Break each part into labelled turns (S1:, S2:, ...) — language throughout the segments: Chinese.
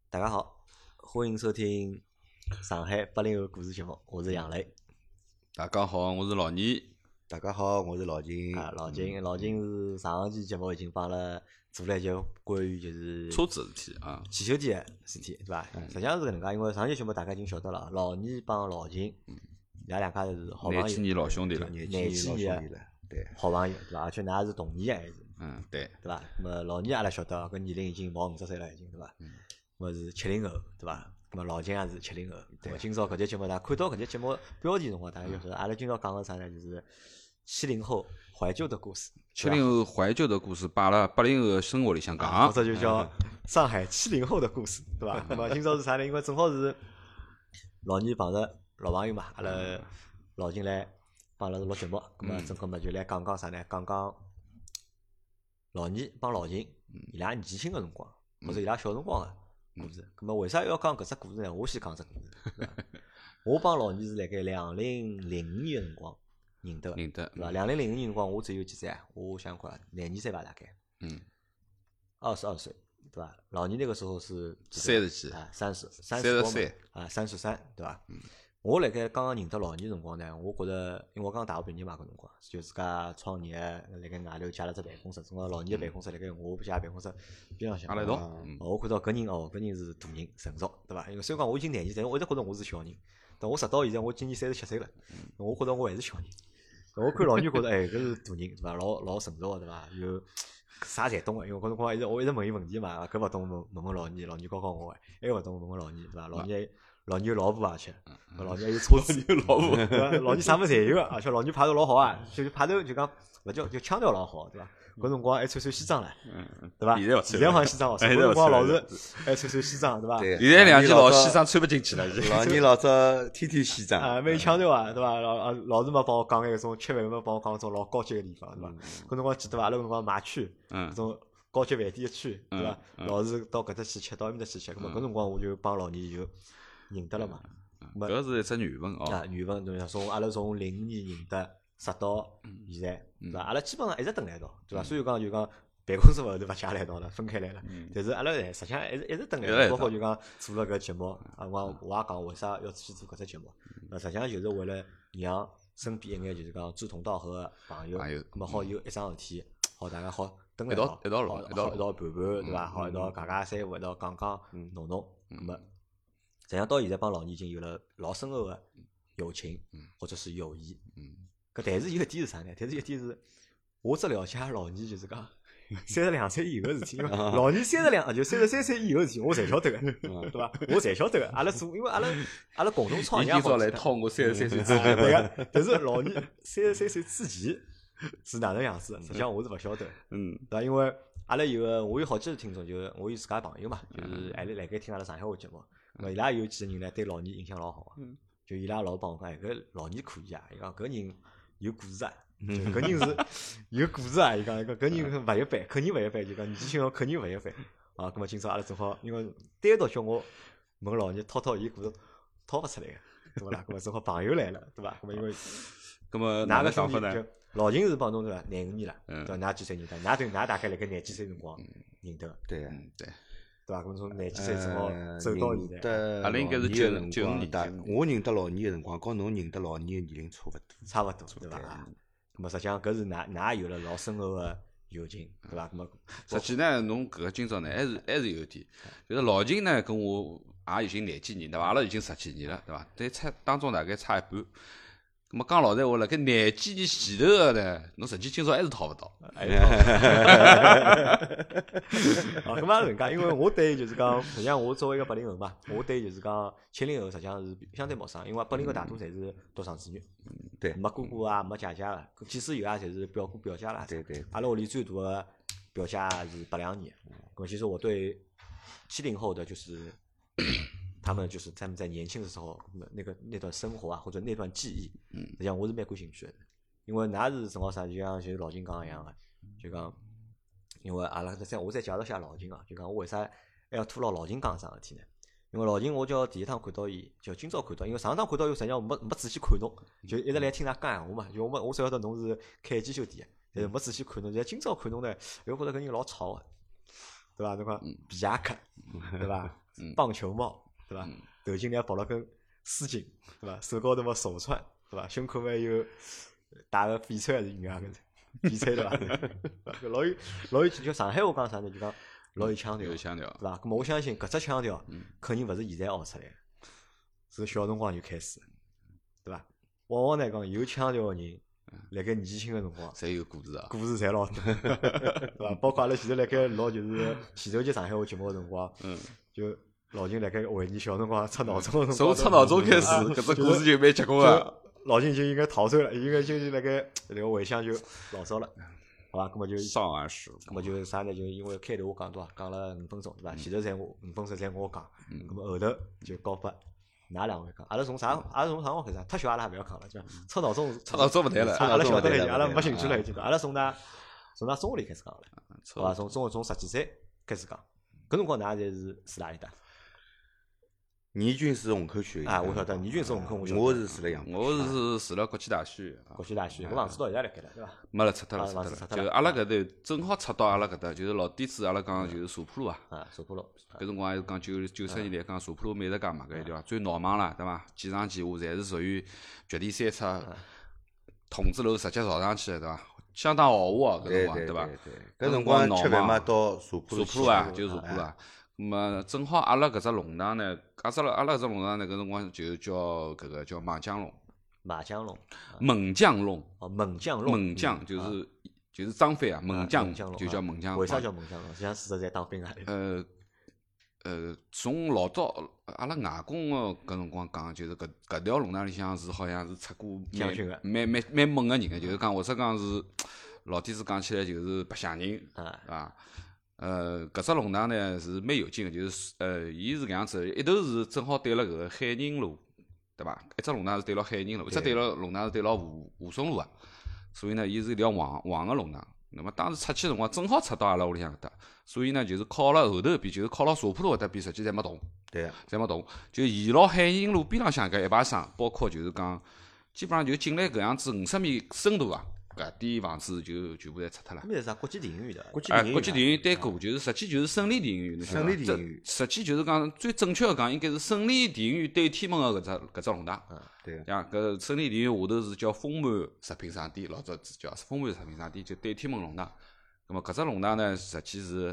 S1: 大家好，欢迎收听上海80后故事节目，我是杨磊。
S2: 大家好，我是老倪。
S3: 大家好，我是老金。
S1: 老金是上期节目已经帮了做了一节关于就是
S2: 车子的事体啊，
S1: 汽修店的事体，对伐？实际上是搿能介，因为上期节目大家已经晓得了，老倪帮老金，伊拉两家是好朋友，
S2: 廿几年老兄弟了，
S3: 廿几年老兄弟了，对，
S1: 好朋友，对伐？而且㑚是同年还是？
S2: 对，
S1: 对伐？那么老倪阿拉晓得，搿年龄已经毛50岁了，已经对伐？我是70后，对伐？那么老金也是70后。对。今朝搿节节目，大家看到搿节节目标题辰光，大家就晓得，阿拉今朝讲个啥呢？就是70后怀旧的故事。
S2: 70后怀旧的故事，摆辣80后的生活里向讲，
S1: 或者就叫上海70后的故事，对伐？那么今朝是啥呢？因为正好是老倪碰着老朋友嘛，阿拉老金来帮阿拉录节目，那么正好嘛就来讲讲啥呢？讲讲老倪帮老金伊拉年轻个辰光，或者伊拉小辰光个故事。那么为啥要讲搿只故事呢？我先讲只故事。对伐？我帮老倪是辣盖2005年个辰光认得，对伐？2005年辰光我只有几岁啊？我想看廿二岁吧，大概。22岁，对伐？老倪那个时候是
S2: 30几
S1: 啊，33啊，33，对伐？我辣盖刚刚认得老倪辰光呢，我觉着，因为我刚大学毕业嘛，搿辰光就自家创业，辣盖外头借了只办公室，正好老倪个办公室辣盖我家办公室边浪向。
S2: 阿拉一道。
S1: 我看到搿人是大人成熟，对伐？因为虽然讲我已经廿几岁，我一直觉着我是小人，但我直到现在我今年37岁了，我觉着我还是小人。我看老倪觉着，搿是大人，对伐？老成熟个，对伐？有啥侪懂个，因为搿辰光我一直问伊问题嘛，搿勿懂问老倪，老倪教我个，还勿懂问老倪，对伐？老倪有老婆而且，老倪还有车子，
S2: 有老婆，
S1: 对伐？老倪啥物事侪有个，而且老倪派头老好啊，就是派头就讲勿叫就腔调老好，对伐？搿辰光还穿西装唻，对伐？现在换西装哦，搿辰光老是还穿西装，对伐？
S2: 现在两件老西装穿勿进去了，
S3: 老倪老早天天西装
S1: 啊，蛮有腔调啊，对伐？老是嘛帮我讲眼搿种吃饭嘛，帮我讲种老高级个地方，对伐？搿辰光记得伐？阿拉搿辰光买区，搿种高级饭店个区，对伐？老是到搿搭去吃，到埃面搭去吃，咾么搿辰光我就帮老倪就认得了嘛。
S2: 搿是一只缘分哦。
S1: 缘分对伐？阿拉从05年认得，直到现在，对伐？阿拉基本上一直蹲辣一道，对伐？虽然讲就讲办公室后头勿借辣一道了，分开来了，但是阿拉实际上一直蹲辣一道，包括就讲做了搿节目，我也讲为啥要去做搿只节目，实际上就是为了让身边一眼就是讲志同道合个朋友，咾么好有一桩事体，好大家好蹲辣
S2: 一道
S1: 一道盘盘，对伐？好一道讲讲三胡，一道讲讲弄弄，咾么。实际上到现在帮老倪已经有了老深厚个友情，或者是友谊。但是有一点是啥呢？但是一点是，我只了解老倪就是讲32岁以后事体，因为老倪32就33岁以后事体，我侪晓得个，对伐？我侪晓得个。阿拉做，因为阿拉共同创业
S2: 今朝来套我33岁之
S1: 前，对个。但是老倪33岁之前是哪能样子？实际上我是勿晓得，对伐？因为阿拉我有好几个听众，就是我有自家朋友嘛，就是还辣盖听阿拉上海话节目。伊拉有几个人呢，对老倪印象老好个，就伊拉老帮我讲，搿老倪可以啊，伊讲搿人有故事啊，搿人是有故事啊，伊讲搿人勿一般，肯定勿一般，就讲年纪轻肯定勿一般啊。葛末今朝阿拉正好，因为单独叫我问老倪掏伊故事，掏勿出来个，对勿啦？葛末正好朋友来了，对伐？葛末因为，
S2: 葛末
S1: 哪个想法呢？老秦是帮侬对伐？25年了，对伐？㑚几岁认得？㑚大概辣盖廿几岁辰光认得个，
S3: 对。
S1: 对伐？搿从廿几岁正好走到现在，
S2: 阿拉应该是95
S3: 年。我认得老倪个辰光，跟侬认得老倪个年龄
S1: 差勿多，对伐？咁么实际上搿是㑚有了老深厚个友情，对伐？咁么
S2: 实际呢，侬搿个今朝呢，还是有点，就是老秦呢跟我也已经廿几年，对伐？阿拉已经10几年了，对伐？但差当中大概差一半。咁么讲老实话，辣盖廿几年前头个呢，侬实际今朝还是讨勿到。
S1: 咁么人家，因为我对就是讲，实际上我作为一个80后嘛，我对就是讲70后实际上是相对陌生，因为80后大多侪是独生子女，
S3: 对，
S1: 没哥哥啊，没姐姐个，即使有啊，侪是表哥表姐啦。
S3: 对。
S1: 阿拉屋里最大个表姐是82年，咁其实我对70后的就是。他们在年轻的时候那段生活啊，或者那段记忆，实际上我是蛮感兴趣的，因为㑚是正好啥，就像老秦讲一样个，就讲，因为阿拉我再介绍下老秦啊，就讲我为啥还要拖牢老秦讲桩事体呢？因为老秦我叫第一趟看到伊，就今朝看到，因为上趟看到伊实际上没仔细看侬，就一直来听㑚讲闲话嘛，就我只晓得侬是开机修店，但是没仔细看侬，现在今朝看侬呢，我觉着搿人老吵个。 对伐？侬讲皮夹克，对伐？棒球帽，对伐？头颈上绑了根丝巾，对伐？手高头嘛手串，对伐？胸口嘛有戴个翡翠还是银行个翡翠对伐？老有就上海话讲啥呢？就讲老有腔调，
S2: 有腔调，
S1: 对伐？咁么我相信搿只腔调肯定勿是现在学出来，是小辰光就开始，对伐？往往来讲有腔调个人，辣盖年轻个辰光，
S2: 侪有故事啊。
S1: 故事侪老多，对伐？包括阿拉前头辣盖录就是前头节上海话节目个辰光，就老秦辣盖回忆小辰光出闹钟个辰光，
S2: 从出闹钟开始，搿只故事就蛮结棍个。
S1: 老秦就应该逃走了，应该就是辣盖回想就老早了，好伐？咁么就
S2: 上岸时，
S1: 咁么就是啥呢？就因为开头我讲多少，讲了5分钟，对伐？前头侪我5分钟侪我讲，咁么后头就交拨㑚两位讲。阿拉从啥辰光开始？太小阿拉也勿要讲了，就出闹钟
S2: 勿谈了，
S1: 阿拉晓得了已经，阿拉
S3: 了
S1: 没兴趣了已经。阿拉从㑚中学里开始讲了，好伐？从10几岁开始讲，搿辰光㑚侪是住哪里搭？
S3: 倪军是虹口区的。
S1: 啊，我晓得，倪军是虹口，
S3: 我是住辣杨浦。
S2: 我是住辣国际大戏院。
S1: 国际大戏院，搿房子到现在辣盖了，对伐？
S2: 没了，拆脱了，
S1: 房子拆脱了。
S2: 就阿拉搿头正好拆到阿拉搿搭，就是老底子，阿拉讲就是茶铺路啊。
S1: 啊，茶铺路。
S2: 搿辰光还是讲90年代讲茶铺路美食街嘛，搿地方最闹忙了，对伐？几上几下侪是属于绝地三尺筒子楼直接朝上去的，对伐？相当豪华搿辰光，
S3: 对
S2: 伐？
S3: 搿辰光吃饭嘛，到茶铺
S2: 路啊，就是茶铺路啊。咁么正好阿拉搿只弄堂呢，阿拉搿只弄堂呢，搿辰光就叫搿个叫麻将弄。
S1: 麻将弄。
S2: 猛将弄。
S1: 哦，猛将弄。
S2: 猛将就是张飞啊，猛将就叫猛将。
S1: 为啥叫猛将弄？像事实在当兵啊。
S2: 从老早阿拉外公个搿辰光讲，就是搿条弄堂里向是好像是出过
S1: 将军个，
S2: 蛮猛个人个，就是讲或者讲是老底子讲起来就是白相人，对伐？搿只弄堂呢是蛮有劲个，就是伊是搿样子，一头是正好对了搿个海宁路，对伐？一只弄堂是对牢海宁路，一只对牢弄堂是对牢武松路啊，所以呢，伊是一条黄个弄堂。那么当时出去辰光，正好出到阿拉屋里向搿搭，所以呢，就是靠了后头边，就是靠牢茶铺路搿搭边，实际侪没动，
S3: 对，
S2: 侪没动。就沿牢海宁路边浪向搿一排商，包括就是讲，基本上就进来搿样子50米深度啊，搿点房子就全部侪拆脱了。
S1: 那是啥？国际电影院的。
S3: 国际电
S2: 影院对过，就是实际就是胜利电影院。
S3: 胜利电影院。
S2: 实际就是讲最正确个讲，应该是胜利电影院对天门个搿只弄堂。
S3: 对。
S2: 像搿胜利电影院下头是叫丰满食品商店，老早叫丰满食品商店，就对天门弄堂。那么搿只弄堂呢，实际是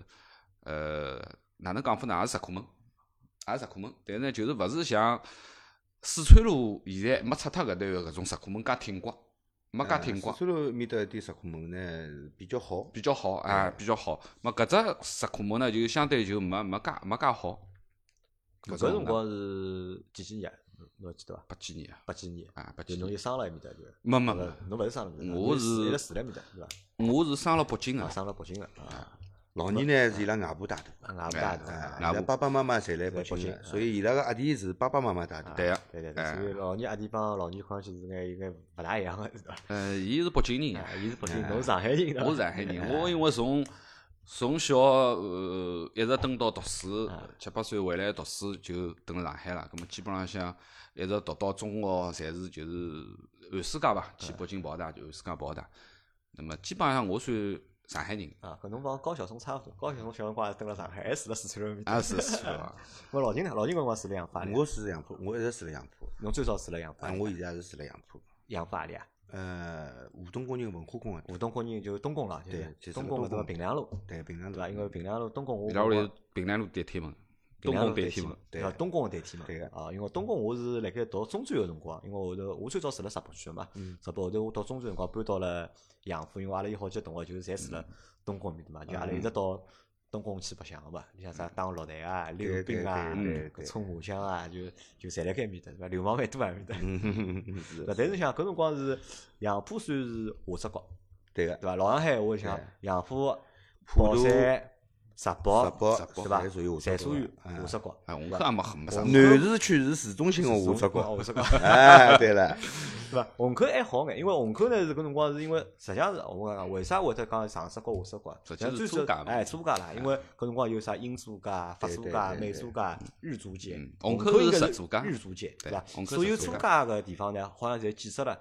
S2: 哪能讲法呢？也是石库门，但是呢，就是勿是像四川路现在没拆脱搿段搿种石库门介挺刮。没介挺光，
S3: 四川路面搭一点石库门呢比较好，
S2: 比较好。么搿只石库门呢，就相对就没介好。
S1: 搿辰光是几年？侬记得伐
S2: ？80几年啊。
S1: 80几年
S2: 啊，80
S1: 几年。侬就生了埃面搭就？
S2: 没。
S1: 侬勿是生了面搭？
S2: 我是
S1: 一直住辣面搭，对伐？
S2: 我是生了北京个。
S1: 生了北京个啊。
S3: 老年呢是伊拉外婆带大，
S1: 外婆带大，
S3: 伊拉爸爸妈妈侪辣北京个，所以伊拉个阿弟是爸爸妈妈带大。
S2: 对个。
S1: 对。所以老年阿弟帮老年看上去是应该勿大一样个，是伐？
S2: 伊是北京人，
S1: 伊是北京，侬是上海人，
S2: 我是上海人。我因为从小一直蹲到读书，7、8岁回来读书就蹲辣上海了。咁么基本浪向一直读到中学，侪是就是寒暑假伐，去北京跑大就寒暑假跑大。那么基本上我算上海人
S1: 啊，搿侬帮高晓松差勿多。高晓松小辰光也蹲辣上海，还住辣四川路面搭。
S2: 是四川啊。
S1: 我老金呢？老金搿辰光住辣杨浦。
S3: 我住杨浦，我一直住辣杨浦。
S1: 侬最早住辣杨浦？
S3: 我现在是住辣杨浦。
S1: 杨浦何里啊？
S3: 湖东工人文化宫个。
S1: 湖东工人就东宫了，
S3: 对，
S1: 东宫搿个平凉路。
S3: 对，平凉路。
S1: 对伐？因为平凉路东宫我。
S2: 伊拉屋里平凉路对天门。东宫对天门。
S1: 对，东宫对天门。
S3: 对个。
S1: 啊，因为东宫我是辣盖读中专个辰光，因为后头我最早住辣石浦区个嘛，石浦后头我读中专辰光搬到了杨浦，因为阿拉有好几个同学就是侪住辣东宫面搭嘛，就阿拉一直到东宫去白相个嘛，你像啥打落台啊、溜冰啊、冲麻将啊，就侪辣盖面搭，对伐？流氓蛮多啊面搭。但是像搿辰光是杨浦算是下只角，
S3: 对个，
S1: 对伐？老上海话像杨浦、宝山、石浦，对伐？侪属于下只角。
S2: 虹口也没啥。
S3: 南市区是市中心个下只角。对了。
S1: 对伐？虹口还好眼，因为虹口呢是搿辰光是因为实际上是我讲为啥会得讲上市角下市角？
S2: 实际是租界嘛，
S1: 租界啦，因为搿辰光有啥英租界、法租界、美租界、日租界，
S2: 虹口
S1: 应该
S2: 是日租界，
S1: 日租界对伐？
S2: 虹口
S1: 所有租界个地方呢，好像侪建设了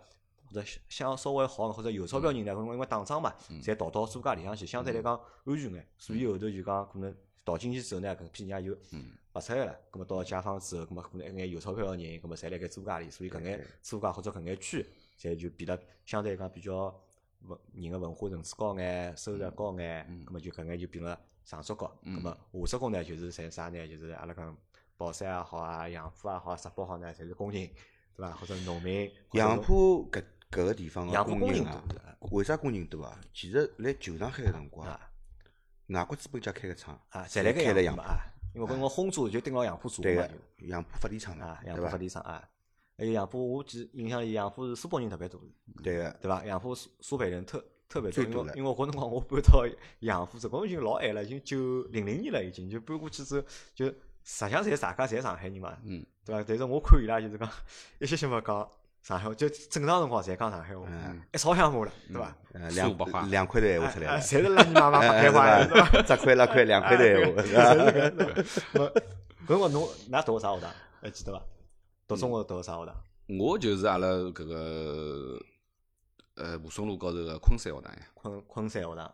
S1: 或者想稍微好或者有钞票人呢，因为打仗嘛，侪逃到租界里向去，相对来讲安全眼，所以后头就讲可能逃进去之后呢，搿批人也就勿出来了。咁么到解放之后，咁么可能一眼有钞票个人，咁么侪辣盖租界里，所以搿眼租界或者搿眼区，侪就变得相对来讲比较人个文化层次高眼，收入高眼，咁么就搿眼就变了上职高。咁么下职工呢，就是侪啥呢？就是阿拉讲保山也好啊，杨浦也好，石宝好呢，侪是工人，对伐？或者农民。
S3: 杨浦搿个地方
S1: 杨浦工人
S3: 啊
S1: 多，
S3: 为啥工人多啊？其实辣旧上海个辰光，外国资本家开个厂
S1: 啊，侪辣盖
S3: 开了杨浦
S1: 杨浦啊，因为搿辰光轰炸就盯牢杨浦做
S3: 对
S1: 嘛，
S3: 个杨浦发电厂
S1: 啊，
S3: 嘛，
S1: 杨浦发电厂啊，还有杨浦，我记印象里杨浦是苏北人特别多，
S3: 对个，
S1: 对伐？杨浦苏北人特别多，
S3: 最多了
S1: 因为搿辰光我搬到杨浦，这辰光已经老晚了，已经900年了，已经就搬过去之后，就实际上大家侪上海人嘛，对伐？但是我看伊拉就是讲一些没讲上海话，就正常辰光侪讲上海话，一吵相骂了，对伐？
S3: 两块头闲话出来了，
S1: 侪是拉你妈妈白话，对伐？
S3: 只块2块2块头闲话，是
S1: 伐？搿辰光侬㑚读啥学堂？还记得伐？读中学读啥学堂？
S2: 我就是阿拉搿个蒲松路高头个昆山学堂呀。
S1: 昆山学堂。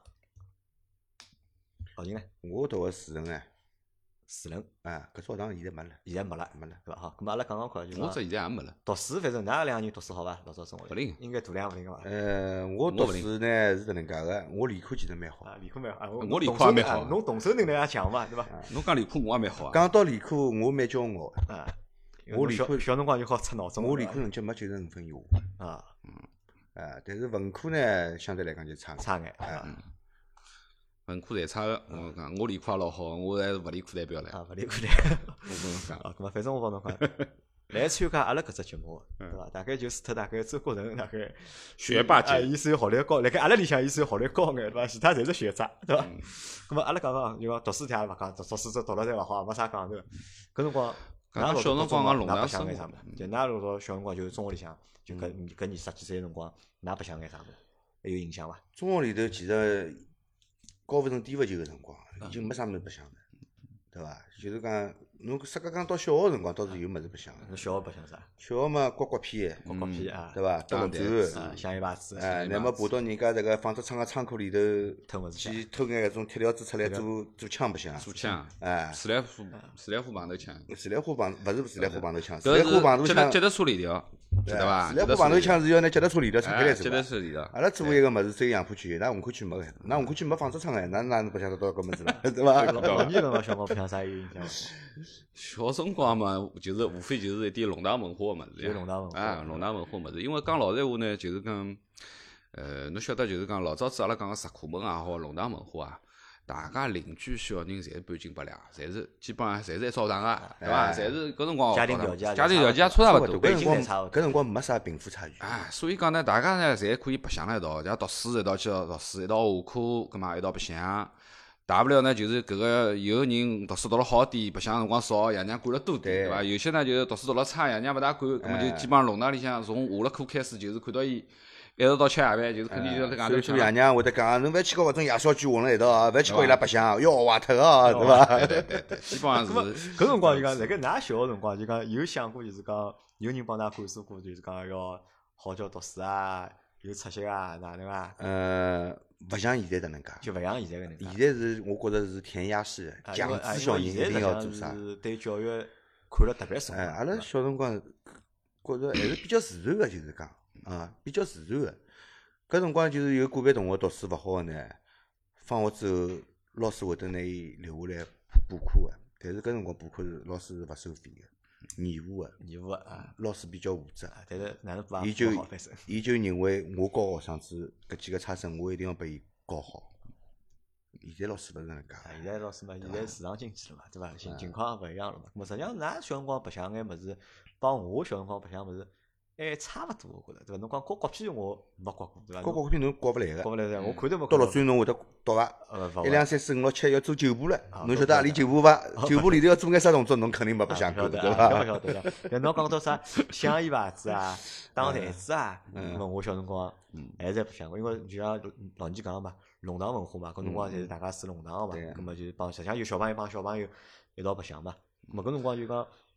S1: 老秦呢？
S3: 我读个树人哎，
S1: 树人
S3: 啊，搿所学堂现在没了，
S1: 现在没了，对伐？好，咁阿拉讲看，就
S2: 我这现在也没了。
S1: 读书，反正㑚两个人读书好伐？老早生活
S2: 勿灵，
S1: 应该大量勿灵个伐？
S3: 我读书呢是搿能介个，我理科其实蛮好。
S1: 理科蛮好，
S2: 我理科也蛮好。
S1: 侬动手能力也强嘛，对伐？
S2: 侬讲理科我也蛮好啊。
S3: 讲到理科，我蛮骄傲个。
S1: 啊，
S3: 我理科
S1: 小辰光就好出脑中。
S3: 我理科成绩没95分以下。
S1: 啊，
S3: 但是文科呢，相对来讲就差
S1: 眼。
S2: 文科侪差个，我讲我理科也老好，我还是物理科代表唻。
S1: 啊，物理科代表。
S2: 我跟侬讲，
S1: 啊，咁么反正我帮侬讲，来参加阿拉搿只节目，对伐？大概就除脱大概周国成大概
S2: 学霸级，
S1: 伊算学历高，辣盖阿拉里向伊算学历高眼，对伐？其他侪是学渣，对伐？咁么阿拉讲就讲读书题也勿讲，读书这读了侪勿好，没啥讲头。搿辰光，
S2: 小辰光讲弄堂生活，
S1: 就㑚老早小辰光就是中学里向，就搿20几岁辰光，㑚白相眼啥物事？还有印象伐？
S3: 中学里头其实高勿成低勿就个辰光，已经没啥物事白相了，对伐？就是讲，侬啥个讲到小学辰光，倒是有物事白相个。
S1: 侬小学白相啥？
S3: 小学嘛，刮片，
S1: 啊，
S3: 对伐？打绿
S1: 钻，香烟牌子，
S3: 乃末爬到人家这个纺织厂个仓库里头，
S1: 偷物事
S3: 去偷眼搿种铁条子出来做枪白相。
S2: 做枪，自来虎棒头枪。
S3: 自来虎棒勿是自来虎棒头枪，
S2: 自来虎棒头枪，脚踏车链条，记得伐？
S3: 自来虎棒头枪是要拿脚踏车链条拆开来做。
S2: 脚踏车链条。
S3: 阿拉做一个物事只有杨浦区，㑚虹口区没个，㑚虹口区没纺织厂个，㑚哪能白相得到搿物事了，对伐？
S1: 老年辰光小辰光白相啥有印象？
S2: 小辰光嘛，就是无非就是一点弄堂文化个物事，
S1: 就弄堂文化
S2: 啊，弄堂文化物事。因为讲老实闲话呢，就是讲，侬晓得就是讲老早子阿拉讲个石库门也好，弄堂文化啊，大家邻居小人侪是半斤八两，侪是基本上侪是一澡堂个，对伐？侪是搿辰光
S1: 家庭条件
S2: 也差勿多，
S3: 搿辰光没啥贫富差距。
S2: 啊，所以讲呢，大家呢侪可以白相辣一道，像读书一道去读书，一道下课，葛末一道白相。大不了呢，就是搿个有个人读书读了好点，白相辰光少，爷娘管了多点，对伐？有些呢就是读书读了差，爷娘勿大管，葛末就基本上弄堂里向从下了课开始，就是看到伊一直到吃夜饭，就是肯定就在外头吃。
S3: 所以爷娘会得讲，侬勿要去跟搿种夜宵鬼混辣一道啊，勿要去跟伊拉白相，要坏脱个，对伐？
S2: 对，基本上是。
S1: 搿辰光就讲，辣盖㑚小个辰光，就讲有想过，就是讲有人帮㑚灌输过，就是讲要好叫读书啊，有出息啊，哪能啊？
S3: 勿像现在搿能介，
S1: 就勿像现在搿能介。
S3: 现在是我觉着是填鸭式，强制小人一定要做啥。
S1: 是对教育看了特别重。
S3: 阿拉小辰光觉着还是比较自然个，就是讲比较自然个。搿辰光就是有个别同学读书勿好个呢，放学之后老师会得拿伊留下来补课个，但是搿辰光补课老师是勿收费个。义务个
S1: 啊，
S3: 老师比较负责，
S1: 但是哪能补
S3: 伊就认为我教学生子搿几个差生，我一定要拨伊教好。现在老师勿是搿能介，
S1: 现在老师嘛，现在市场经济了嘛，对伐？情况勿一样了嘛。咾实际上，㑚小辰光白相眼物事，帮我小辰光白相物事还差勿多，我觉着，对伐？侬讲刮国片我没刮过，对伐？
S3: 刮国片侬刮勿来个，
S1: 刮勿来的，我看都没。
S3: 到6岁侬会得读伐？1、2、3、4、5、6、7要做9步了，侬晓得何里9步伐？9步里头要做眼啥动作，侬肯定没白相过，对伐？
S1: 勿晓得。但侬讲到啥香烟牌子啊、打台子啊，我小辰光还是白相过，因为就像老年讲嘛，弄堂文化嘛，搿辰光侪是大家住弄堂个嘛，葛末就帮实际上有小朋友帮小朋友一道白相嘛。咾搿辰光就讲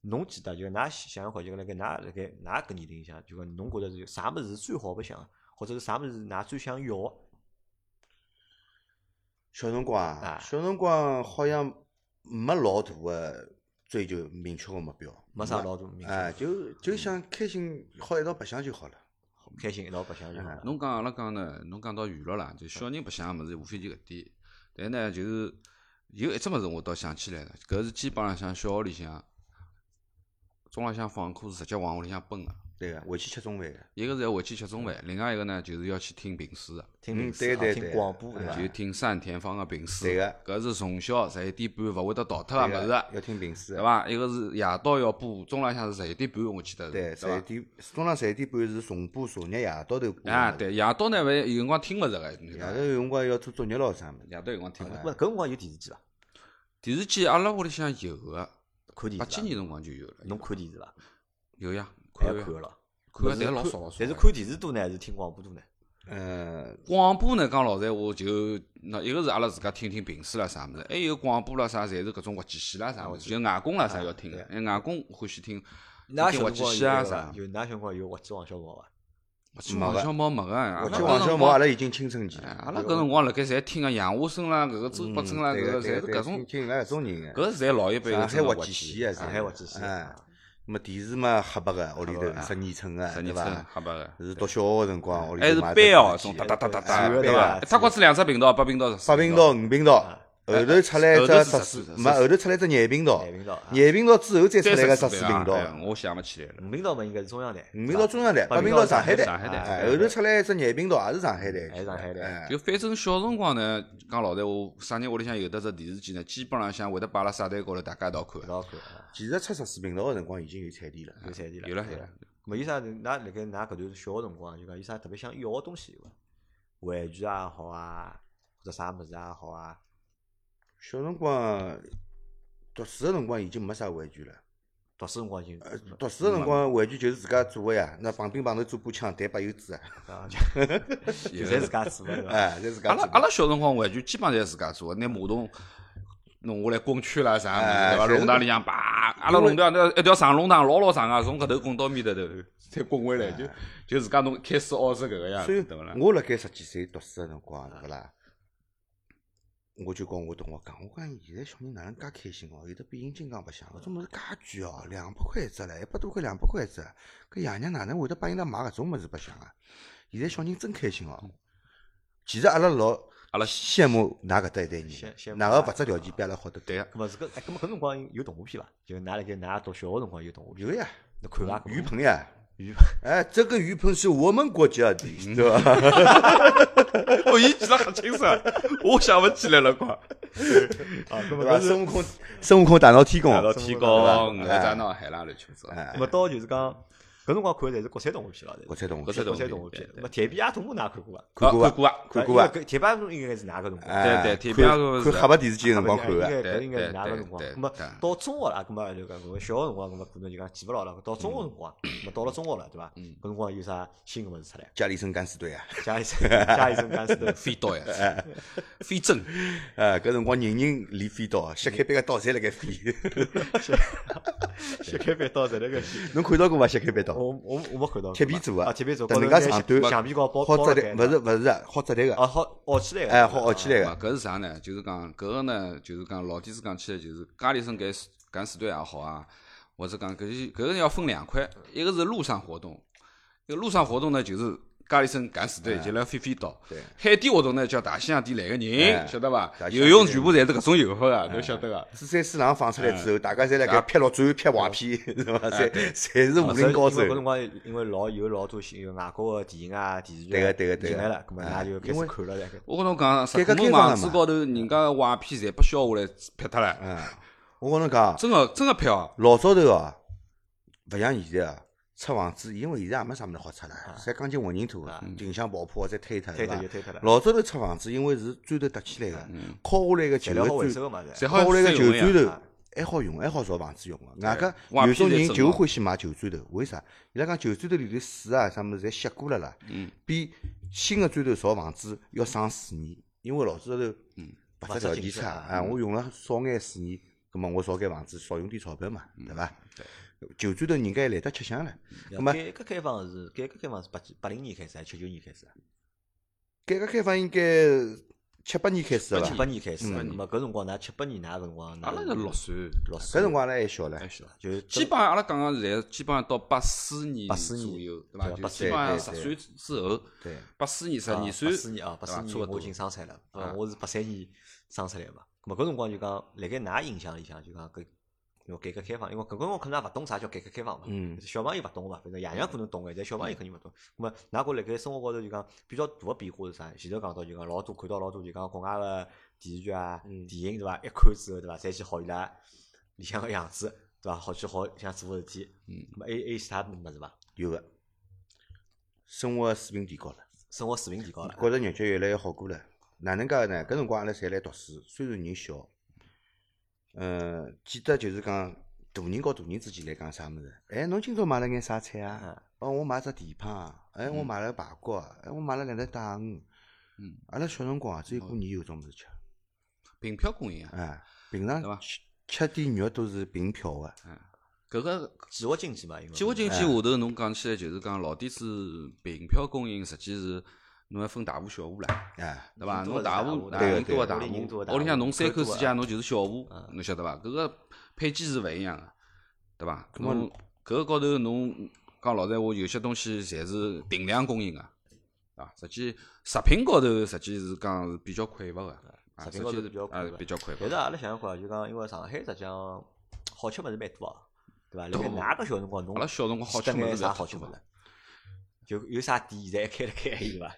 S1: 侬记得就㑚想想看，就辣盖㑚搿年龄向，就讲侬觉着是啥物事是最好白相，或者是啥物事是㑚最想要个？
S3: 小辰光
S1: 啊
S3: 小辰光好像没老大个追求明确个目标，
S1: 没啥老大明
S3: 哎，
S1: 确，
S3: 就想开心，好一道白相就好了。
S1: 开心一道白相就好了。
S2: 侬讲阿拉讲呢，侬讲到娱乐啦，就小人白相个物事，无非就搿点。但呢，就是有一只物事我倒想起来了，搿是基本浪向小学里向，中浪向放课是直接往屋里向奔个。
S3: 对个，回去吃中饭个。
S2: 一个是要回去吃中饭，另外一个呢就是要去听评书个，
S1: 听评书啊，听
S3: 对对对
S1: 广播对伐？
S2: 就听单田芳个评书。
S3: 对个
S2: 搿是从小11:30勿会得逃脱个物事，
S3: 要听评书
S2: 对。伐？一个是夜到要播，中浪向是11:30，我记得是，
S3: 对，
S2: 对伐？
S3: 中浪11:30是重播昨日夜到头播。
S2: 啊，对，夜到呢，有辰光听勿着个，
S3: 夜头有辰光要做作业咯啥物事。
S2: 夜到有辰光听勿着。
S1: 搿辰光有电视机伐？
S2: 电视机阿拉屋里向有个，
S1: 看电视伐？
S2: 几年辰光就有了。
S1: 侬看电视伐？
S2: 有呀，
S1: 还
S2: 看呀
S1: 要看个咯。
S2: 看个，但老少老少。
S1: 但是看电视多呢，还是听广播多呢？
S2: 广播呢，讲老实闲话，就那一个是阿拉自家听听评书啦啥物事，还有广播啦啥，侪是搿种滑稽戏啦啥物事，就外公啦啥要听个，外公欢喜听
S1: 㑚
S2: 听滑稽
S1: 小辰光
S2: 戏啊啥。
S1: 就㑚小辰光有滑稽王小毛伐？
S2: 滑稽王小毛没个，阿拉
S3: 滑稽王小毛阿拉已经青春期了。
S2: 阿拉搿辰光辣盖侪听个杨华生啦，搿个周伯珍啦，搿个侪是搿种，
S3: 听搿种人个。
S2: 搿是侪老一辈个
S3: 上海滑稽
S2: 真个稽
S3: 戏啊，
S1: 上海滑稽戏
S3: 哎，那么电视嘛黑白个，屋里头12寸个，对
S2: 十二寸
S3: 伐？
S2: 黑白个，
S3: 是读小学个辰光，屋里
S2: 还是
S3: 头买
S2: 班哦，
S3: 只
S2: 种
S3: 电视机
S2: 哒哒哒哒哒，
S1: 是的
S2: 对伐？
S1: 对
S2: 一塌瓜子2只频道，8频道、
S3: 8频道、5频道，后头出来一只
S2: 后头是
S3: 14，
S2: 14
S3: 没后头出来一只廿频道，
S1: 廿频道啊
S3: 廿频道之后再出来个
S2: 14
S3: 14频道，
S2: 我想勿起来了。
S1: 五频道嘛应该是中央台，
S3: 5频道中央台，
S1: 八
S3: 8频道上海台，
S2: 上海台
S3: 哎，后头出来一只廿频道也是上海台，
S1: 还是上海台
S3: 哎
S2: 就反正小辰光呢，讲老实闲话，啥人屋里向有得只电视机呢，基本浪向会得摆辣沙台高头，大家一道看
S1: 一。道看啊，
S3: 其实出14频道个辰光已经有彩电了，
S1: 有彩电了，
S2: 有了有了。
S1: 没有啥？㑚辣盖㑚搿段小个辰光，就讲有啥特别想要个东西有伐？玩具也好啊，或者啥物事也好啊，
S3: 小辰光读书个辰光已经没啥玩具了。
S1: 读书辰光已经
S3: 读书个辰光玩具就是自家做个呀，那旁边头做把枪，弹把油纸啊，
S1: 啊，就侪自家做个对伐？
S3: 哎，侪自家做。
S2: 阿拉阿拉小辰光玩具基本上侪自家做的，拿马桶弄下来滚圈啦啥物事，对伐？
S3: 哎
S2: 龙堂里向叭，阿拉龙堂那一条长龙堂老长个，从搿头滚到面头头，再滚回来，就自家弄开始学是搿个样
S3: 所以
S2: 子，对勿啦？
S3: 我辣盖10几岁读书个辰光，对勿啦？我就跟我同学讲，我讲现在小人哪能介开心哦？有的变形金刚白相，搿种物事介贵哦，200块一只唻，100多块200块一只，搿爷娘哪能会得帮伊拉买搿种物事白相啊？现在小人真开心哦。其实阿拉老
S2: 阿拉
S3: 羡慕㑚搿搭一代人
S1: 羡慕
S3: 的，哪个物质条件比阿拉好得多？
S2: 对个，
S1: 搿么是搿，搿么搿辰光有动画片伐？就㑚辣盖㑚读小个辰光有动画片，
S3: 有呀，
S1: 侬看伐？
S3: 鱼盆呀，
S1: 鱼
S3: 哎，这个鱼盆是我们国家的，对吧？
S2: 哦，伊记得很清爽，我想勿起来了，快。
S1: 啊，搿么
S3: 对吧？
S1: 搿是
S3: 孙悟空大闹天宫，
S2: 到天
S1: 对
S2: 宫，
S3: 吧
S2: 哪吒闹海啦，乱七八糟。
S3: 哎
S1: 搿，么到就是讲搿辰光看的侪是国产动画片了，
S3: 国产动画片
S2: 国产
S1: 国产动画片。
S2: 对
S1: 那么《铁臂阿童木》㑚看过伐？
S3: 看过
S2: 看过啊，
S3: 看过啊，
S1: 搿铁臂阿童木应该是哪个辰光？
S3: 哎
S2: 对对铁臂阿童是
S3: 看黑白电视机个辰光看
S1: 应
S3: 个，
S1: 该搿应该是哪个辰光
S2: 对？对
S1: 那么
S2: 对
S1: 到中学了，搿么就讲搿小个辰光，搿么可能就讲记勿牢了。到中学辰光，那么到了中学了，对伐？搿辰光有啥新个物事出来？
S3: 家里生敢死队啊，
S1: 加一声加一声干死的
S2: 飞刀呀，飞针，
S3: 哎，搿辰光人人练飞刀，削开板个刀侪辣盖飞，
S1: 削开板刀在那个，
S3: 侬看到过伐？削开板刀，
S1: 我没看到
S3: 铁皮做
S1: 啊，
S3: 啊，
S1: 铁皮做，
S3: 等人家长短，
S1: 橡皮高包
S3: 好折
S1: 盖
S3: 叠，勿是好折叠个，
S1: 啊，好凹起来个，
S3: 哎，好凹起来
S2: 啊，
S3: 个，
S2: 搿是啥呢？就是讲搿个呢，就是讲老底子讲起来，就是家里生敢死队也好啊，或者讲搿个要分两块，一个是陆上活动，一个陆上活动呢就是家里生敢死队，就来飞飞刀。
S3: 对，
S2: 海底活动呢叫大西洋底来个人，
S3: 哎
S2: 晓得伐
S3: 大？西洋
S2: 游泳全部侪是搿种游法个，侬晓得个。
S3: 四三四郎放出来之后，大家侪辣盖劈陆战、劈坏片，是伐？侪是武林高手
S1: 因为。搿辰光因为有老多有外国个电影啊、电视剧啊
S3: 对个
S1: 进来了，搿么
S3: 哎
S1: 㑚就开始看了来。
S2: 我跟侬讲，石
S3: 改革
S2: 库门
S3: 开放了嘛
S2: 网址高头人家个坏片侪被销下来劈脱了，
S3: 嗯，我跟侬讲，
S2: 真个劈哦。
S3: 老早头哦，勿像现在啊，出房子，因为现在也没啥物事好出了，侪钢筋混凝土，近向爆破再推脱，
S1: 推
S3: 对伐？
S1: 脱就推脱了，
S3: 老早头出房子，因为是砖头搭起来个，敲下来个旧
S1: 材料好回
S3: 个砖，
S1: 收个嘛，
S2: 侪好
S3: 敲下来个旧
S2: 用呀
S3: 砖头还好用，还好造房子用个。外加
S2: 瓦
S3: 有种人就
S2: 片侪整好
S3: 欢喜买旧砖头，为啥？伊拉讲旧砖头里头水啊啥物事侪吸过了啦，比新个砖头造房子要省水年，因为老早头物质条件差啊，我用了少眼水年， 葛末我造间房子少用点钞票嘛，对伐？
S2: 对。
S3: 旧砖头人家懒得吃香了。葛末
S1: 改革开放是80年开始还是79年开始啊？
S3: 改革开放应该78年开始的伐
S1: ？78年开始，那么搿辰光㑚78年㑚搿辰光，
S2: 阿拉是6岁，
S3: 搿辰光阿拉还小唻，
S1: 就
S2: 基本上阿拉讲个现在基本上到84年左右，对伐？就基本上10岁之后，
S3: 对
S2: ，84年12岁
S1: ，84年啊，84年我已经生出来了，我是83年生出来嘛。咁么搿辰光就讲，辣盖㑚印象里向就讲搿。因为改革开放，因为搿辰光可能也勿懂啥叫改革开放嘛，小朋友勿懂嘛，反正爷娘可能懂个，但小朋友肯定勿懂。咁么，㑚觉辣盖生活高头就讲比较大个变化是啥？前头讲到就讲老多看到老多就讲国外个电视剧啊、电影对伐？一看之后对伐？侪去学伊拉里向个样子对伐？好去学像做个事体。咁么还有其他物事伐？
S3: 有个，生活水平提高了，
S1: 生活水平提高了，
S3: 觉着日脚越来越好过了。哪能介呢？搿辰光阿拉侪来读书，虽然人小。记得就是讲大人和大人之间来讲啥物事？哎，侬今朝买了眼啥菜啊？哦，我买只蹄膀，哎，我买了排骨，哎，我买了2只带鱼。阿拉小辰光只有过年有种物事吃，
S2: 凭票供应啊！
S3: 哎，平常吃点肉都是凭票个。
S2: 搿个
S1: 计划经济嘛，
S2: 计划经济下头侬讲起来就是讲老底子凭票供应，实际是。侬还分大户小户啦，对伐？侬大户人多个大户，屋里向侬3口之家，侬就是小户，侬晓得伐？搿个配给是勿一样个，对伐？侬搿个高头侬讲老实闲话，有些东西侪是定量供应个，啊，实际食品高头实际是讲是比较匮乏个，
S1: 食品高头
S2: 比较匮乏。
S1: 但是阿拉想想看，就讲因为上海实际上好吃物事蛮多个，对伐？辣盖㑚个小辰光，侬
S2: 阿拉小辰光好吃物事
S1: 啥好吃物事？就有啥店现在还开了开有伐？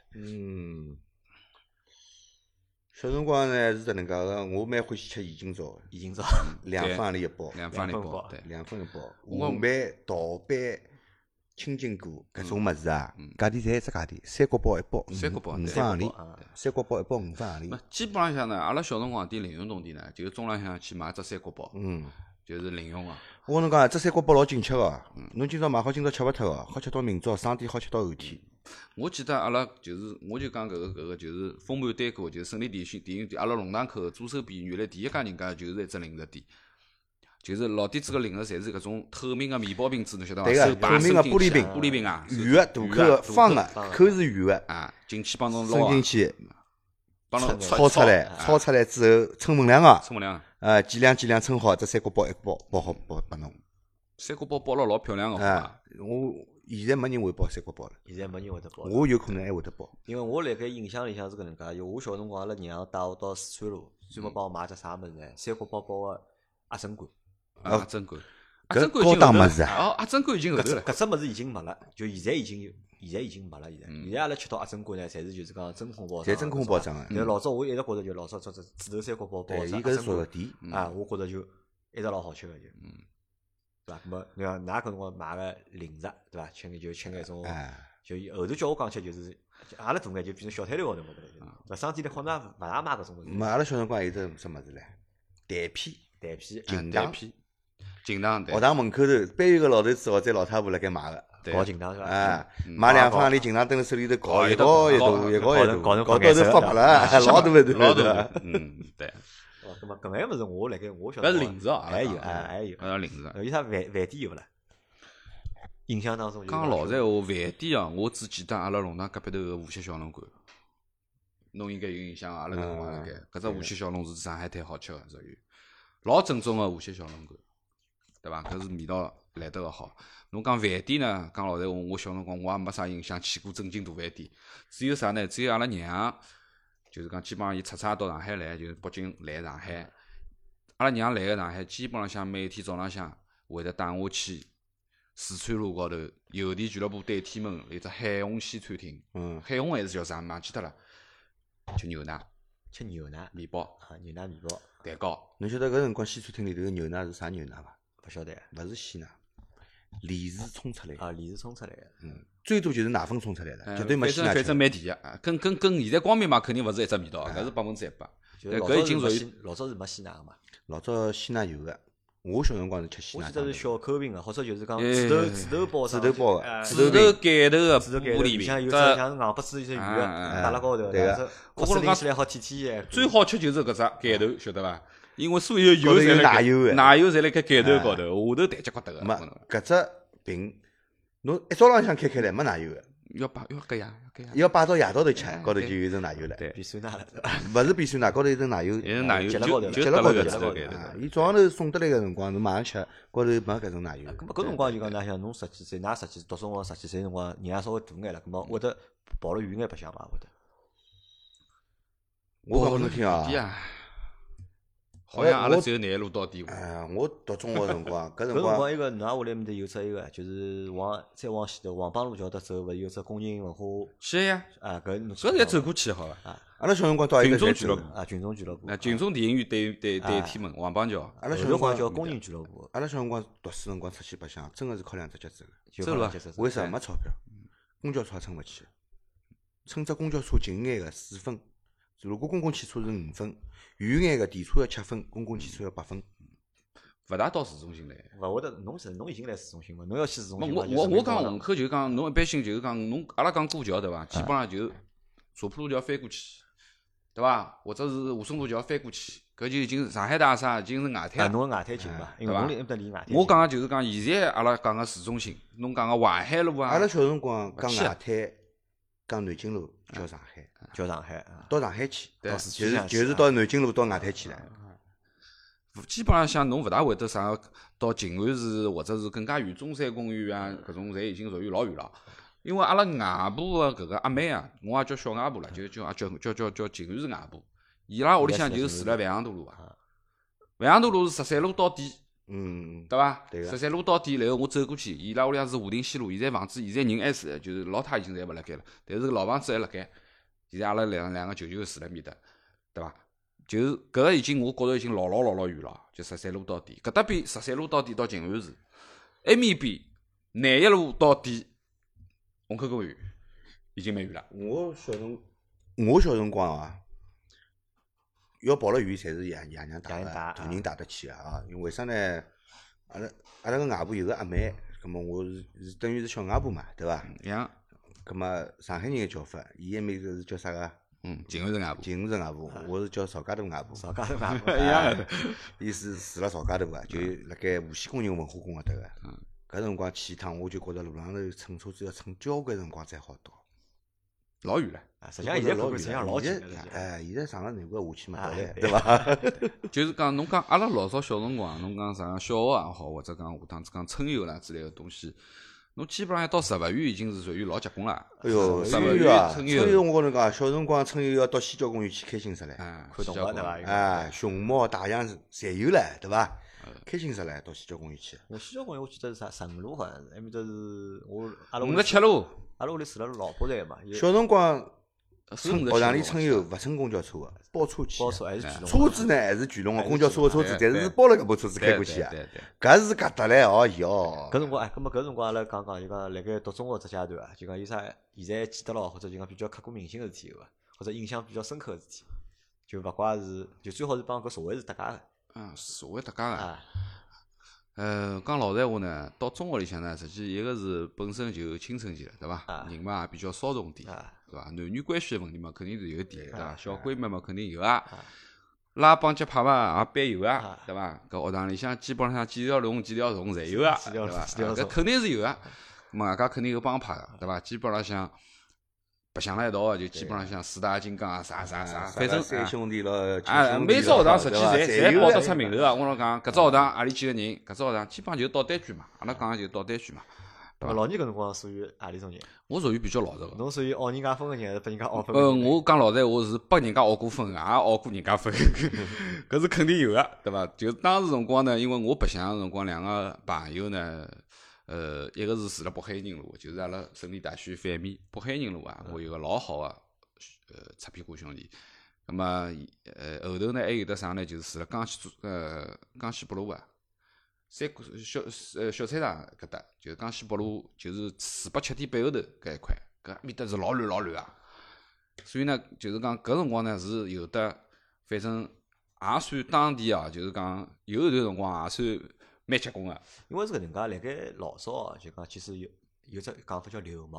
S3: 小辰光呢是搿能介个，我蛮欢喜吃盐津枣，
S1: 盐津枣
S3: 2分钿一包
S2: ，2分钿一包，
S3: 对，2分一包。河板、桃板、青筋果搿种物事啊，价钿侪一只价钿，3角包一包，5分钿，3角包一包5分钿。
S2: 基本浪向呢，阿拉小辰光点零用铜钿呢，就是中浪向去买只3角包，就是零用个。
S3: 我跟侬讲，这3角包老紧吃个，侬今朝买好，今朝吃勿脱个，好吃到明朝，生点好吃到后天。
S2: 我记得阿拉就是，我就讲搿个就是丰满单口，就是胜利电信店，阿拉龙塘口左手边原来第一家人家就是一只零食店，就是老底子个零食侪是搿种透明个面包瓶子，侬晓得伐？
S3: 对个，透明个玻璃瓶啊，圆个大口个，方个，口是圆个
S2: 啊，进去帮侬
S3: 伸进去，
S2: 帮侬
S3: 炒出来，炒出来之后称分量个，
S2: 称分量。
S3: 几两称好，这3角包一包包好包拨侬。
S2: 3角包包了老漂亮个，好伐？
S3: 我现在没人会包3角包了。
S1: 现在没人会得包。
S3: 我有可能还会得包。
S1: 因为我辣盖印象里向是搿能介，就我小辰光阿拉娘带我到四川路，专门帮我买只啥物事呢？3角包包个鸭胗肝。
S2: 鸭胗肝。
S3: 搿高档物事啊！
S2: 哦，鸭胗肝已经后头了。
S1: 搿只物事已经没了，就现在已经没了。现在阿拉吃到鸭胗肝呢，侪是就是讲真空包装。
S3: 侪真空包装个。
S1: 但老早我一直觉着就老早只猪头3角包包
S3: 个鸭胗肝
S1: 啊，我觉着就一直老好吃个就。对伐？咾你看，㑚搿辰光买个零食，对伐？吃眼种，就后头叫我讲吃，就是阿拉大眼就变成小摊头高头嘛，对伐？商店里好像勿大卖搿种物事。
S3: 阿拉小辰光有只什么子唻？蛋片、
S2: 劲糖，
S3: 学堂门口头，班有个老头子或者老太婆辣盖卖个，
S1: 搞劲糖是
S3: 伐？买2分钿劲糖蹲辣手里头搞一道，搞到头发白了，老大个头，
S2: 老大个，对。
S1: 咁么搿眼物事我辣盖我晓
S2: 得。搿是零食啊，
S1: 还有，
S2: 零食。
S1: 有啥饭店有勿啦？印象当中
S2: 讲老实闲话，饭店啊，我只记得阿拉弄堂隔壁头个无锡小笼馆，侬应该有印象啊。阿拉搿辰光辣盖，搿只无锡小笼是上海滩好吃个，属于老正宗个无锡小笼馆，对伐？搿是味道来得个好。侬讲饭店呢？讲老实闲话，我小辰光我也没啥印象去过正经大饭店，只有啥呢？只有阿拉娘。就是讲，基本上伊出差到上海来，就是北京来上海。阿拉娘来个上海，基本浪向每天早浪向会得带我去四川路高头邮电俱乐部对天门有只海虹西餐厅。海虹还是叫啥？忘记脱了。吃牛奶，面包
S1: 牛奶面包，
S2: 蛋糕。
S3: 侬晓得搿辰光西餐厅里头个牛奶是啥牛奶伐？
S1: 勿晓得，
S3: 勿是鲜奶，炼乳冲出来
S1: 啊，炼乳冲出来个。
S3: 最多就是奶粉冲出来的，绝对没鲜奶吃。
S2: 反正蛮甜个，跟现在光明嘛，肯定勿是一只味道，搿是100%。搿已经属于
S1: 老早是没鲜奶个嘛。
S3: 老早鲜奶有个，我小辰光是吃鲜奶。
S1: 我记得是小口瓶个，或者就是讲纸头包
S3: 纸头包
S2: 个，纸头盖头个玻璃
S1: 瓶，有只像硬不丝一只鱼搭辣高头，
S3: 对个。
S1: 我觉着拎起来好甜甜个。
S2: 最好吃就是搿只盖头，晓得伐？ 因为所有油
S3: 高头有
S2: 侪
S3: 奶油的
S2: 奶油侪辣盖盖头高头，下头台脚骨头
S3: 没
S2: 个，
S3: 搿只瓶，侬一早浪向开来没奶油个，
S2: 要搿呀，
S3: 要摆到夜到头吃，高头就有一层奶油了。
S2: 对，
S1: 比酸奶了，
S3: 勿是比酸奶，高头有层奶油，
S2: 有奶油
S1: 结了高头
S3: 结了高头
S2: 就搭辣搿指头
S1: 高头
S2: 盖头。
S3: 伊早上头送得来个辰光，侬马上吃，高头没搿层奶油。
S1: 咁么搿辰光就讲㑚想侬十几岁，㑚十几读中学十几岁辰光，人也稍微大眼了，咁么会得跑了远眼白相伐？会得？
S3: 我讲拨侬听啊，
S2: 好像阿拉只有南路到底过。
S3: 我读中学辰光，搿辰
S1: 搿辰
S3: 光
S1: 光一个㑚屋里面头有只一个，就是再往前头黄浜路桥搭走，勿是有只工人文化
S2: 是呀，
S1: 啊？搿侬
S2: 搿侪走过去好伐？
S3: 阿拉小辰光到一个侪走
S2: 群众俱乐部。
S1: 啊，群众俱乐部。
S2: 那群众电影院对天门黄浜桥，
S3: 阿拉小辰
S1: 后头好
S3: 光
S1: 像叫工人俱乐部，
S3: 阿拉小辰光读书辰光出去白相，真个是靠两只脚走个。
S1: 就
S2: 走了
S1: 好像
S3: 为啥没钞票？公交车也乘勿起，乘只公交车近眼个4分，如果公共汽车是5分，远眼个电车要7分，公共汽车要8分。
S2: 勿大到市中心来。
S1: 勿会得，侬已经来市中心嘛？侬要去市中心
S2: 我
S1: 嘛？
S2: 我讲虹口就是讲，侬一般性就是讲，侬阿拉讲过桥对伐？基本上就茶浦路桥翻过去，对伐？或者是华松路桥翻过去，搿就已经上海大厦已经是外滩
S1: 啊，
S2: 了。
S1: 侬个外滩近嘛？因为
S2: 对伐
S1: 侬里搭离外滩近。
S2: 我讲个就是讲，现在阿拉讲个市中心，侬讲个淮海路啊，
S3: 阿拉小辰光讲
S2: 去啊
S3: 外滩，讲南京路叫上海，
S1: 叫上海啊，
S3: 到上海去，
S2: 对
S3: 就是到南京路到外滩去了。
S2: 基本上像侬勿大会得啥到静安寺或者是更加远中山公园啊，搿种侪已经属于老远了。因为阿拉外婆个搿个阿妹啊，我也叫小外婆了，就叫静安寺外婆。伊拉屋里向就是住辣万阳大路啊，万阳大路是13路到底，对伐？
S3: 对个
S2: 13路到底，然后我走过去，伊拉屋里向是华亭西路，现在房子现在人还是就是老太已经侪勿辣盖了，但是老房子还辣盖。现在阿拉两个舅舅住辣面搭，对伐？就是搿个已经我觉着已经老远了，就13路到底，搿搭边13路到底到静安寺，埃面边南一路到底虹口公园已经蛮远了。
S3: 我小辰光啊，要跑了远，侪是爷娘带个，大人带得去个啊。因为为啥呢？阿拉个外婆有个阿妹，葛末我是等于是小外婆嘛，对伐？
S2: 像
S3: 葛末上海人个叫法，伊埃面是叫啥个？
S2: 静安寺外婆，
S3: 静安寺外婆，我是叫曹家渡外婆。
S1: 邵家头外婆
S2: 一样的。
S3: 伊是住辣曹家渡个，就辣盖无锡工人文化宫搿搭个。搿辰光去一趟，我就觉着路浪头乘车子要乘交关辰光才好到。
S2: 老远了。
S1: 啊，实际上现在看看实际上老近
S3: 现
S1: 个了。
S3: 在现在上了南关下去嘛，到来
S1: 对
S3: 对伐？
S2: 就是讲，侬讲阿拉老早小辰光，侬讲啥小学也好，或者讲下趟子讲春游啦之类个东西，侬基本上一到植物园已经是属于老结棍了。
S3: 哎哟，
S2: 植物
S3: 春游啊，
S2: 春
S3: 春游我跟侬讲，小辰光春游要到西郊公园去开心死唻。
S1: 看动物对伐？
S3: 哎，熊猫、大象侪有唻，对伐？开心死唻，到西郊公园去。
S1: 我西郊公园我记得是啥15路好像是，埃面搭是我阿拉屋里
S2: 57路，
S1: 阿拉屋里住辣老坡站嘛，有
S3: 小辰光
S2: 顺着
S3: 学堂里
S2: 去
S3: 春游勿乘公交车个，包车去
S1: 包
S3: 的。
S1: 车还是巨龙，
S3: 车子呢还是巨龙个，公交车个车子，
S2: 对
S3: 但是是包了搿部车子开过去啊。
S2: 对对。
S3: 搿是搿搭唻，哦哟。
S1: 搿辰光哎，搿么搿辰光阿拉讲就讲辣盖读中学只阶段啊，就讲有啥现在记得牢，或者就讲比较刻骨铭心个事体有伐？或者印象比较深刻个事体，就勿怪是就最好是帮搿社会是搭界个
S2: 社会搭界个。
S1: 啊。
S2: 讲老实闲话呢，到中学里向呢，实际一个是本身就青春期了，对伐？人嘛也比较骚动点，对伐？男女关系个问题嘛，肯定是有点，对伐？小闺蜜嘛，肯定有啊。拉帮结派嘛，也必有啊，对伐？搿学堂里向基本上几条龙侪有啊，对伐？搿肯定是有啊。咁外加肯定有帮派个，对伐？基本浪向白相辣一道个，就基本浪向四大金刚啊，啥，反正
S3: 三兄弟咯，
S2: 每只学堂实际侪报得出名头
S3: 个。
S2: 个。我老讲，搿只学堂何里几个人，搿只学堂基本上就是倒单句嘛。阿拉讲个就是倒单句嘛。
S1: 老倪搿辰光属于何里种人？
S2: 我属于比较老实个。
S1: 侬属于学人家分个人，还是拨人家学分个人？
S2: 我讲老实闲话是拨人家学过分个，也学过人家分，搿是肯定有个，对伐？就当时辰光呢，因为我白相个辰光，两个朋友呢，一个是住辣北海人路，就是阿拉省立大学反面北海人路啊，我有个老好个擦屁股兄弟。咁么后头呢还有得啥呢？就是住辣江西北路啊。小菜场搿搭，就是江西北路，就是487.8后头搿一块，搿面搭是老乱啊。所以呢，就是讲搿辰光呢是有得，反正也算当地啊，就是讲有一段辰光也算蛮结棍个。
S1: 因为是搿能介，辣盖老早就讲其实有只讲法叫流氓。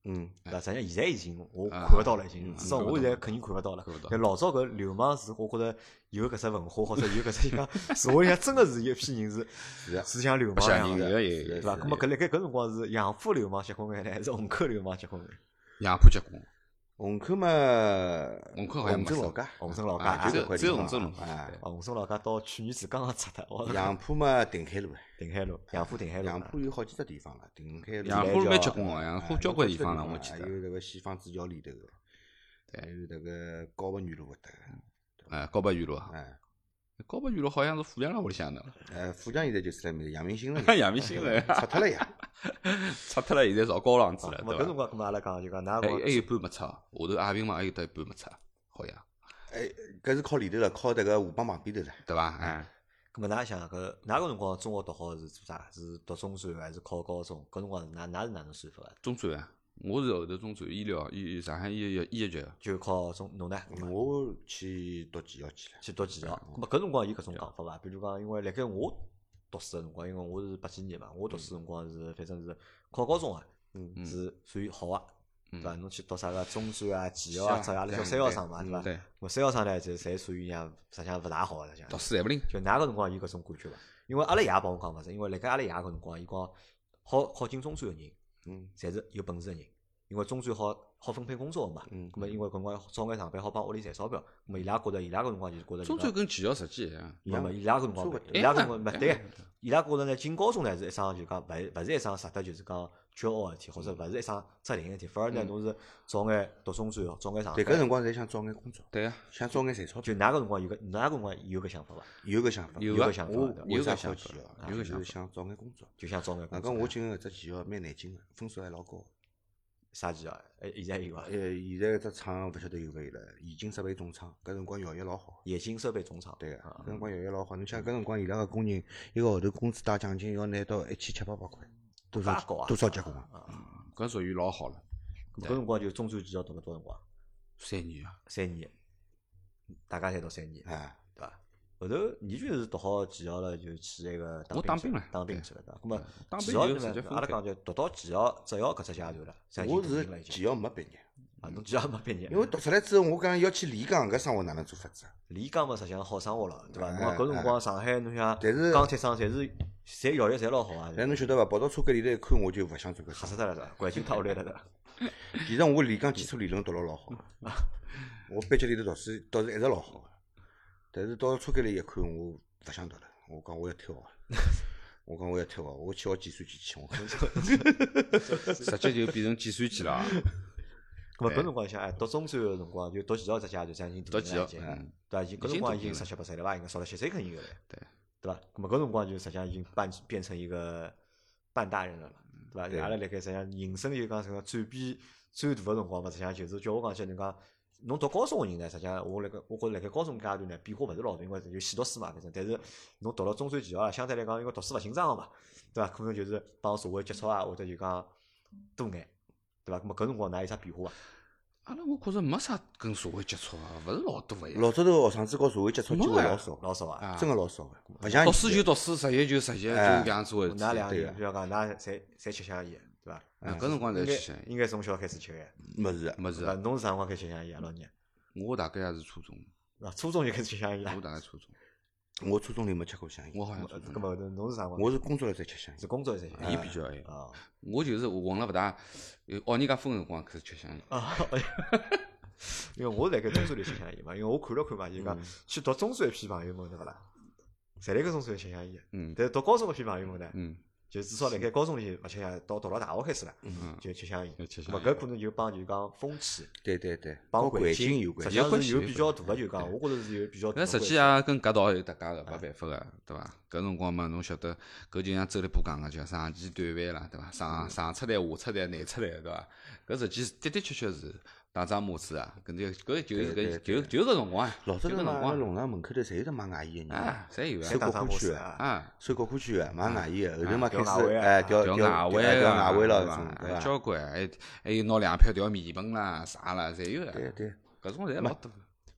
S1: 对伐？实际上现在已经我看勿到了，已经至少我现在肯定看勿到了。但老早搿流氓是我觉着有搿只文化，或者有搿只讲社会里向真个是有一批人是像流氓一样的，对伐？咾么搿辣盖搿辰光是杨浦流氓结棍眼呢，还是虹口流氓结棍眼？
S2: 杨浦结棍。
S3: 虹口嘛，
S2: 虹口好像没
S3: 镇老街，
S1: 虹镇老街
S2: 只有虹镇路。
S1: 虹镇老街到去年子刚刚拆脱。
S3: 杨浦嘛，定海路。
S1: 定海路，杨浦定海路。
S3: 杨浦有好几只地方了，定海路。
S2: 杨浦蛮结棍个，杨浦交关地方了，我记得。
S3: 还有迭个西方主教里头个，还有迭个高白园路搿搭。
S2: 高白园路啊。高白园路好像是富强辣屋里向的。
S3: 富强现在就是辣面阳明新了。
S2: 阳明新了，
S3: 拆脱了呀。
S2: 拆脱了，现在造高档子了，对伐？
S1: 搿辰光，阿拉讲就讲，哪个？
S2: 还有一半没拆，下头阿平嘛还有得一半没拆，好像。
S3: 搿是靠里头了，靠迭个河浜旁边头了，
S2: 对伐？
S1: 咾么，㑚想搿哪个辰光中学读好是做啥？是读中专还是考高中？搿辰光是㑚是哪能算法？
S2: 中专啊，我是后头中专医疗，上海医学
S1: 就考中侬呢？
S3: 我去读技校去了。
S1: 去读技校。咾么搿辰光有搿种讲法伐？比如讲，因为辣盖我读书个辰光，因为我是80几年嘛，我读书辰光是反正是考高中啊，是属于好啊，对伐？侬去读啥个中专啊、技校啊，阿拉叫三校生嘛，对伐？
S2: 对。
S1: 咾三校生呢，就侪属于像实际上勿大好个，实际上。
S2: 读书侪勿灵。
S1: 就哪个辰光有搿种感觉伐？因为阿拉爷帮我讲勿是，因为辣盖阿拉爷搿辰光，伊讲考进中专个人，侪是有本事个人。因为中专好分配工作嘛，咁么因为搿辰光早眼上班好帮屋里赚钞票，咁么伊拉觉着伊拉搿辰光就是觉着
S2: 中专跟技校实际一样，
S1: 伊拉搿辰光勿对，伊拉觉着呢进高中呢是一桩就讲勿是一桩值得就是讲骄傲个事体，或者勿是一桩责任个事体，反而呢侬是早眼读中专，早眼上班。
S3: 对，搿辰光侪想早眼工作。
S2: 对啊，
S3: 想早眼赚钞票。
S1: 就㑚搿辰光有搿想法伐？
S3: 有搿想法，
S2: 有
S1: 搿想法，
S3: 有
S2: 搿
S3: 想法，
S2: 有搿想法，
S3: 想早眼工作，
S1: 就想早眼工作。
S3: 搿我进个搿只技校蛮难进个，分数还老高。
S1: 啥技校？现在有伐？
S3: 现在搿只厂勿晓得有勿有了，冶金设备总厂，搿辰光效益老好。
S1: 冶金设备总厂。
S3: 对个，搿辰光效益老好。侬想搿辰光伊拉个工人一个号头工资带奖金要拿到1700-1800块，多少结棍啊！
S2: 搿属于老好了。
S1: 搿辰光就中专技校读了多少辰光
S2: ？3年啊。
S1: 3年，大家侪读3年，对伐？后头你就是读好技校了，就去那个
S2: 当兵了，
S1: 当兵去了，对伐？咁么
S2: 技
S1: 校呢？阿拉讲就读到技校职校搿只阶段了。
S3: 我是技校没毕业，
S1: 侬技校没毕业。
S3: 因为读出来之后，我讲要去丽江，搿生活哪能做法子？
S1: 丽江嘛，实际上好生活了，对伐？侬搿辰光上海，侬想，
S3: 但是
S1: 钢铁厂侪效益侪老好啊。
S3: 但侬晓得伐？跑到车间里头一看，我就勿想做搿
S1: 吓死脱了，对伐？环境太恶劣了，对伐？
S3: 其实我丽江基础理论读了老好，我班级里头读书倒是一直老好个，但是到车间里一看，我勿想读了。我讲我要退学，我讲我要退学，我去学计算机去。我讲，
S2: 直接就变成计算机了。
S1: 咁么搿辰光想，读中专个辰光就读技校只阶段，已经
S2: 读技校，
S1: 对伐？搿辰光已经17、18岁了伐？应该少了7岁肯定有了，对伐？咁么搿辰光就实际上已经变成一个半大人了，对伐？阿拉辣盖实际上人生就讲什么转变最大个辰光嘛，实际上就是叫我讲起侬讲。侬读高中个人呢，实际上我觉着辣盖高中阶段呢，变化勿是老大，因为就细读书嘛，反正。但是侬读了中专技校啊，相对来讲，因为读书勿紧张个嘛，对伐？可能就是帮社会接触啊，或者就讲多眼，对伐？咁么搿辰光㑚有啥变化伐？
S2: 阿拉我觉着没啥跟社会接触啊，勿是老多个呀。
S3: 老早头学生子和社会接触机会老少
S1: 啊，
S3: 真个老少个。勿像
S2: 读书就读书，实习就实习，就搿样子回事。
S1: 㑚两个，比如讲㑚侪吃香烟，对伐？
S2: 搿辰光侪吃香烟。
S1: 应该从小开始吃个。
S3: 没是，
S1: 侬是啥辰光开始吃香烟啊？老年？
S2: 我大概也是初中。
S1: 初中就开始吃香烟了。
S2: 我大概初中。
S3: 我初中里没吃过香烟。
S2: 我好像初中。
S1: 搿么侬是啥辰光？
S3: 我是工作了才吃香烟。
S1: 是工作了才吃香烟。
S2: 伊比较晚啊。我就是混了勿大，学人家分辰光开始吃香烟。
S1: 啊。因为我辣盖中专里吃香烟嘛，因为我看了看嘛，就讲去读中专一批朋友们对勿啦？侪辣盖中专吃香烟。但是读高中一批朋友们呢？就至少辣盖高中里勿吃香烟，到读了大学开始了，就吃香烟。咾搿可能就帮就讲风气，
S3: 对，
S1: 帮环
S3: 境有关，
S1: 实际上是有比较大个就讲，我觉着是有比较大。
S2: 搿实际也跟搿道有搭界个，没办法个，对伐？搿辰光嘛，侬晓得，搿就像周立波讲个，叫上期短饭啦，对伐？上出台、下出台、难出台，对伐？搿实际的确是打张马子啊，搿就是搿辰光啊。
S3: 老早头嘛，农场门口头侪有得卖外衣个人，
S2: 侪有
S3: 收国库区个，收国库区个卖外衣个，后头嘛开始
S2: 调外围
S3: 了，
S2: 对伐？交关，还有拿2票调面盆啦、啥啦，侪有个。
S3: 对，
S2: 搿种侪老多。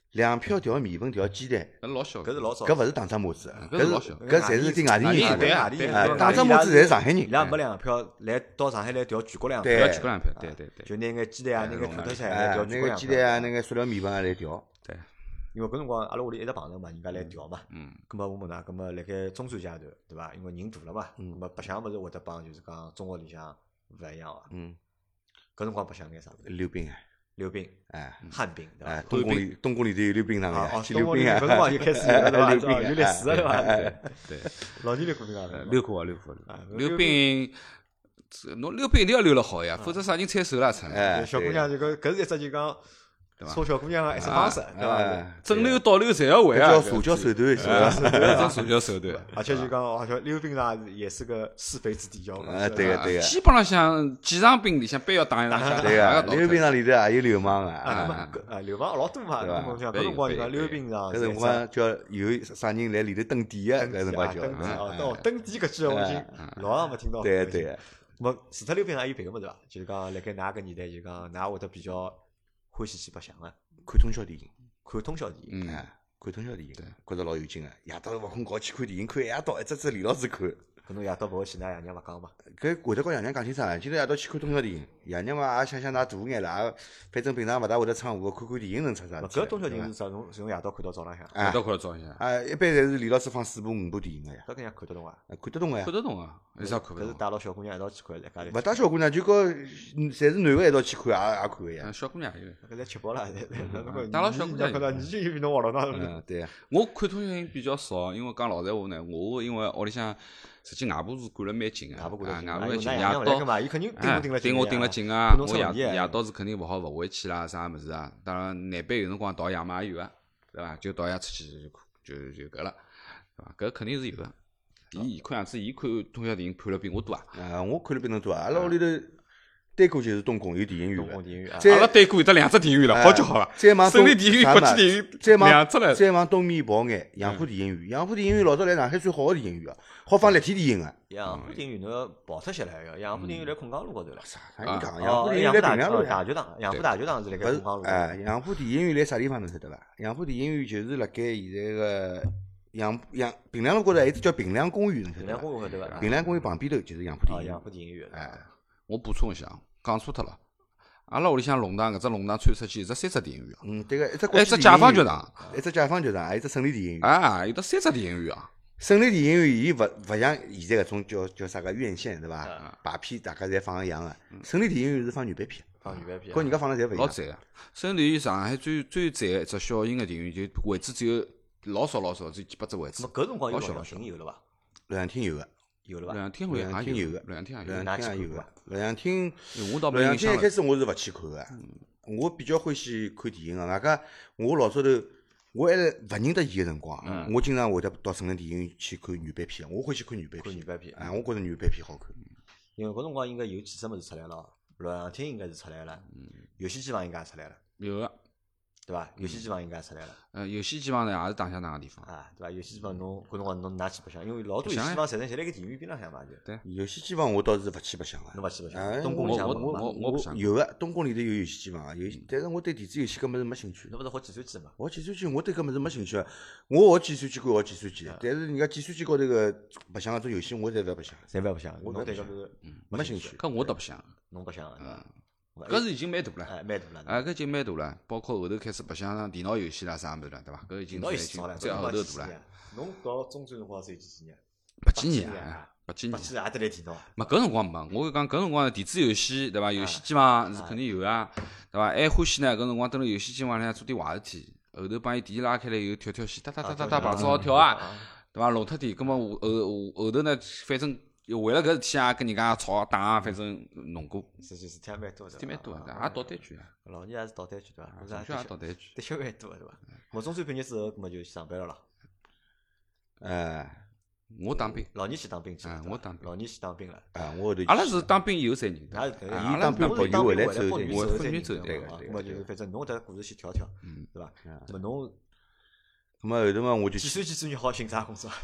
S3: 粮票调面粉调鸡蛋，
S2: 搿老小，
S1: 搿是老少，
S3: 搿勿是打仗模子，
S2: 搿是老小
S3: 搿侪是点外地人做的。
S2: 对啊
S3: 打仗模子侪是上海人。
S1: 伊拉没粮票来到上海来调全国粮票，
S3: 对
S2: 要去过两票，对对对，
S1: 就拿眼鸡蛋啊，拿眼土特产来
S3: 哎，
S1: 调
S3: 那
S1: 全国粮票。
S3: 个鸡蛋啊，那个塑料面粉啊来调。
S2: 对，
S1: 因为搿辰光阿拉屋里一直碰着嘛，人家来调嘛。
S2: 嗯，
S1: 咁么我问㑚，咁么辣盖中专阶段，对伐？因为人大了嘛，咁么白相物事会得帮就是讲中学里向勿一样伐？搿辰光白相眼啥物事？
S3: 溜冰啊，
S1: 溜冰、
S3: 哎
S1: 旱冰，对伐
S3: 哎，？东宫里头有溜冰场
S1: 啊
S3: 的，去
S1: 东宫里
S3: 溜冰啊。
S1: 搿辰光就开始有了对伐？
S3: 溜冰啊
S1: 有历史了对伐？
S2: 对，
S1: 老年溜过冰啊？
S2: 溜过啊，溜过
S1: 啊，
S2: 溜冰，侬溜冰一定要溜了好呀，否则啥人踩手啦出来。
S3: 哎，
S1: 小姑娘就搿是一只就讲
S2: 对伐
S1: 搓小姑娘个一只方式，对伐？
S3: 哎，
S2: 正溜倒溜侪要会啊，
S3: 搿叫社交手段，是吧？
S2: 搿种社交手段。
S1: 而且就讲，而且溜冰场也是个是非之地，叫
S3: 啊，对个对个，
S2: 基本上像几场兵里向必要打一场，
S3: 对个，溜冰场里头也有流氓
S1: 啊，
S3: 啊。
S1: 那么搿流氓老多嘛，
S3: 对吧
S1: 侬讲搿辰光就讲溜冰场，
S3: 搿辰光叫有啥人来里头登点个，搿辰光叫。
S1: 登记啊，登记搿句我已经老长没听到。
S3: 对对个，
S1: 么除脱溜冰场还有别个物事伐？就是讲辣盖㑚搿年代，就讲㑚会得比较欢喜去白相个，
S3: 看通宵电影，
S1: 看通宵电影。
S3: 哎，看通宵电影，觉着老有劲个。夜到勿困觉去看电影，看一夜到，一只只连牢子看。
S1: 搿侬夜到勿会去，㑚爷娘勿讲嘛？
S3: 搿会得告爷娘讲清爽，今朝夜到去看通宵电影，爷娘嘛也想想㑚大眼了，也反正平常勿大会得窗户，看看电影能出啥事体？
S1: 搿通宵电影是啥？从夜到看到早浪向，
S3: 啊
S2: 到看到照一下，
S3: 啊，一般侪是连牢子放4部5部电影个呀，
S1: 搿搿样看得懂伐？
S3: 看得懂个呀
S2: 看。得懂啊，有啥看勿懂？
S1: 搿是带牢小姑娘一道去看，在家里。
S3: 勿带小姑娘就跟侪是男个一道去看，也看个呀。
S2: 小姑娘也有。
S1: 搿侪吃饱了，
S2: 带牢小姑娘
S1: 看到你就比侬活络当
S3: 嗯，对呀。
S2: 我看通宵电影比较少，因为讲老实话呢，我因为屋里向实际外婆是管了蛮紧个，
S1: 外婆管得紧
S2: 外婆蛮紧，夜
S1: 哎呦那爷娘勿来干
S2: 到
S1: 嘛？伊肯定
S2: 盯我盯了紧啊
S1: 看，侬
S2: 我
S1: 出问题
S2: 夜到是肯定勿好勿回去啦，啥物事啊？当然难办有辰光逃夜嘛也有个，对伐？就逃夜出去就搿了，对伐？搿肯定是有个。伊看样子，伊看通宵电影看了比我多啊！
S3: 啊，我看了比侬多啊！阿拉屋里头对过就是东宫有电影院个
S1: 东宫，电影院啊，
S3: 再
S2: 阿拉对过有得2只电影院了，好就好了。
S3: 再往东
S2: 省立电影院、
S3: 啥嘛
S2: 国际电影院
S3: 再往
S2: 2只了。
S3: 再往东面跑眼，杨浦电影院。杨浦电影院老早来上海最好个电影院啊，好放立体电影个。
S1: 杨浦电影院侬要跑脱些来个，杨浦电影院来空江路高头了。
S3: 啥人讲？
S1: 哦
S3: 杨浦电影院来平凉路呀。
S1: 大剧场，杨浦大剧场是辣盖
S3: 勿是
S1: 空江路。
S3: 哎，杨浦电影院辣啥地方侬晓得伐？杨浦电影院就是辣盖现在个平凉路高头，还有一只叫平凉公园，侬晓
S1: 平凉
S3: 得伐？
S1: 公园对伐？
S3: 平凉公园旁边头就是杨浦电
S1: 啊，
S3: 影院
S1: 杨。浦电影院。
S3: 哎，
S2: 我补充一下，讲错脱了。阿拉屋里向弄堂搿只弄堂穿出去有得3只电影院啊，
S3: 嗯，对个，一只
S2: 还有一只解放剧场，
S3: 一只解放剧场，还有一只胜利电影院。
S2: 啊，有得3只电影院啊。
S3: 胜利电影院伊勿像现在搿种叫啥个院线对伐？排片大家侪放一样个。胜利电影院是放原版片，
S1: 放原版片。
S3: 跟人家放的侪勿一样。
S2: 老赞个，甚至于上海最赞个一只小型个电影院，就位置只有老少，只有几百只位置
S1: 那。搿辰光有录像
S2: 老小老小
S1: 厅有了伐？
S3: 录像厅有个，
S1: 有了伐？
S2: 录像厅好像
S3: 录像厅有个，
S2: 也录像厅也有。
S3: 录像厅也有个。录像厅，
S2: 我倒
S3: 录像厅一
S2: 没印象了。
S3: 开始我是勿去看个，我比较欢喜看电影个。外加我老早头我还勿认得伊个辰光，我经常会得到成人电影院去看原版片，我欢喜看原版片
S1: 看原。版片。
S3: 哎，我觉着原版片好看。
S1: 因为搿辰光应该有几只物事出来了，录像厅应该是出来了，游戏机房应该也出来了，
S2: 有个，
S1: 对伐？游戏机房应该也出来了。
S2: 游戏机房呢也是打相打个地方。
S1: 啊，对伐？游戏机房侬搿辰光侬哪去白相？因为老多游戏机房实际上侪辣盖电影院边浪向嘛，就
S2: 对
S3: 游戏机房我倒是勿去白相个。
S1: 侬勿去白
S3: 哎
S1: 相。东宫里向
S2: 我
S1: 没嘛？
S2: 我不想
S3: 有个东宫里头有游戏机房，但是我对电子游戏搿物事没兴趣。
S1: 侬勿是学计算机嘛？
S3: 学计算机我对搿物事没兴趣，我学计算机归学计算机，但是人家计算机高头个白相搿种游戏我侪勿要白相，
S1: 侪勿要白相。
S3: 我
S1: 侬对搿
S3: 勿白
S1: 个
S3: 没兴趣。
S2: 搿我倒不想，
S1: 侬白相个。
S2: 搿是已经蛮大了。
S1: 哎蛮大了。
S2: 啊，搿已经蛮大了，包括后头开始白相电脑游戏啦啥物事了，对伐？搿已经
S1: 侬
S2: 已经
S1: 也少了，
S2: 再后头大了。。
S1: 侬到中专辰光是有几年？
S2: 80年啊，80年。
S1: 八几年也得来电脑。
S2: 嘛，搿辰光没，我讲搿辰光电子游戏，对伐？游戏机房是肯定有啊，对伐？还欢喜呢，搿辰光蹲辣游戏机房里向做点坏事体，后头帮伊电拉开来以后跳跳线，哒哒哒哒哒，碰好跳啊，对伐？弄脱点，葛末后头呢，反正为了搿事体啊，跟人家吵打啊，反正弄过，
S1: 实际事体也蛮多的。
S2: 事体蛮多的，也捣蛋卷啊，
S1: 老年也是捣蛋卷对伐？
S2: 从小也捣蛋卷。
S1: 的确蛮多对伐？我中专毕业之后，葛末就上班了啦。
S3: 哎，
S2: 我当兵，
S1: 老年去当兵去了。
S2: 我当兵
S1: 老年去当兵了。
S3: 啊，我后头
S2: 阿拉是当兵以后才认得。
S1: 那是
S3: 伊当兵跑鱼回来之后
S1: 风
S2: 我
S1: 雨走
S2: 风雨走
S3: 对个
S1: 对个。么就是反正侬迭故事先跳跳，对伐？那么侬
S3: 咁么后头嘛我就
S1: 计算机专业好寻啥工作？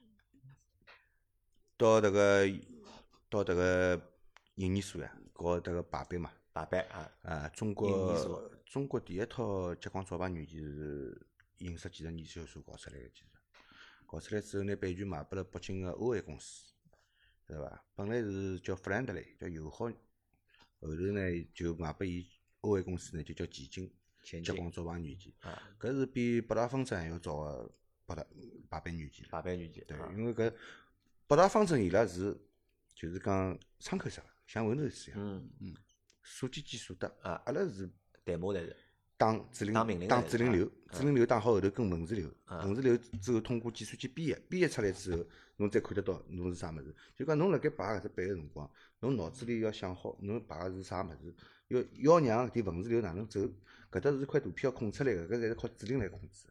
S3: 到迭个营研所呀，搞迭个排班嘛，
S1: 大班啊，
S3: 啊，中
S1: 营
S3: 国
S1: 研所
S3: 中国第一套激光照排软件是印刷技术研究所搞出来个，其实搞出来之后拿版权卖拨了北京个欧 A 公司，对伐？本来是叫 Friendly， 叫友好，后头呢就卖拨伊欧 A 公司呢就叫前进激光照排软件，搿是比北大方针还要早个排版软件。
S1: 排版软件，
S3: 对，因为搿北大方针伊拉是就是讲窗口式个，像 Windows 一样，所见即所得。阿拉是
S1: 代码才是
S3: 打指令，
S1: 打命令
S3: 打指令流，
S1: 嗯
S3: 指令流打好后头跟文字流，文字流之后通过计算机编译出来之后，侬再看得到侬是啥物事。就讲侬辣盖排搿只版个辰光，侬脑子里要想好侬排个是啥物事，要让搿点文字流哪能走，搿搭是块图片要控出来个，搿侪是靠指令来控制。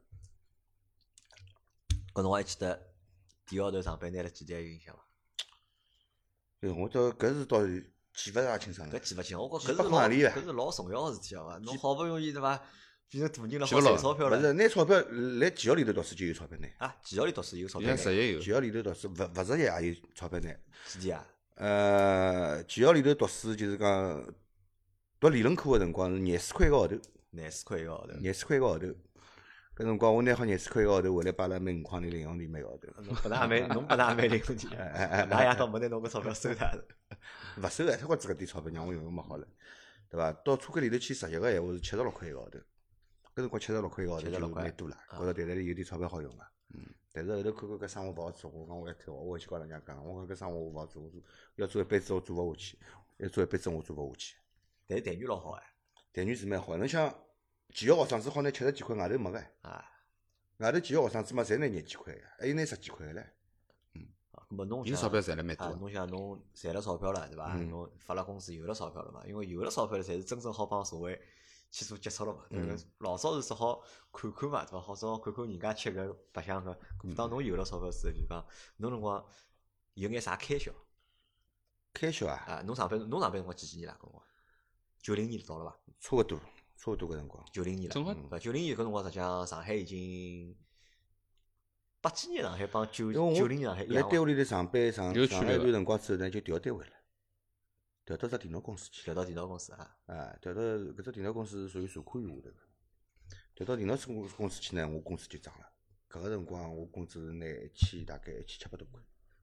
S1: 搿侬还记得第一号头上班拿了几钿有印象伐？
S3: 对，我倒搿是倒记勿大清爽了。
S1: 搿记勿清，我觉
S3: 几百块钿啊
S1: 搿是老重要个事体啊！侬好不容易对伐，变成大人了，
S2: 记勿牢
S1: 好赚钞票了
S3: 勿是拿钞票来技校里头读书就有钞票拿，
S1: 啊！技校里读书有钞
S2: 现
S1: 票拿，
S2: 在实习有
S3: 技校里头读书勿实习也有钞票拿。
S1: 几钿啊？
S3: 技校里头读书就是讲读理论课个辰光是廿4块一个号头，
S1: 廿4块一个号头，
S3: 廿4块一个号头。搿辰光我拿好廿4块一个号头回来，摆辣每5块钿银行里每个号头。
S1: 侬拨㑚也侬拨㑚也蛮灵活点，㑚爷倒没拿侬搿钞票收脱。
S3: 勿收个，他光只搿点钞票让我用用没好了，对伐？到车间里头去实习个闲话是76块一个号头，搿辰光76块一个号头就蛮多了，觉着袋袋里有点钞票好用个。但是后头看看搿生活勿好做，我讲我一退我回去告人家讲，我讲搿生活我勿好做，我要做一辈子我做勿下去，要做一辈子我做勿下去。
S1: 但是待遇老好哎，
S3: 待遇是蛮好，侬想技校学生子好拿70几块，外头没个，
S1: 啊，
S3: 外头技校学生子嘛侪拿廿几块个，还有拿10几块个唻。
S1: 搿么侬想
S2: 伊钞票赚了蛮
S1: 啊，
S2: 多。
S1: 侬想侬赚了钞票了对伐？侬发了工资有了钞票了嘛？因为有了钞票了，才是真正好帮社会去做接触了嘛。对伐？老早是只好看看嘛，对伐？好只好看看人家吃搿白相搿。当侬有了钞票之后，就讲侬辰光有眼啥开销
S3: 开销啊，
S1: 啊？侬上班辰光几年啦？搿辰光90年到了伐？
S3: 差勿多搿辰光。
S1: 90年了，
S2: 正好
S1: 90年搿辰光实际上上海已经80几年上海帮
S3: 因为我
S1: 90年上海一样伐，
S3: 辣单位里头上班上
S2: 有区别的
S3: 上了一段辰光之后呢，就调单位了，调到只电脑公司去。
S1: 调到电脑公司啊。
S3: 调到搿只电脑公司是属于社科院下头个，调到电脑公司去呢，我工资就涨了。搿个辰光我工资拿大概1700多块，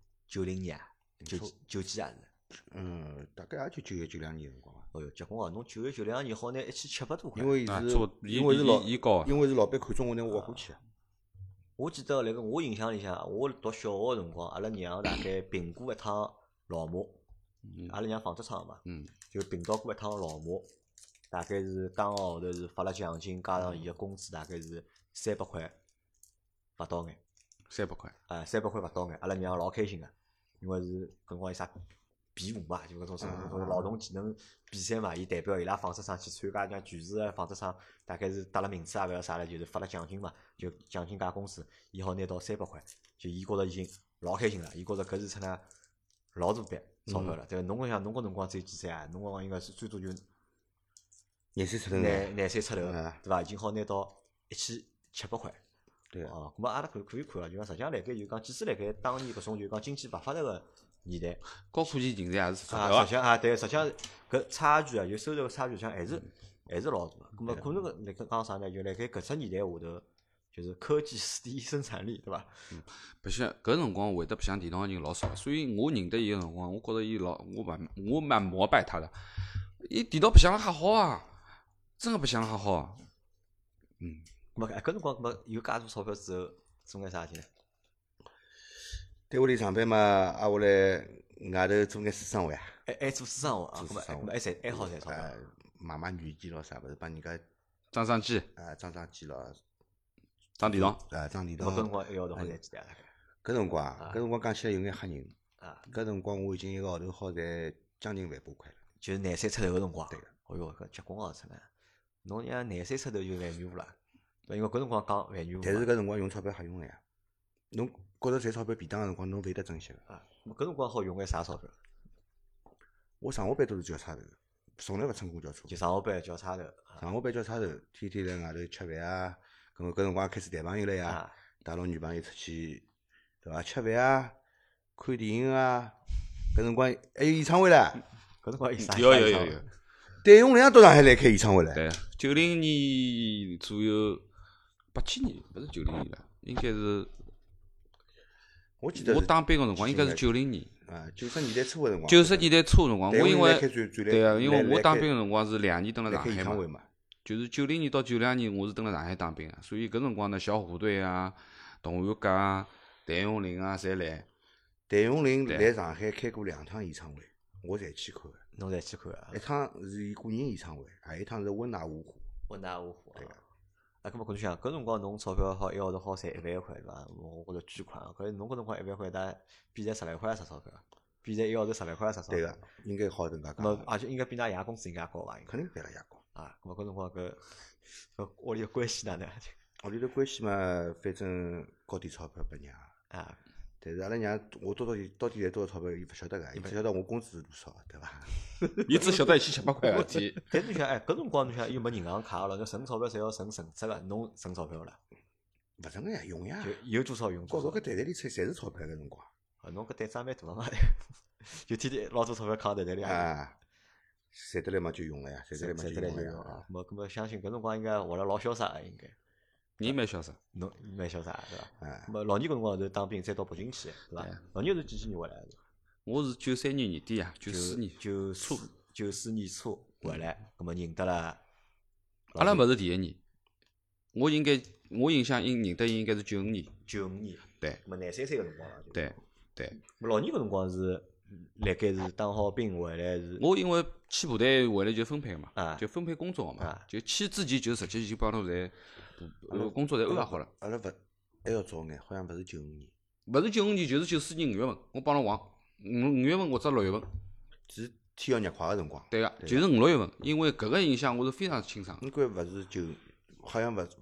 S1: 90年啊，九几啊是。
S3: 大概也就91、92年辰光伐。
S1: 哦哟，结棍哦！侬91、92年好拿1700多块。
S3: 因为是
S2: 啊差不多
S3: 因为是老
S2: 伊高
S3: 因为是老板看中我，拿我挖过去个。
S1: 我记得辣盖我印象里向，我读小学个辰光，阿拉娘大概并过一趟老马，阿拉娘纺织厂嘛，就并到过一趟老马，大概是当个号头是发了奖金，加上伊个工资大概是300块勿到眼，
S2: 300块，
S1: 300块勿到眼，阿拉娘老开心个，因为是搿辰光有啥比武嘛，就搿种劳动技能比赛嘛，伊代表伊拉纺织厂去参加，像全市个纺织厂大概是得了名次啊，勿晓得啥了，就是发了奖金嘛，就奖金加工资，伊好拿到300块，就伊觉着已经老开心了，伊觉着搿是出呢老大笔钞票了。对伐？侬想侬搿辰光只有几岁啊？侬搿辰光应该是最多就
S3: 廿岁出头呢。
S1: 廿岁出头，对伐？已经好拿到1700块。
S3: 对
S1: 哦，咁么阿拉可以看了，就讲实际上辣盖就讲，即使辣盖当年搿种就讲经济勿发达个年代，
S2: 高科技人才也是钞
S1: 啊，
S2: 票
S1: 实际上啊，对，实际上搿差距啊，就收入个差距，像还是老大个。咁么可能辣盖讲啥呢？就辣盖搿只年代下头，就是科技是第一生产力，对伐？
S2: 白相搿辰光会得白相电脑个人老少，所以我认得伊个辰光，我觉着伊我蛮膜拜他的。伊电脑白相了还好啊，真个白相了还好啊。
S1: 咁么搿辰光，咁么有介多钞票之后，做眼啥事体呢？
S3: 单位里上班嘛，挨下来外头做眼私生活啊，
S1: 还做私生活啊？咁么
S3: 做私生活
S1: 还赚还好赚钞票。
S3: 买软件咯啥物事，帮人家
S2: 装机、
S3: 装机咯，
S2: 装电脑，
S3: 装电
S1: 咁么搿辰
S3: 脑。
S1: 光一个号头好赚几钿啊？
S3: 搿辰光啊，搿辰光讲起来有眼吓人。
S1: 啊，
S3: 搿辰光我已经一个号头好赚将近1万把块了。
S1: 就是廿岁出头个辰光。
S3: 对个。
S1: 哦哟，搿结棍哦，出来！侬娘廿岁出头就万元户了，因为搿辰光讲万元户嘛。
S3: 但是搿辰光用钞票瞎用个呀。侬觉着赚钞票便当个辰光，侬勿会得珍惜个。
S1: 啊，搿辰光好用眼啥钞票？
S3: 我上下班都是叫差头，从来勿乘公交车。
S1: 就上下班叫差头。
S3: 上下班叫差头，天天辣外头吃饭啊。搿辰光开始谈朋友了呀，带牢女朋友出去，对伐？吃饭啊，看电影啊。搿辰光还有演唱会唻。
S1: 搿辰光有啥？
S2: 有。
S3: 谭咏麟到上海来开演唱会了。
S2: 对，90年左右，87年勿是90年了，应该是我
S3: 我记得是
S2: 当兵个辰光应该是90年。
S3: 啊，90年代初个辰光。
S2: 90年代初辰光，我因为对啊，因为我当兵
S3: 个
S2: 个辰光是2年蹲辣上海嘛，
S3: 演唱会嘛。
S2: 就是90年到92年我是蹲辣上海当兵个，所以搿辰光呢，小虎队啊、动员阁啊、谭咏麟啊，侪来。
S3: 谭咏麟来上海开过2趟演唱会，我侪去看个。
S1: 侬侪去看啊？
S3: 一趟是伊个人演唱会，还有一趟是温拿五湖。
S1: 温拿五湖
S3: 对个。
S1: 啊，搿么搿侬想，搿辰光侬钞票好一个号头好赚1万块对伐？我觉着巨款啊！搿侬搿辰光1万块，但比在10万块也值钞票，比在一个号头10万块也值钞票。
S3: 对个，应该好搿能介
S1: 咾么
S3: 讲。
S1: 而且应该比㑚爷工资应该高伐？应该
S3: 肯定比阿拉爷高。
S1: 啊，咾么搿辰光搿屋里个关系哪能？
S3: 屋里头关系嘛，反正交点钞票拨娘。
S1: 啊，
S3: 但是阿拉娘，我到底赚多少钞票，伊勿晓得个，伊勿晓得我工资是多少，对伐？
S2: 伊只晓得1700块个事体。
S1: 但侬想，哎，搿辰光侬想又没银行卡了，侬存钞票侪要存存折个，侬存钞票了，
S3: 勿存个呀，用呀
S1: 就。有多少用多少。
S3: 高头搿袋袋里侪是钞票搿辰光。
S1: 啊，侬搿胆子也蛮大个嘛，就天天老多钞票扛袋袋里。
S3: 啊，赚得来嘛就用了呀，赚得来嘛
S1: 赚得来
S3: 就用了呀。
S1: 就用啊。咾相信搿辰光应该活了老潇洒个，应该。
S2: 你蛮潇洒。
S1: 侬蛮潇洒对伐？
S3: 哎，
S1: 咾老倪搿辰光是当兵，再到北京去，对伐？老倪是几几年回来的？
S2: 我是93年年底啊，94年。
S1: 94年初回来，咾么认得了。
S2: 阿拉勿是第一年，我印象认得伊应该是95年。
S1: 95年。
S2: 对。
S1: 咾么廿3岁个辰光了。
S2: 对。
S1: 咾老倪搿辰光是辣盖是当好兵回来是。
S2: 我因为去部队回来就分配嘛，
S1: 啊
S2: 就分配工作嘛
S1: 啊，
S2: 就去之前就实际就帮侬侪工作侪安排好了。
S3: 阿拉勿还要早眼，好像勿是95年，
S2: 勿是95年，就是94年5月份，我帮侬忘，5月份或者6月份。
S3: 是天要热快个辰光。
S2: 对个，就是5、6月份，因为搿个印象我是非常清爽。
S3: 应该勿是好像勿是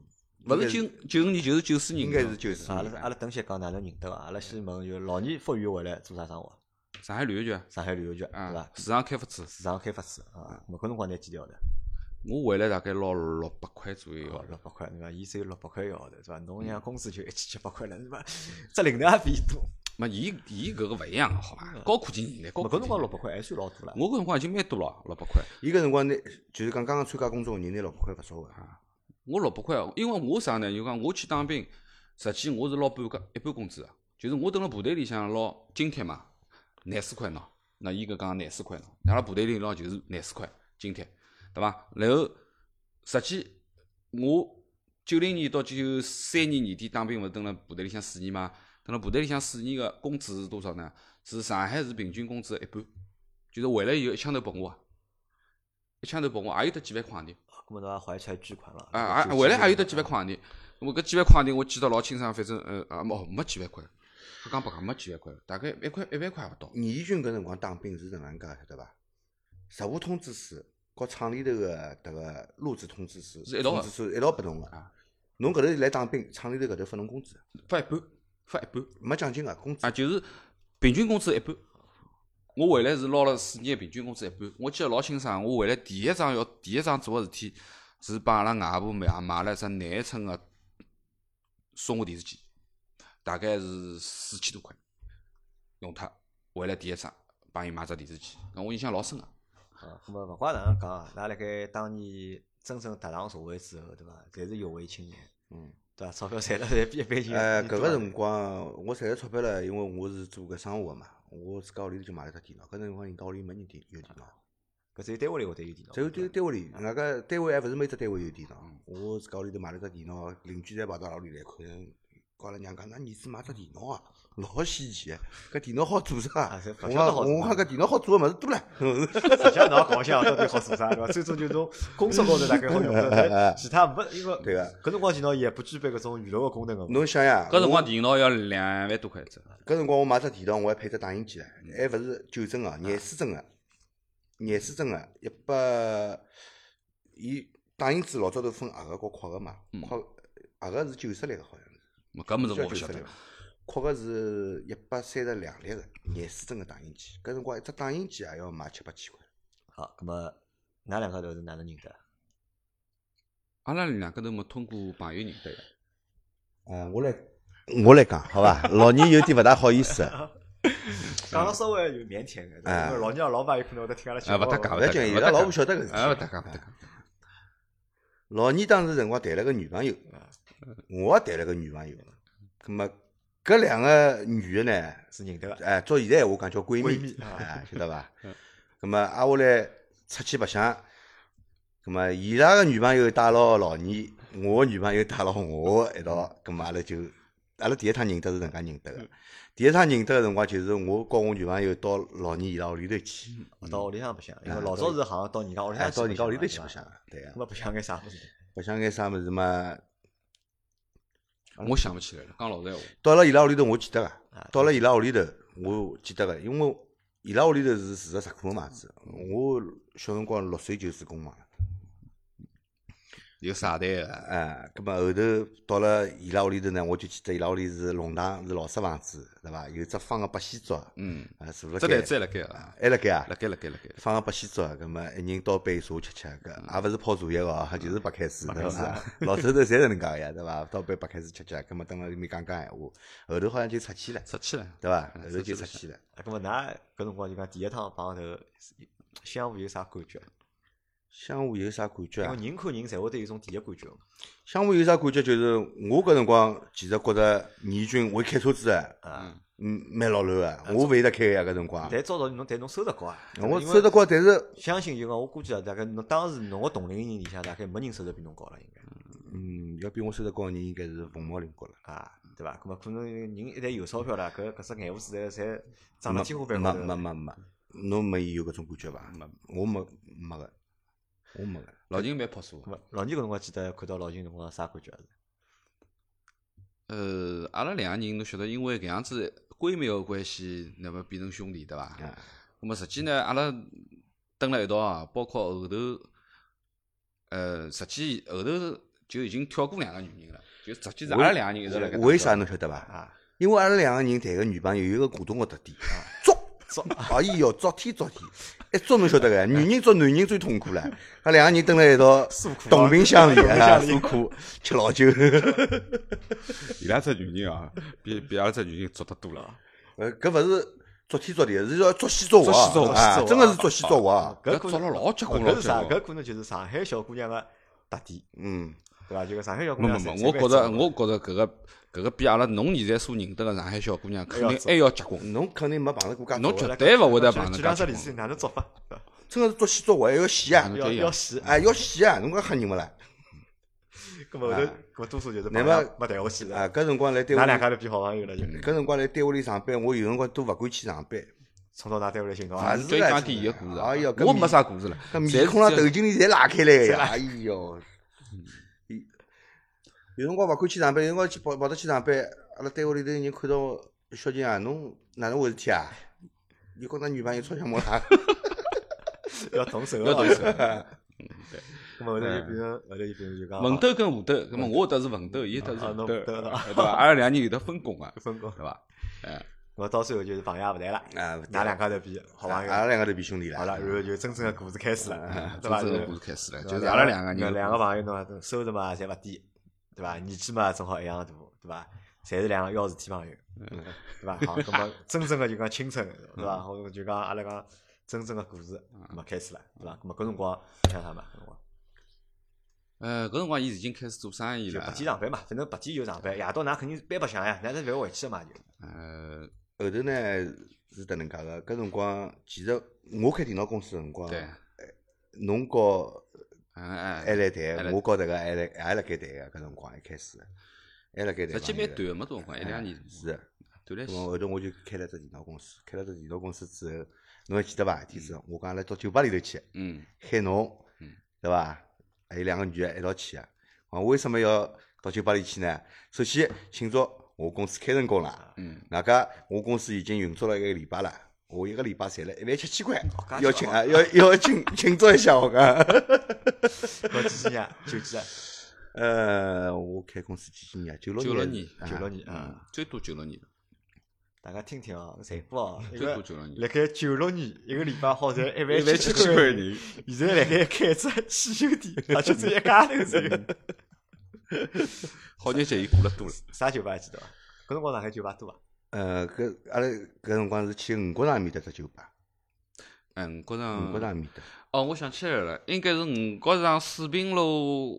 S2: 95年，就是94年。
S3: 应该是94
S1: 阿
S3: 年。
S1: 拉等歇讲哪能认得个？阿拉先问就老倪复员回来做啥生活？
S2: 上海旅游局
S1: 上海旅游局对
S2: 啊
S1: 伐？，
S2: 市场开发处。
S1: 市场开发处啊。咾搿辰光拿几条的？
S2: 我回来大概拿600块左右。
S1: 哦，600块，对伐？伊只有600块一个号头，对伐？侬像工资就1700块了，对伐？只领头也比伊多。
S2: 嘛，伊搿个勿一样个，好伐？高科技年代，高科技。
S1: 搿辰光600块还算老多了。
S2: 我搿辰光已经蛮多了，600块。
S3: 伊搿辰光拿就是讲刚刚参加工作个人拿600块勿少个。
S2: 我600块，因为我啥呢？就讲我去当兵，实际我是拿一半工资个，就是我蹲辣部队里向拿津贴嘛，廿4块喏。那伊搿讲廿4块喏，阿拉部队里拿就是廿4块津贴，对伐？然后实际我90年到93年年底当兵，勿是蹲辣部队里向4年嘛？蹲辣部队里向4年个工资是多少呢？是上海市平均工资的一半，就是回来以后一枪头拨我，一枪头拨我，也有得几万块钿。
S1: 搿么侬也怀揣巨款了。
S2: 回来也有得几万块钿。那么搿几万块钿我记得老清爽，反正没几万块，不讲白讲没几万块，大概1万块勿到。
S3: 义军搿辰光当兵是哪能介晓得伐？实务通知书和厂里头个迭个录制通知书
S2: 是一道的
S3: 通知书一道拨侬个。侬搿头来当兵，厂里头搿头发侬工资，
S2: 发一半，
S3: 没奖金个工资。
S2: 就是平均工资一半。我回来是拿了4年平均工资一半。我记得老清爽，我回来第一桩做个事体是帮阿拉外婆买了一只廿寸个松下电视机，大概是4000多块，用脱。回来第一桩帮伊买只电视机，搿我印象老深个。
S1: 咾么勿怪哪能讲啊，㑚辣盖当年真正踏上社会之后，对伐？侪是有为青年，对伐？钞票赚了侪比一般人。
S3: 搿个辰光我赚了钞票了，因为我是做搿生活个嘛，我自家屋里头就买了只电脑。搿辰光人家屋里没人有电脑，
S1: 搿只有单位里会得有电脑。
S3: 只有单位里，外加单位还勿是每只单位有电脑。我自家屋里头买了只电脑，邻居侪跑到阿拉屋里来看，跟阿拉娘讲，㑚儿子买只电脑啊，老稀奇，搿电脑好做啥？我讲搿电脑好做个物事多了。
S1: 实际上侬讲想到底好做啥对伐？最终就从工作高头大概好用的，其他没因为
S3: 对个。
S1: 搿辰光电脑也不具备搿种娱乐个功能个。
S3: 侬想呀，
S2: 搿辰光电脑要2万多块一只。
S3: 搿辰光我买只电脑，我还配只打印机唻，还勿是9针个，廿四针个，100，伊打印机老早头分黑个和壳个嘛，黑个是90粒个好像是。
S2: 搿物事我勿晓得。
S3: 壳个是132粒个廿四针个打印机，搿辰光一只打印机也要卖7、8千块。
S1: 好，葛么㑚两家头是哪能认得？
S2: 阿拉两个头么通过朋友认得个。
S3: 我来讲，好伐？老倪有点勿大好意思。
S1: 讲了稍微有腼腆个，因为老娘老爸有可能会得听阿拉节目。
S2: 勿搭讲，
S3: 勿要紧，伊拉老婆晓得搿事体。
S2: 勿搭讲，勿搭讲。
S3: 老二当时辰光谈了个女朋友，我也谈了个女朋友。葛末搿两个女的呢，
S1: 是认得个。
S3: 照现在闲话讲叫闺
S1: 闺
S3: 蜜，
S1: 蜜
S3: 晓得伐？葛末挨下来出去白相，葛末伊拉个女朋友带牢老二，我个女朋友带牢我一道，葛末阿拉第一趟认得是搿能介认得个。第一趟认得个辰光，就是我告我女朋友到老二伊拉屋里头去，
S1: 到屋里向白相，因为老早是好像到人家屋里向
S3: 到人家屋里头去白相，对个。
S1: 那么白相眼啥物事？
S3: 白相眼啥物事嘛？
S2: 我想不起来了，讲老实闲话。
S3: 到了伊拉屋里头，我记得个。到了伊拉屋里头，我记得个，因为伊拉屋里头是住个石库门嘛子，我小辰光6岁就住公房了。
S2: 有沙袋个，
S3: 葛末后头到了伊拉屋里头呢，我就记得伊拉屋里是弄堂，是老式房子，对伐？有只放个八仙桌，坐辣盖，
S2: 这台子还辣盖啊，
S3: 还辣盖啊，
S2: 辣盖，
S3: 放个八仙桌，葛末一人倒杯茶吃，搿也勿是泡茶叶哦，就是白开水，对伐？老头头侪是搿能介个呀，对伐？倒杯白开水吃，葛末蹲辣里面讲闲话，后头好像就出去了，对伐？后头就出去了。
S1: 葛末㑚搿辰光就讲第一趟碰头，相互有啥感觉？
S3: 相互有啥感觉啊？
S1: 因为人看人侪会得有种第一感觉。
S3: 相互有啥感觉？就是我搿辰光其实觉着倪军会开车子个，蛮老卵个，我勿会得开个呀搿辰光。
S1: 但照道理侬收入高啊，
S3: 我收入高，但是
S1: 相信就讲我估计啊，大概侬当时侬个同龄人里向大概没人收入比侬高了，应该。
S3: 要比我收入高个人应该是凤毛麟角了
S1: 啊，对伐？搿么可能人一旦有钞票了，搿只眼胡子侪长到天花板高头。
S3: 没，侬没有搿种感觉伐？我没个。我没个，
S2: 老秦蛮朴素个。
S1: 老倪搿辰光记得看到老秦辰光啥感觉？
S2: 阿拉两个人侬晓得，因为搿样子闺蜜个关系，那么变成兄弟对伐？那么实际呢，阿拉蹲辣一道啊，包括后头，实际后头就已经跳过两个女人了，就实际是阿拉两个人一直辣盖。
S3: 为啥侬晓得伐？因为阿拉两个人谈个女朋友有一个共同个特点，作，哎哟，昨天，一捉侬晓得个，女人捉男人最痛苦了。阿两个人蹲辣一道，同病相怜，诉苦，吃老酒。
S2: 伊拉只女人啊，比阿拉只女人捉得多了。
S3: 搿勿是捉天捉地，是要捉西捉活啊！真个是捉西捉活。
S2: 搿捉了老结棍，
S1: 搿是啥？搿可能就是上海小姑娘个特点。对伐？就个上海小姑娘。
S2: 我觉着搿个比阿拉侬现在所认得个上海小姑娘肯定还要结棍。
S3: 侬肯定没碰着过介。
S2: 侬绝对勿会得碰着。
S1: 举两只例子，哪能捉法？
S3: 真个是捉西捉活，还要洗啊！
S1: 要洗，
S3: 要洗啊！侬讲吓人勿啦？
S1: 搿么后头，多数就是没谈下去了。
S3: 搿辰光来单位，
S1: 㑚两家头变好朋友了就。
S3: 搿辰光来单位里上班，我有辰光都勿敢去上班。
S1: 冲到�㑚单位来寻侬
S3: 啊！
S2: 最讲第一个故事。
S3: 哎哟，
S2: 我没啥故事了。
S3: 搿面孔浪头颈里侪拉开来个呀！哎哟，有辰光勿敢去上班，有辰光去跑到去上班，阿拉单位里头人看到小金啊，侬哪能回事体啊？你跟㑚女朋友吵相骂啦？
S1: 要动手，
S2: 要动手。
S1: 对。咁么后头就变成就讲
S2: 文斗跟武斗，咁么我得是文斗，伊得是武斗，对伐？阿拉两人有得分工啊，
S1: 分工
S2: 对伐？
S1: 我到最后就是朋友也勿谈了，㑚两家头变好朋友，
S3: 阿拉两个头变兄弟了。
S1: 好了，然后就真正的故事开始了，对伐？
S2: 真正的故事开始了，就是阿拉两个人，
S1: 两个朋友呢，收入嘛侪勿低，对伐？年纪嘛正好一样大，对伐？侪是两个要事体朋友，对伐？好，咁么真正的就讲青春，对伐？或者就讲阿拉讲真正的故事，咁么开始了，对伐？咁么搿辰光像啥嘛？搿辰光。
S2: 搿辰光伊已经开始做生意了。
S1: 白天上班嘛，反正白天就上班，夜到㑚肯定班白相呀，㑚是勿要回去个嘛就。
S3: 后头呢是迭能介个，搿辰光其实我开电脑公司个辰光，侬告还来谈，我告迭个还辣盖谈个，搿辰光一开始还辣盖谈。
S2: 实际蛮短个，没多辰光，1、2年。
S3: 是。
S2: 短来些。
S3: 后头我就开了只电脑公司，开了只电脑公司之后，侬还记得伐？天子我讲阿拉到酒吧里头去，海农，对伐？还有两个女的一道去啊！为什么要到酒吧里去呢？首先庆祝我公司开成功了，外加我公司已经运作了1个礼拜了，我1个礼拜赚了17000块，要庆啊，要庆祝一下我讲。
S1: 我几几年？9几
S3: 啊？我开公司几几年？96年
S1: ，96年
S2: 啊，最多96年。
S1: 大家听听哦，财富哦，
S2: 最多96年。
S1: 辣盖96年1个礼拜好赚
S2: 17000块人，
S1: 现在辣盖开只汽修店，而且只一家头只有。
S2: 好日节伊过了多了。
S1: 啥酒吧记得伐？搿辰光上海酒吧多伐？
S3: 搿阿拉搿辰光是去五角场埃面搭只酒吧，
S2: 五角
S3: 五角
S2: 场
S3: 场埃面搭。
S2: 哦，我想起来了，应该是五角场水平路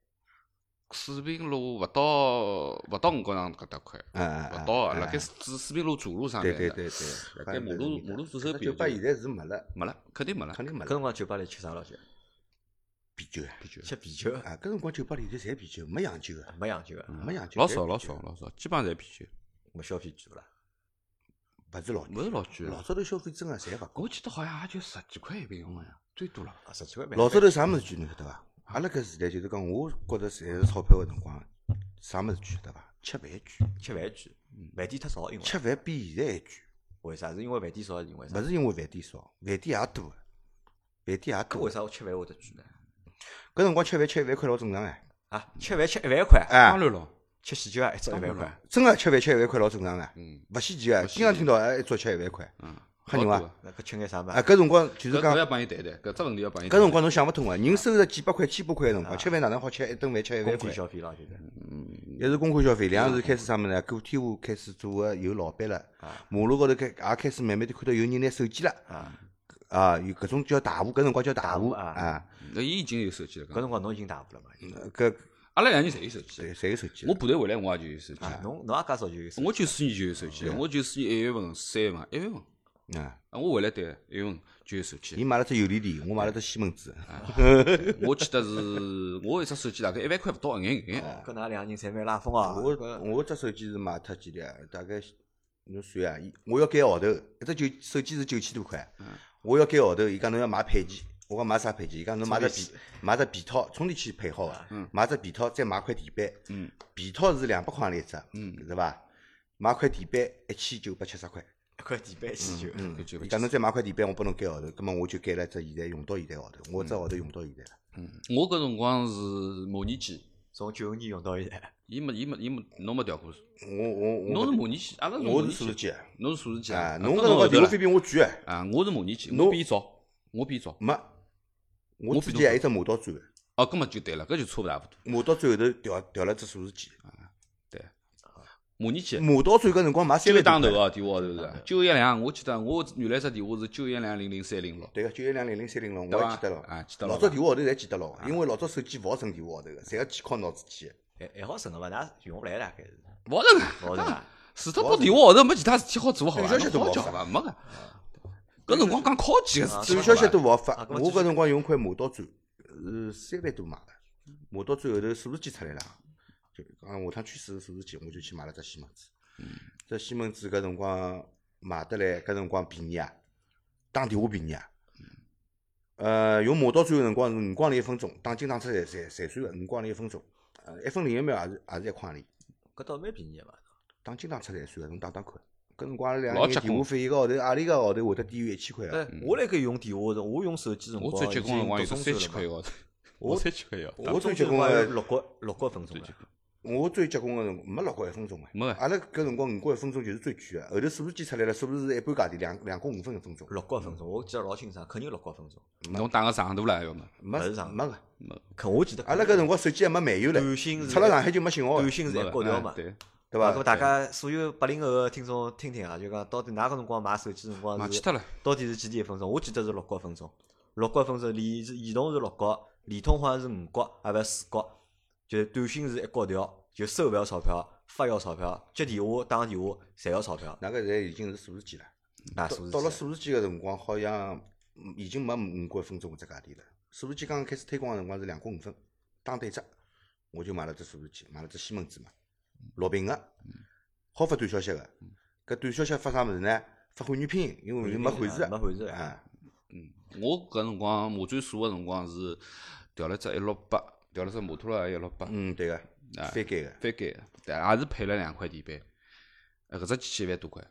S2: 勿到五角场搿搭块，勿到啊，辣盖水平路主路上面的，
S3: 对对，
S2: 辣盖马路左手边。
S3: 酒吧现在是没了，
S2: 肯定没了。
S3: 肯定没了。
S1: 搿辰光酒吧里吃啥老酒？
S3: 啤酒，
S1: 吃啤酒，
S3: 啊，搿辰光酒吧里头侪啤酒，没洋酒个，
S1: 没洋酒个，
S3: 没洋酒，
S2: 老
S3: 侪啤酒
S2: 少，基本上侪啤酒，
S1: 没消费贵勿啦？
S3: 勿是老
S2: 勿是老贵
S3: 老早头消费真个侪勿高。
S2: 我记得好像也就10几块一瓶好像，最多了。
S1: 啊，10几块蛮。
S3: 老早头啥物事贵侬晓得伐？阿拉搿时代就是讲，我觉着赚是钞票个辰光，啥物事贵晓得伐？吃饭贵，
S1: 吃饭贵，饭店太少，因为
S3: 吃饭比现在还贵。
S1: 为啥？是因为饭店少，因为啥？
S3: 勿是因为饭店少，饭店也多，饭店也多
S1: 搿为。啥我吃饭会得贵呢？
S3: 搿辰光吃1万块老正常哎。
S1: 啊，吃饭吃1万块，
S3: 哎
S2: 当，然咯，
S1: 吃喜酒啊，一桌1万块，
S3: 真个吃饭吃1万块老正常个，勿稀奇个，
S2: 勿稀奇
S3: 经常听到哎一桌吃1万块，吓人伐？
S1: 那搿吃眼啥嘛
S3: 啊，？搿辰光就是讲
S2: 搿要帮伊谈谈，搿只问题要帮伊。
S3: 搿辰光侬想勿通个，人收入几百块、千把块个辰光，吃饭哪能好吃一顿饭吃1万块
S1: 公费？消费了，就是。
S3: 一是公开消费，两是开始啥物事呢？个体户开始做个有老板了，马路高头也开始慢慢地看到有人拿手机了，有搿种叫大户，搿辰光叫大户啊，
S2: 那伊已经有手机了，
S1: 搿辰光侬已经大户了嘛？
S3: 搿
S2: 阿拉两人侪有手机。
S3: 侪有手机。
S2: 我部队回来我也就有手机，
S1: 侬也介早就有手机？
S2: 我94年就有手机了，我94年1月份、3月份、1月份，
S3: 啊，
S2: 我回来对1月份就有手
S3: 伊
S2: 机。
S3: 买了只游离钿，我买了只西门子，
S2: 我记得是我一只手机大概1万块勿到一眼。
S1: 搿㑚两人侪蛮拉风啊！
S3: 我只手机是买脱几钿啊？大概侬算啊，我要改号头，一只手机是9000多块，我要改号头，伊讲侬要买配件。我讲买啥配件？伊讲侬买只皮套，充电器配好个，买只皮套，再买块地板。皮套是200块钿一只，是伐？买块地板1970块。
S1: 一块地板1.9，
S3: 伊讲侬再买块地板，我拨侬改号头，葛末我就改了只现在用到现在号头，我只号头用到现在了。
S2: 我搿辰光是模拟机，
S1: 从95年用到现在。
S2: 伊没，侬没调过。
S3: 我
S2: 侬是模拟机，阿拉是模
S3: 我
S2: 拟
S3: 是数字机，
S2: 侬是数字机
S3: 啊，
S2: 侬
S3: 侬搿辰光电话费比我贵啊，
S2: 啊，我是模拟机，我比伊早，我比伊早。
S3: 没，我之前还有只磨刀钻，
S2: 哦，搿么就对了，搿就差勿大勿多。
S3: 磨刀钻后头调了只数字机，
S2: 对，模拟机。
S3: 磨刀钻搿辰光买3
S2: 9
S3: 万多块，
S2: 打头哦，电话号头是912，我记得我原来只电话是9120036。
S3: 对个9120036，我
S2: 对伐
S3: 还记得牢，
S2: 啊记得牢
S3: 老早电话号头侪记得牢，因为老早手机勿好存电话号头个，侪要去靠脑子记个。
S1: 还好省个伐？㑚用勿来大概是。
S2: 勿好成
S1: 勿好省啊！
S2: 除脱拨电话号头没其他事体好做好伐？
S3: 短消息都
S2: 好
S3: 勿好发
S2: 叫伐？没个。搿辰光讲考级个事体，
S3: 短消息都勿好发，
S1: 啊
S3: 我搿辰光用块磨刀钻，是3万多买个，磨刀钻后头数字机出来了，就讲下趟趋势数字机，我就去买了只西门子。这西门子搿辰光买得来，搿辰光便宜啊，打电话便宜啊。用磨刀钻个辰光是5光钿1分钟，打经常车侪算个5光钿1分钟，1分01秒也是1块钿，
S1: 搿倒蛮便宜个嘛。
S3: 打经常车侪算个，侬打看。搿辰光阿拉两
S2: 老结棍
S3: 个人电话费一个号头，何里个号头会得低于1000块啊？
S1: 我辣盖用电话的，我用手机辰光
S2: 我最结棍辰光有
S1: 中
S2: 3000块一个号头，我3000块一个号头。
S3: 我最结棍
S1: 光
S3: 个
S1: 6角分钟了。
S3: 我最结棍个辰光没6角1分钟个，
S2: 没个
S3: 阿拉搿辰光5角1分钟就是最贵个，后头数字机出来了，数字是一半价钿，2角5分1分钟，
S1: 6角分钟，我记得老清爽，肯定6角分钟。
S2: 侬打个长途了要么？
S3: 没
S1: 勿是长
S3: 没个。
S1: 可我记得
S3: 阿拉搿辰光手机还没漫游唻，
S1: 短信是
S3: 出了上海就没信号了
S1: 短，信是一角条嘛，
S2: 对，
S3: 对伐
S1: 啊搿么？大家所有80后个听众听听啊，就讲到底㑚搿辰光买手机辰光是
S2: 买起脱了。
S1: 到底是几钿1分钟？我记得是6角分钟，6角1分钟，移动是6角，联通好像是5角，还勿是4角，就是短信是一角条，就收勿要钞票，发要钞票，接电话打电话侪要钞票。
S3: 那个现在已经是数字机了。
S1: 那数字
S3: 到了
S1: 机
S3: 数字机个辰光，好像已经没5角1分钟搿只价钿了。数字机刚刚开始推广个辰光是2角5分，打对折，我就买了只数字机，买了只西门子嘛，6屏个，好发短消息个。搿短消息发啥物事呢？发汉语拼音，因为没汉字
S1: 没汉字
S3: 啊。
S2: 我搿辰光马转数个辰光是调了只168，调了只摩托罗拉168，
S3: 对个，翻盖个。
S2: 翻盖个，但也是配了2块地板。搿只机器1万多块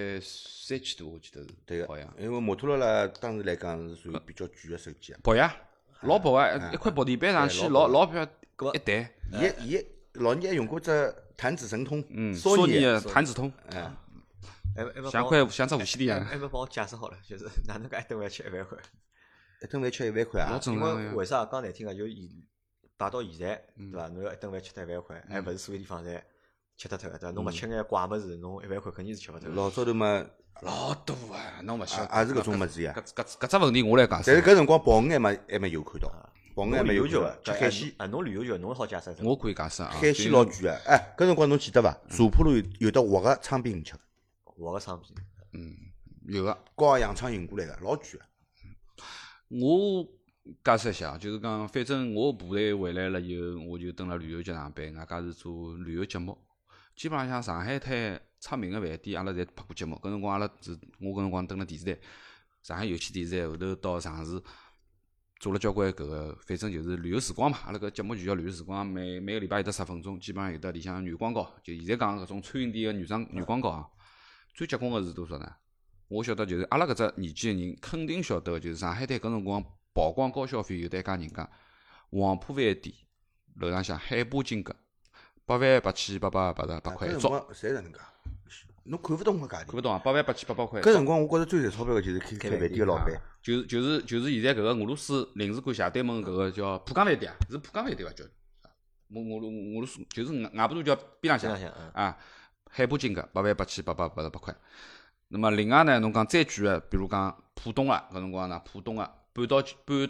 S2: ，13000多我记得是。
S3: 对个
S2: 好像，
S3: 因为摩托罗拉当时来讲是属于比较贵个手机啊。
S2: 薄呀，老薄啊，一块薄地板上去，老漂一弹。
S3: 伊老年还用过只弹指神通，
S2: 索尼
S3: 的
S2: 个弹指通，像只无线电一样。
S1: 还没帮我解释好了，就是哪能介一顿饭吃1万块？
S3: 一顿饭吃1万块啊
S2: 老！正
S1: 因
S2: 常个。
S1: 为为啥讲难听个，就摆到现在，对伐？侬要一顿饭吃得1万块，还勿是所有地方侪吃脱脱个对伐？侬勿吃眼怪物事，侬1万块肯定是吃勿脱个。
S3: 老早头嘛，
S2: 老多啊，侬勿晓得。
S3: 也是搿种物事呀。
S2: 搿只问题我来讲，
S3: 但是搿辰光跑鱼还没有看到，跑鱼还
S1: 侬旅游局
S3: 没有看到，吃海鲜。
S1: 啊，侬旅游局侬好解释。
S2: 我可以解释啊。
S3: 海鲜老贵个，哎，搿辰光侬记得伐？茶铺路有得活个昌饼吃，
S1: 活个商品。
S2: 有个。
S3: 高洋场运过来个，老贵个。
S2: 我解释一下，就是讲，反正我部队回来了以后，我就蹲辣旅游局上班，外加是做旅游节目。基本浪向上海滩出名个饭店，阿拉侪拍过节目。搿辰光阿拉是，我搿辰光蹲辣电视台，上海有线电视台后头到上市，做了交关搿个，反正就是旅游时光嘛。阿拉搿节目就叫旅游时光，每个礼拜有得10分钟，基本上有得里向女广告，就现在讲搿种餐饮店个女广告啊。最结棍个是多少呢？我晓得就是阿拉搿只年纪个人肯定晓得个，就是上海滩搿辰光曝光高消费有得一家人家，黄浦饭店楼上向海波金阁88888块一桌，
S3: 侪是搿能介，侬看勿懂个价钿。
S2: 看勿懂啊？88888块。
S3: 搿辰光我觉着最赚钞票个就是开饭店个老板。
S2: 就是现在搿个俄罗斯领事馆斜对门搿个叫浦江饭店啊，是浦江饭店伐？叫俄罗斯就是外婆渡桥边浪向啊，海波金阁88888块。那么另外呢，侬讲再贵个，比如讲浦东啊，搿辰光呢，浦东啊，半岛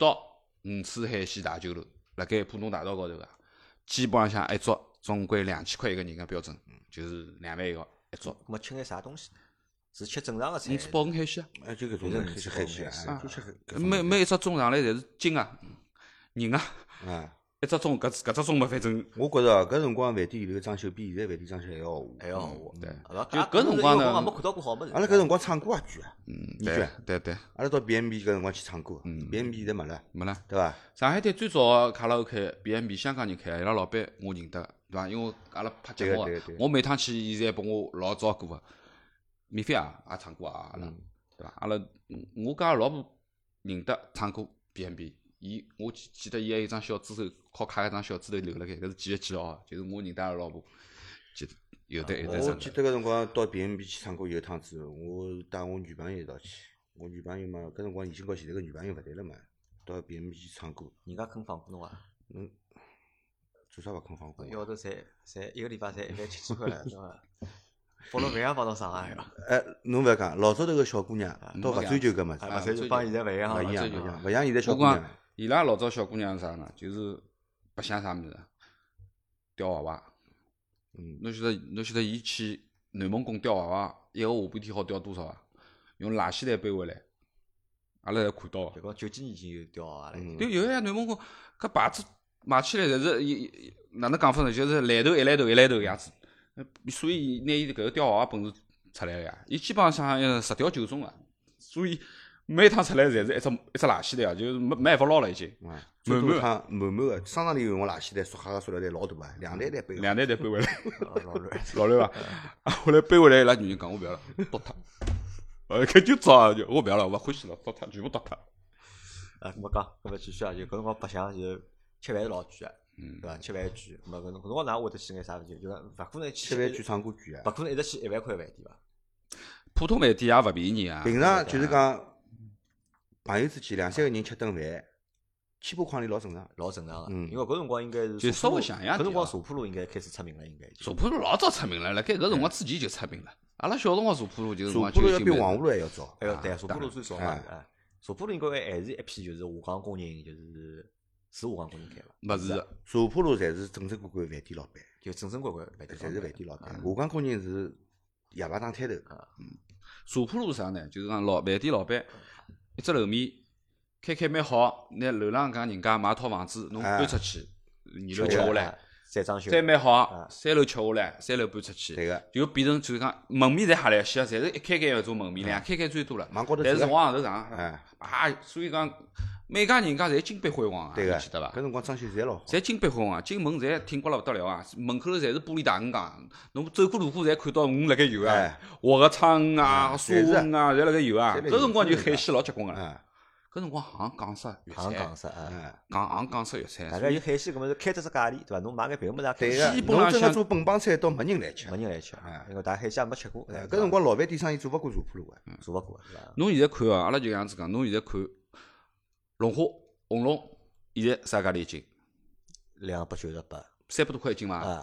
S2: 5次海鲜大酒楼，辣盖浦东大道高头个，基本浪向一桌总归2000块一个人个标准，就是2万一个一桌。
S1: 咾么吃眼啥东西？是吃正常个菜？
S2: 你吃鲍鱼海鲜啊？
S3: 哎，就搿种海鲜啊，就吃
S2: 每一只盅上来侪是斤啊、人啊，
S3: 啊。
S2: 一只盅搿只盅嘛，反正
S3: 我觉着搿辰光饭店里头装修比现在饭店装修还要豪华。
S1: 还要豪华。
S2: 对，
S1: 就
S2: 搿辰光呢
S1: 没看到过好物事。
S3: 阿拉搿辰光唱歌也贵啊，你贵。
S2: 对，
S3: 阿拉到 B&B 搿辰光去唱歌，B&B 现在没了，
S2: 没了。
S3: 对伐？
S2: 上海滩最早卡拉 OK B&B 香港人开，伊拉老板我认得，对伐？因为阿拉拍节目个，我每趟去，伊侪拨我老照顾个，免费啊，也唱歌啊，阿拉对伐？阿拉我跟阿拉老婆认得唱歌 B&B。我记得伊还有一张小指头，靠卡一张小指头留辣盖，搿是几月几号？就是我认得阿拉老婆，记得有的。
S3: 我记得搿辰光到 B&B 去唱歌有一趟子，我带我女朋友一道去。我女朋友嘛，搿辰光已经跟现在个女朋友勿对了嘛，到 B&B 去唱歌。
S1: 人家肯放过侬啊？
S3: 做啥勿肯放过？
S1: 一号头才一个礼拜才170块了，是伐？放了饭也帮侬上啊！
S3: 哎，侬勿要讲，老早头个小姑娘倒勿追求搿物事，
S1: 勿追求帮现在勿一样，
S3: 勿像现在小姑娘。
S2: 伊拉老早小姑娘是啥呢？就是白相啥物事？吊娃娃。侬晓得伊去南蒙古吊娃娃，一个下半天好吊多少啊？用垃圾袋背回来，阿拉侪看到个。
S1: 就讲90几年已经有吊娃娃了。
S2: 对，有呀，南蒙古搿牌子买起来侪是哪能讲法呢？就是来头一来头个样子。所以拿伊搿个吊娃娃本事出来个呀，伊基本上10吊9中个，所以。每趟出来侪是一只垃圾袋啊，就是没办法捞了已经。
S3: 最多趟满个，商场里用个垃圾袋、塑胶个塑料袋老大啊，2袋袋背。
S2: 2袋袋背回来，
S1: 老
S2: 乱伐？后来背回来，伊拉女人讲我勿要了，倒脱。搿就糟，我勿要了，勿欢喜了，倒脱，全部倒脱。
S1: 没讲，搿么继续啊，就搿辰光白相就吃饭是老贵个，对伐？吃饭贵，咾搿辰光哪会得去眼啥事体？就讲勿可能去
S3: 吃饭贵、唱歌贵啊，
S1: 勿可能一直去1万块饭店伐？
S2: 普通饭店也勿便宜啊。
S3: 平常就是讲。朋友之间2、3个人吃顿饭，7、8块钿老正常，
S1: 老正常个。因为搿辰光应该是
S2: 就稍微像样。
S1: 搿辰光茶铺路应该开始出名了，应该。
S2: 茶铺路老早出名了，辣盖搿辰光之前就出名了。阿拉小辰光茶铺路就是
S3: 茶铺路要比黄河路还要早。
S1: 哎哟，对，茶铺路最早嘛。茶铺路应该还是一批就是下岗工人，就是下岗工人开伐？
S2: 勿是，
S3: 茶铺路侪是正正规规饭店老板，
S1: 就正正规规饭店，
S3: 侪是饭店老板。下岗工人是夜排档摊头。
S2: 茶铺路啥呢？就是讲饭店老板一只楼面。开蛮好，拿楼浪向人家买套房子，侬搬出去，2楼吃下来，
S1: 再装修，
S2: 再蛮好，3楼吃下来，3楼搬出去，
S3: 对个，
S2: 就变成就是讲门面侪吓来些，侪是一开搿种门面，2开最多了，但是往上头上，所以讲每家人家侪金碧辉煌啊，
S3: 对个，
S2: 记得伐？
S3: 搿辰光装修侪老好，
S2: 侪金碧辉煌，进门侪挺刮了勿得了啊，门口头侪是玻璃大鱼缸，侬走过路过侪看到鱼辣盖游啊，活个苍鱼啊、沙鱼啊，侪辣盖游啊，搿辰光就海鲜老结棍个。搿辰光行港式粤菜，港式粤菜。
S1: 大概有海鲜搿么是开脱只价钿，对伐？侬买眼别个物事
S3: 对个，侬真个做本帮菜倒没人来吃，
S1: 没人来吃，因为大海鲜也没吃过。
S3: 搿辰光老饭店生意做勿过茶铺路个，
S1: 做勿过，是伐？
S2: 侬现在看哦，阿拉就搿样子讲，侬现在看龙虾、红龙，现在啥价钿一斤
S1: ？298，300
S2: 多块一斤伐？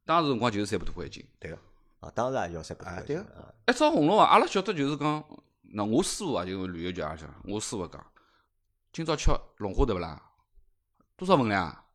S2: 当时辰光就是3把多块一斤。
S3: 对个，
S1: 啊，当时也要3百多块
S3: 对个
S1: 钱啊。
S2: 一只红龙啊，阿拉晓得就是讲，那我师傅啊，就是旅游局也讲，我师傅讲，今朝吃龙虾对勿啦？多少分量啊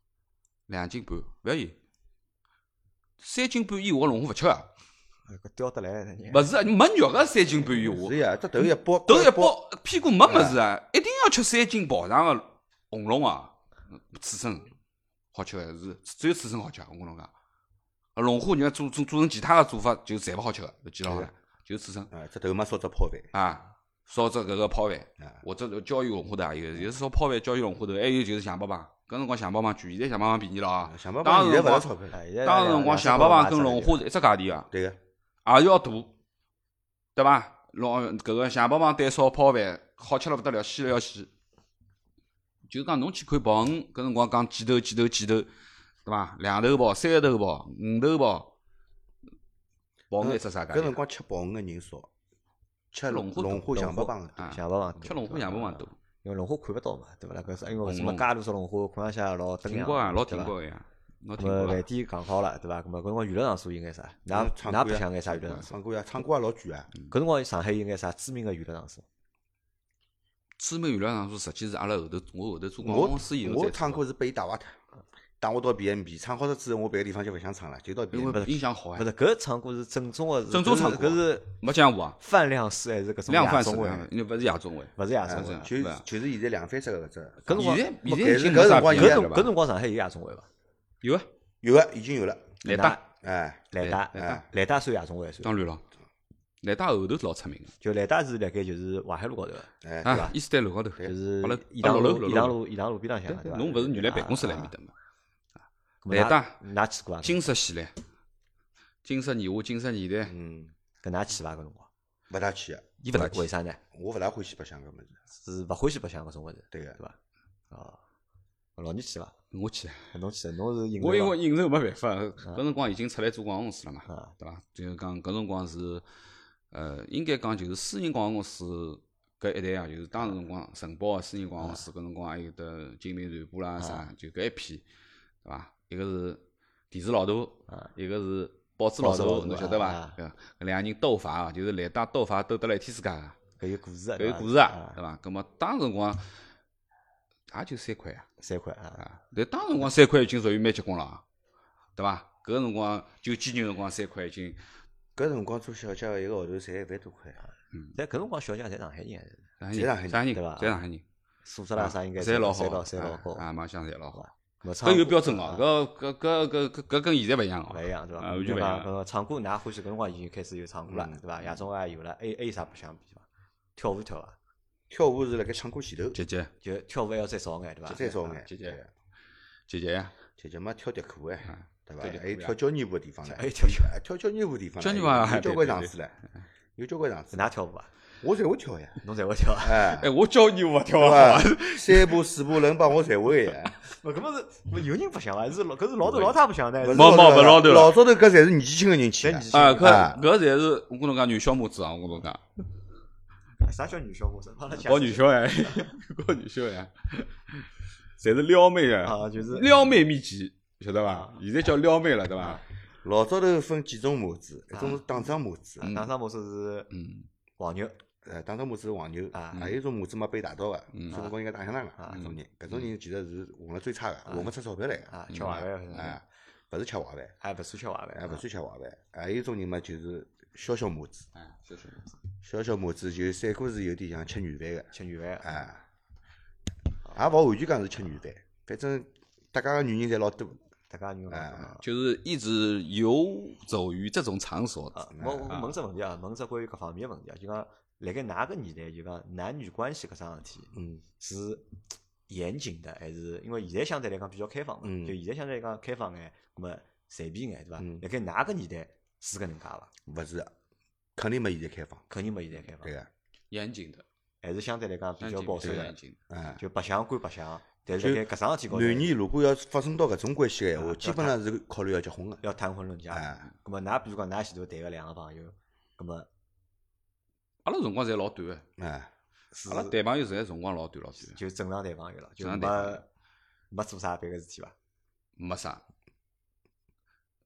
S2: ？2斤半，勿要紧。3斤半以下个龙虾勿吃啊。
S1: 搿钓得来的，
S2: 勿是啊，没肉个3斤半以下，
S3: 是呀，这头一包，
S2: 头一包屁股没物事啊，一定要吃3斤跑上个红龙啊，刺身好吃个是只有刺身好吃，我跟侬讲。龙虾人家做成其他个做法就侪勿好吃个，记牢好了，就刺身
S3: 啊，这头嘛烧只泡饭，
S2: 啊，烧只搿个泡饭
S3: 啊，
S2: 或者椒鱼龙虾头也有，就是烧泡饭、椒鱼龙虾头，还有就是象拔蚌，搿辰光象拔蚌贵，现在象拔蚌便宜了啊。
S3: 想办
S2: 当时
S3: 法现在勿
S2: 光
S3: 是钞票，
S2: 当时辰光象拔蚌跟龙虾是一只价钿啊，
S3: 对个，
S2: 也是要大，对伐？搿个象拔蚌对烧泡饭好吃了勿得了，鲜了要死。就是讲侬去看鲍鱼，搿辰光讲几头，对伐？2头鲍、3头鲍、5头鲍，鲍鱼一只啥价钿？
S3: 搿辰光吃鲍鱼个人少，吃
S2: 龙虾
S3: 龙虾象拔蚌
S2: 啊，
S1: 象拔蚌
S2: 吃龙虾象拔蚌多，
S1: 因为龙虾看勿到嘛，对勿啦？搿是因为什么
S2: 红龙
S1: 介多只龙虾，看上去老登
S2: 挺高啊，老挺
S1: 对伐
S2: 高个呀，老挺
S1: 咁么
S2: 高啊。
S1: 饭店讲好了，对伐？咁么搿辰光娱乐场所应该啥？㑚
S3: 唱歌呀
S1: 㑚白相眼啥娱乐场所？
S3: 唱歌呀，唱歌也老贵啊，
S1: 搿辰光上海应该啥知名个娱乐场所？
S2: 知名娱乐场所实际是阿拉后头我后头做广
S3: 我
S2: 告公司以后
S3: 我
S2: 再做的，
S3: 唱歌是被打瓦特，带我到 B&B 唱好了之后，我别个地方就勿想唱了，就到
S2: 因
S3: B&B。
S2: 为音响好呀，
S1: 勿是，搿唱歌是正宗个，
S2: 正宗唱歌
S1: 搿是
S2: 没江湖啊，
S1: 泛量式还是搿种
S2: 量贩式
S1: 夜总会？
S2: 因为勿是夜总会。
S1: 勿是夜总会
S2: 是。
S3: 就是现在两番式个搿只，
S1: 搿辰光
S2: 现在已
S3: 但是
S2: 经没啥
S3: 搿辰光
S2: 变了吧
S1: 搿辰光上海有夜总会伐？
S2: 有啊，
S3: 有个已经有了，
S2: 来打
S3: 哎，
S1: 来打，来打算夜总会算。
S2: 当然了，来打后头是老出名个
S1: 就来打是辣盖就是淮海路高头个，
S3: 哎，
S2: 啊，伊斯坦路高头，
S1: 就是
S2: 阿拉
S1: 颐堂路、
S2: 六
S1: 颐堂路、颐堂路边浪向个，对伐？
S2: 侬勿是原来办公室辣埃面搭嘛？
S1: 咁么
S2: 来打
S1: 㑚去过伐？
S2: 金色系列、金色年华、金色年代，
S3: 嗯，
S1: 搿㑚去伐？搿辰光，
S3: 勿大去个，
S1: 伊勿大为啥呢？
S3: 我勿大欢喜白相搿物事，
S1: 是勿欢喜白相搿种物事，
S3: 对个
S1: 对，伐？哦，老倪去伐？
S2: 我去，
S1: 侬去，侬是应
S2: 我因
S1: 酬
S2: 为应酬没办法，搿辰光已经出来做广告公司了嘛，
S1: 啊
S2: 对伐？就是讲搿辰光是，应该讲就是私人广告公司搿一代啊，就是当时辰光承包个私人广告公司，搿辰光还有得金明传播啦啥，就搿一批，对伐？一个是电视老大，一个是报纸老大，
S1: 报纸老大
S2: 侬晓得伐
S1: 啊？
S2: 搿两个人斗法啊，就是来打斗法斗得来一天世界个，
S1: 搿有故事个，
S2: 搿有故事啊，对伐？葛末当时辰光也就3块啊。
S1: 3块啊，
S2: 啊，但当时辰光3块已经属于蛮结棍了啊，对伐？搿个辰光就几年辰光3块已经，
S3: 搿辰光做小姐个一个号头赚1万多块，
S1: 但搿辰光小姐侪上海人，
S2: 上海人，
S3: 上海人
S2: 人，
S1: 对伐
S2: 侪上海人，
S1: 素质啦啥应该
S2: 侪老好，
S1: 侪老高，
S2: 啊，卖相侪老好。
S1: 搿唱
S2: 搿有标准哦，搿跟现在勿一样哦，
S1: 勿一样对伐？
S2: 啊，完全勿一样。
S1: 搿唱歌，㑚欢喜搿辰光已经开始有唱歌了，对伐？夜总会也有了，还有啥不相比伐？跳舞跳伐？
S3: 跳舞是辣盖唱歌前头，
S2: 姐姐，
S1: 就跳舞还要再少眼，对伐？
S3: 再少眼，
S2: 姐姐
S3: 对个
S2: 姐姐呀，
S3: 姐姐嘛跳迪课哎，对伐？
S2: 跳迪
S3: 还有跳交谊舞个地方唻，
S1: 还有跳
S3: 跳交谊舞地方唻，
S2: 交谊舞还
S3: 有交关场子唻，有交关场子，
S1: 㑚跳舞伐？
S3: 我侪会跳呀，
S1: 侬侪会跳啊？
S3: 哎，
S2: 哎，我教你我跳
S3: 对
S2: 得好
S3: 伐？3步4步轮帮我侪会呀，
S1: 勿，搿么是有人不想伐？是老搿是老头老太不想的，
S3: 勿是
S2: 冇冇勿老头了
S3: 老早头搿侪是年纪轻个人去的
S1: 侪年纪，轻
S2: 啊，
S3: 啊
S2: 搿侪是我跟侬讲女小母子啊，我跟侬讲，
S1: 啥叫女小伙子？
S2: 搞女小孩，搞女小孩，侪是撩妹啊，
S1: 啊，就是
S2: 撩妹秘籍，晓得伐？现在叫撩妹了，对伐？
S3: 老早头分几种模子，一种是打桩模子，
S1: 打上模式是
S2: 嗯，
S1: 黄牛
S3: 打桩模子是黄牛，
S1: 啊
S3: 还有一种模子嘛被打到个，
S2: 嗯
S3: 所以讲应该打相打个，搿种人，搿种人其实是混了最差个，混勿出钞票来个，
S1: 啊，吃坏饭，
S3: 哎，勿是吃坏饭，
S1: 还勿算吃坏
S3: 哎，
S1: 饭，
S3: 勿算吃坏饭，还有一种人嘛就是小小模子，
S2: 哎，小小母子，
S3: 小小模子就三哥是有点像吃软饭个，
S1: 吃软饭，
S3: 哎，也勿完全讲是吃软饭，反正大家个女人侪老多，
S1: 大家女
S3: 哎
S2: 就是一直游走于这种场所。
S1: 啊，我问只问题啊，问只关于各方面个问题啊，就讲辣盖㑚个年代，就讲男女关系搿桩事体是严谨的，还是因为现在相对来讲比较开放嘛？就现在相对来讲开放眼，咁么随便眼，对伐？辣盖㑚个年代是搿能介伐？
S3: 勿是的，肯定没现在开放，
S1: 肯定没现在开放
S3: 对，个，
S2: 严谨的，
S1: 还是相对来讲比较保守的
S2: 比较严，谨。
S3: 哎。
S1: 就白相归白相，但是辣盖搿桩事体高头
S3: 男女如果要发生到搿种关系个闲话，基本上是考虑要结婚个。
S1: 要谈婚论嫁。
S3: 哎，
S1: 咁么㑚比如讲㑚前头谈个两个朋友，咁么
S2: 阿拉辰光侪老短个，
S3: 哎，
S1: 是
S2: 阿拉谈朋友侪辰光老短老短，
S1: 就正常谈朋友了，就
S2: 正常谈朋友
S1: 没做啥别个事体伐？
S2: 没啥。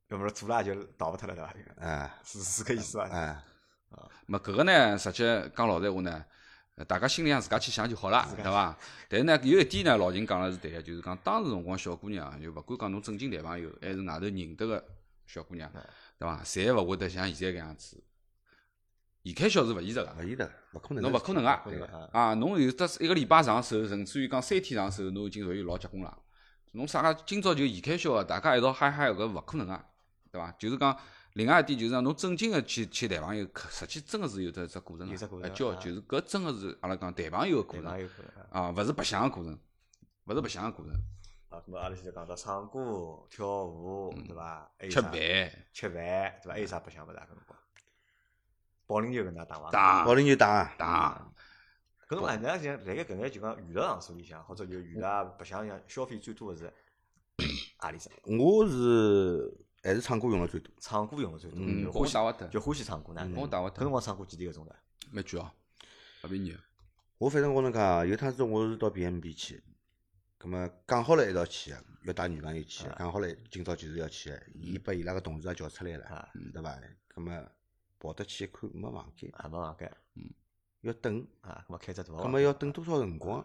S1: 要么做了就逃勿脱了对伐？是搿意思伐？
S2: 搿个呢，实际讲老实话呢，大家心里向自家去想就好了，对伐？但是呢，有一点呢，老秦讲了是对个，就是讲当时辰光小姑娘，就勿管讲侬正经谈朋友，还是外头认得个小姑娘，对伐？侪勿会得像现在搿样子。现开销是勿现实个，
S3: 勿可能，
S2: 侬勿可能个啊！侬有得一个礼拜上手，甚至于讲3天上手，侬已经属于老结棍了。侬啥个今朝就现开销个，大家一道嗨嗨，搿勿可能个，对伐？就是讲，另外一点就是讲，侬正经个去谈朋友，实际真个是有得只过程个，就是搿真个是阿拉讲谈朋友个过程啊，勿是白相个过程，勿是白相个过程。
S1: 啊，咁阿拉现在讲到唱歌、跳舞，对伐？
S2: 吃饭，
S1: 对伐？还有啥白相勿啦？搿辰光，保龄球跟㑚打伐？
S3: 保龄球打。
S1: 搿辰光，㑚像辣盖搿眼就讲娱乐场所里向，或者就娱乐白相样消费最多个是何里只？
S3: 我还是唱歌用了最多。
S1: 唱歌用了最多，
S2: 欢喜打勿脱，
S1: 就欢喜唱歌呢。
S2: 我打勿脱。
S1: 搿辰光唱歌几钿个钟头？
S2: 蛮贵哦，勿便宜。
S3: 我反正我能讲，有趟子我是到 BMB 去，葛末讲好了一道去个，要带女朋友去个，讲好了今朝就是要去个，伊把伊拉个同事也叫出来了，对伐？葛末跑得去一看没房间，
S1: 没房间，
S3: 要等
S1: 葛末开只大，
S3: 葛末要等多少辰光？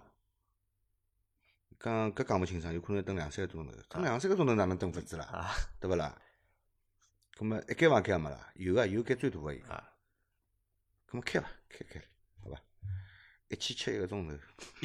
S3: 搿讲勿清爽，有可能等2-3个钟头，等2-3个钟头哪能等法子啦？对勿啦？葛末一间房间也没啦，有间最大个有，葛末开伐？开，好伐？1,700一个钟头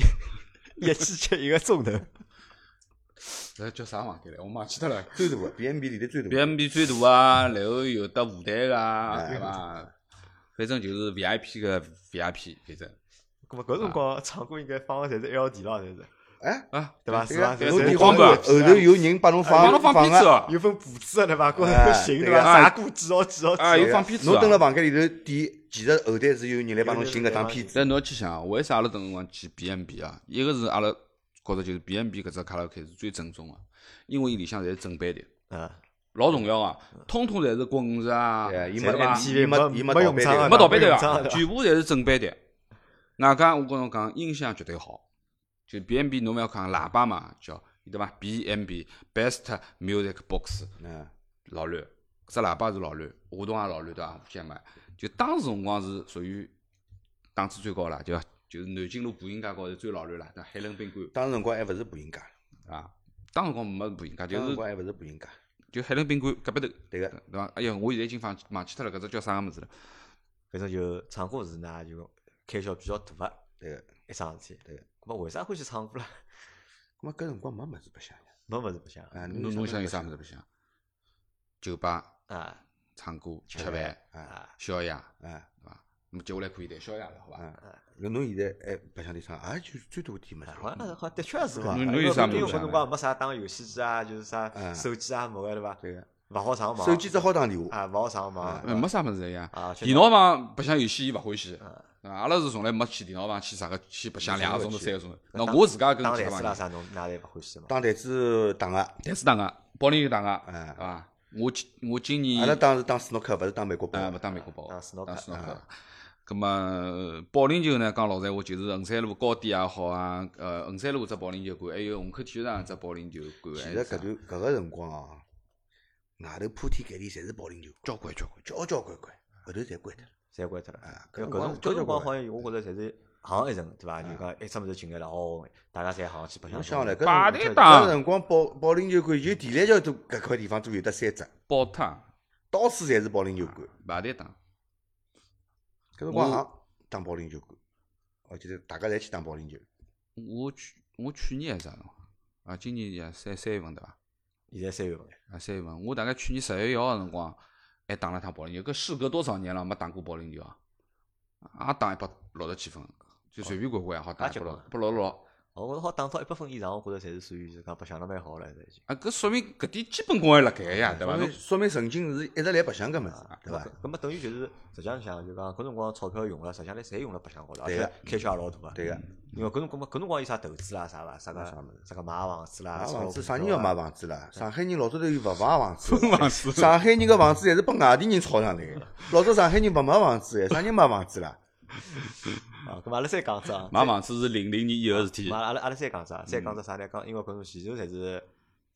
S1: ，1,700一个钟头。
S2: 搿叫啥房间来？我忘记脱了。
S3: 最大个 BMB 里头最大。
S2: BMB 最大啊，然后有得舞台个，对伐？反正就是 VIP 个 VIP，反正。
S1: 咁么搿辰光唱歌应该放个侪是 LD 咯，侪是。对伐？是伐？
S3: 侬电话后头有人帮侬放
S2: 片子哦，
S1: 有份谱子对伐？搿寻对伐？啥歌几号？
S2: 有放片子。
S3: 侬蹲辣房间里头点，其实后台是有人来帮侬寻搿张片子。
S2: 但侬去想，为啥阿拉等辰光去 BMB 啊？一个是阿拉觉着就是 BMB 搿只卡拉 OK 是最正宗个，因为伊里向侪是正版的，老重要个，通通侪是滚石啊，
S3: 伊
S2: 没
S1: 用唱，
S2: 没盗版的，全部侪是正版的。外加我跟侬讲，音响绝对好。就 BMB 侬勿要讲喇叭嘛，叫对伐 ？BMB Best Music Box， 老乱，只喇叭是老乱，话筒也老乱对伐？相买，就当时辰光是属于档次最高了，对伐？就是南京路步行街高头最老乱了，对海伦宾馆。
S3: 当时辰光还勿是步行街
S2: 啊，当时辰光没步行街，就是
S3: 辰光还勿是步行街，
S2: 就海伦宾馆隔壁头。
S3: 对个，
S2: 对伐？哎呀，我现在已经忘记脱了，搿只叫啥物事了？
S1: 反正就唱歌是呢，就开销比较大个，
S3: 对个，
S1: 一桩事体。
S3: 对个。
S1: 咁为啥欢喜唱歌啦？
S3: 咁么搿辰光没物事白相呀，
S1: 没物事白相。
S2: 侬想有啥物事白相？酒吧
S1: 啊，
S2: 唱歌、吃饭宵夜对伐？咁接下来可以谈宵夜了，好伐？
S3: 侬现在还白相点啥？就最多点物事。
S1: 好，的确是伐？
S2: 侬有啥物事？
S1: 因为搿辰光没啥打游戏机啊，就是啥手机啊没个对伐？
S3: 对个，
S1: 勿好上网。
S3: 手机只好打电话。
S1: 勿好上网。
S2: 没啥物事呀。电脑房白相游戏伊勿欢喜。阿拉是从来没去电脑房去啥个去白相2个钟头3个钟头。那我自家跟
S1: 打台子啦啥侬哪侪勿欢喜嘛？
S3: 打台子打个，
S2: 台子打个，保龄球打个，对伐？我今年
S3: 阿拉打是打斯诺克，勿是打美国宝。
S2: 勿打美国宝，
S1: 打斯诺克。
S2: 咁么保龄球呢？讲老实话，就是衡山路高点也好啊，衡山路只保龄球馆，还有虹口体育场只保龄球馆。
S3: 其实搿个辰光哦，外头铺天盖地侪是保龄球，交关，后头侪关脱了。
S1: 侪关脱了搿辰光好像我觉着侪是行一层对伐？就讲一只物事进来了，大家侪行去白相。
S3: 想来
S2: 搿
S3: 辰光保龄球馆就地篮桥都搿块地方都有得3只，
S2: 宝塔
S3: 到处侪是保龄球馆。
S2: 排队打。
S3: 搿辰光打保龄球馆，我记得大家侪去打保龄球。
S2: 我去年还是啥辰光？今年也3月份对伐？
S1: 现在3月份。
S2: 3月份，我大概去年10月1号辰光。还打了趟保龄球，搿事隔多少年了没打过保龄球啊？也打167分，就随便管管也好打166。
S1: 我觉着好打到100分以上，我觉着侪是属于就讲白相得蛮好了，已经。
S2: 搿说明搿点基本功还辣盖呀，对伐？
S3: 说明曾经是一直来白相搿物事，对伐？
S1: 搿么等于就是实际上想就讲搿辰光钞票用了，实际上侪用了白相高头，而且开销也老大个。
S3: 对个。
S1: 因为搿辰光有啥投资啦啥伐？啥个买房子啦？
S3: 买房子啥人要买房子啦？上海人老早头有勿买房子，上海人个房子侪是拨外地人炒上来个。老早上海人勿买房子，啥人买房子啦？
S1: 咁阿拉再讲只啊，
S2: 买房子是00年以后事体。
S1: 阿拉再讲只，再讲只啥呢？讲因为搿种前头侪是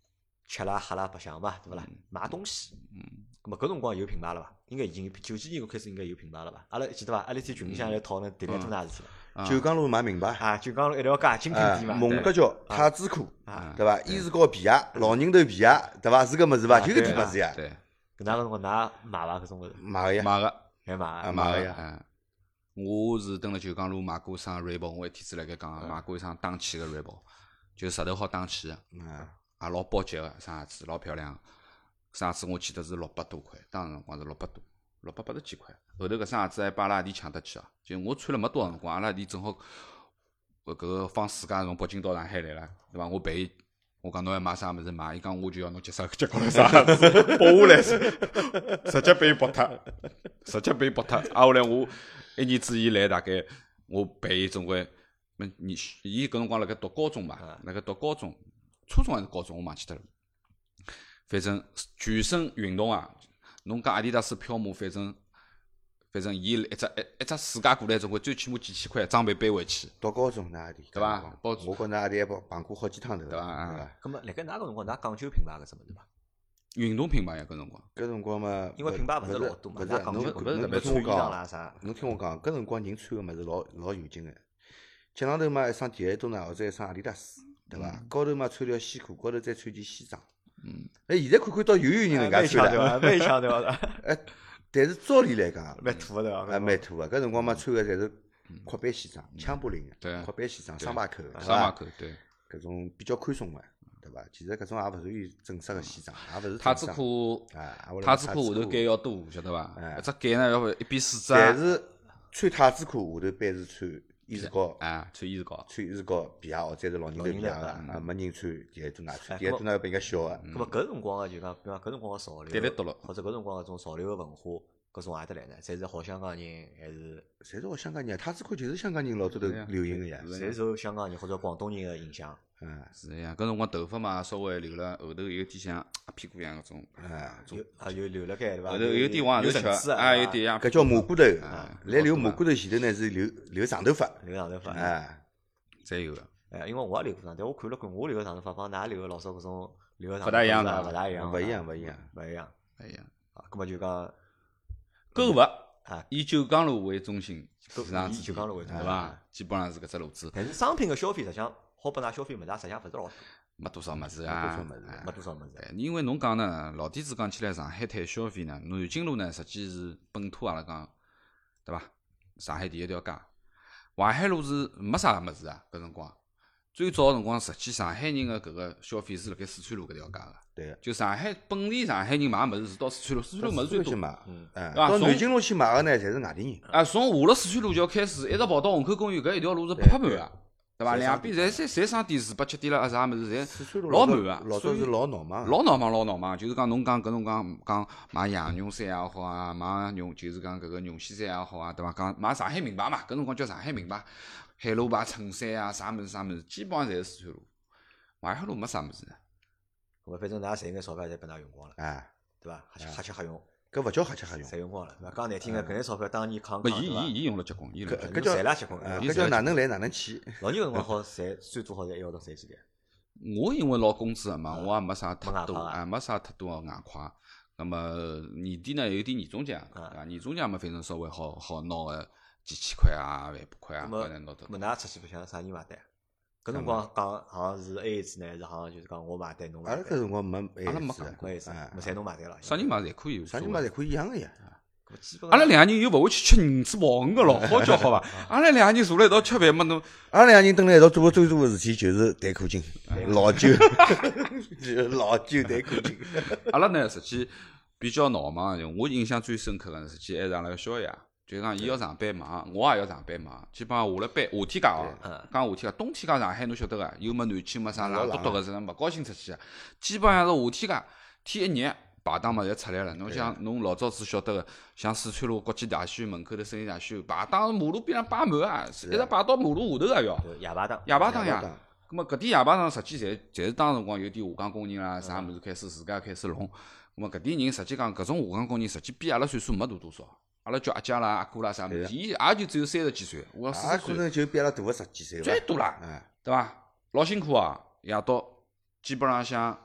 S1: 吃啦喝啦白相嘛，对勿啦？买东西，咁么搿辰光有品牌了伐？应该已经90几年开始应该有品牌了伐？阿拉记得伐？阿拉天群里向来讨论迭个多大事体了？
S3: 九江路买名牌，
S1: 啊，就讲一条街精品店嘛，
S3: 蒙角桥、太子裤，对伐？伊士高皮鞋、老人头皮鞋，对伐？是搿物事伐？就搿点物事呀。
S2: 对，
S1: 搿哪个辰光㑚买伐？搿种物事
S3: 买个呀，
S2: 买个
S1: 还买
S3: 买个呀。
S2: 我是蹲辣九江路买过一双 Reebok，我一天子辣盖讲买过一双打气个 Reebok，就石头好打气个，也老包脚个，双鞋子老漂亮。双鞋子我记得是600多块，当时辰光是600多，680几块。后头搿双鞋子还把阿拉阿弟抢得去啊！就我穿了没多少辰光，阿拉阿弟正好搿个放暑假从北京到上海来了，对伐？我陪伊，我讲侬要买啥物事买，伊讲我就要侬脚高头啥鞋子，剥下来，直接被伊剥脱，后来我一年之以来，大概我陪伊总归，伊搿辰光辣盖读高中嘛，辣盖读高中，初中还是高中，我忘记脱了。反正全身运动啊，侬讲阿迪达斯飘马，反正伊一只暑假过来，总归最起码几千块装备背回去。
S3: 读高中那阿弟，
S2: 对伐？
S3: 我觉着阿弟还碰过好几趟头，
S2: 对伐？
S1: 咁么，辣盖哪个辰光，㑚讲究品牌搿只物事伐？
S2: 运动品牌呀，搿辰光。
S3: 搿辰光嘛，
S1: 因为品牌勿是老多嘛，
S3: 勿是，
S1: 㑚讲究
S3: 侬
S1: 搿
S3: 侬听我
S1: 穿衣裳
S3: 讲
S1: 啦啥？
S3: 侬听我讲，搿辰光人穿个物事老有劲个，脚上头嘛一双迪奥多纳或者一双阿迪达斯，对伐？高头嘛穿条西裤，高头再穿件西装。现在看看到有人能介穿
S1: 了，蛮强对伐？
S3: 但是照理来讲，
S1: 蛮土个对伐？
S3: 蛮土个。搿辰光嘛穿个侪是阔版西装，枪布领个，阔版西装，双排口，
S2: 对，
S3: 搿种比较宽松个，对伐？其实搿种也勿属于正式个西装，也勿是
S2: 太子裤，太子裤下头盖要多，晓得伐？一只盖呢要1:4只。
S3: 但是穿太子裤下头般是穿伊士高，
S2: 穿伊士高
S3: 皮鞋或者是老人头皮鞋个，没人穿迪奥多纳，穿迪奥多纳要比人家小个。
S1: 咁么搿辰光个就讲，比方搿辰光个潮流，或者搿辰光搿种潮流个文化，搿从何得来呢？侪是好香港人还是？
S3: 侪是好香港人，太子裤就是香港人老早头流行个呀，
S1: 侪受香港人或者广东人个影响。
S2: 是个呀，搿辰光头发嘛稍微留了后头有点像阿屁股样搿种，
S1: 有留辣盖对伐？
S2: 后头有点往后头翘，有点像。
S3: 搿叫马骨头，来留马骨头前头呢是留长头发，
S2: 侪有个。
S1: 因为我也留过长，但我看了看，我留个长头发帮㑚留个老早搿种留个长
S2: 不大一样
S1: 的，勿大一样，
S3: 勿一样。
S1: 啊，搿么就讲
S2: 购物以九江路为中心，
S1: 以九江路为中心，
S2: 对伐？基本上是搿只路子。
S1: 但是商品个消费实际上好拨㑚消费物事，实际上勿是老多。
S2: 没多少物事啊，
S1: 没多少物事。
S2: 因为侬讲呢，老底子讲起来，上海滩消费呢，南京路呢，实际是本土阿拉讲，对伐？上海第一条街，淮海路是没啥物事啊。搿辰光最早个辰光，实际上海人个搿个消费是辣盖四川路搿条街个。
S3: 对。
S2: 就上海本地上海人买物事是到四川路，四川路物事最多。
S3: 对伐？到南京路去买个呢，侪是外地人。
S2: 从下了四川路桥开始，一直跑到虹口公园搿一条路是拍满个。对伐？两边侪商店4、8、7店了，啥物事侪老满个。
S3: 老早是老闹忙，
S2: 老闹忙。就是讲侬讲搿种讲买羊绒衫也好啊，买就是讲搿个绒线衫也好啊，对伐？讲买上海名牌嘛，搿辰光叫上海名牌，海螺牌衬衫啊，啥物事，基本上侪是四川路。淮海路没啥物事。
S1: 我反正㑚赚眼钞票侪被㑚用光了，对伐？瞎吃瞎用。
S3: 搿勿叫瞎吃瞎用，
S1: 侪用光了，对伐？讲难听个，搿眼钞票当年扛，
S2: 伊用了结棍，
S3: 搿叫
S1: 赚了结棍，
S3: 搿叫哪能来哪能去。
S1: 老年辰光好赚，最多好赚1号头赚几钿？
S2: 我因为捞工资嘛，我也没啥太多，没啥太多个外快。那么年底呢有点年终奖，对伐？年终奖嘛，反正稍微好拿个几千块啊、万把块啊，搿能拿得。
S1: 么㑚出去白相啥人买单？搿辰光讲好像是 AA 制呢，还是好像就是讲我买单侬买单？
S3: 阿拉搿辰光没 AA
S1: 制，没侪侬买单了。
S2: 啥人买侪可以，
S3: 啥人买侪可以一样个呀。
S2: 阿拉两个人又勿会去吃银子跑鱼个咯，好叫好伐？阿拉两个人坐辣一道吃饭嘛，侬
S3: 阿拉两个人蹲辣一道做个最多个事体就是谈口径，老酒，老酒谈口径。
S2: 阿拉呢实际比较闹忙，我印象最深刻个实际还是阿拉个小爷。就是讲，伊要上班忙，我也要上班忙。基本上下了班，夏天家讲夏天家，冬天家上海侬晓得个，又没南京没啥冷笃笃个，是勿高兴出去个。基本上是夏天家，天一热，排档嘛侪出来了。侬像侬老早子晓得个，像四川路国际大戏院门口头生意大戏院，排档马路边上摆满啊，一直排到马路下头个要。
S1: 夜排档。
S2: 夜排档呀。咁么搿点夜排档实际侪是当辰光有点下岗工人啦，啥物事开始自家开始弄。咁么搿点人实际讲搿种下岗工人实际比阿拉岁数没大多少。阿拉叫阿姐啦、阿哥啦啥物事，伊也就只有30几岁，我40岁，
S3: 可能就比阿拉大个10几岁
S2: 最多啦，对伐？老辛苦啊，夜到基本上像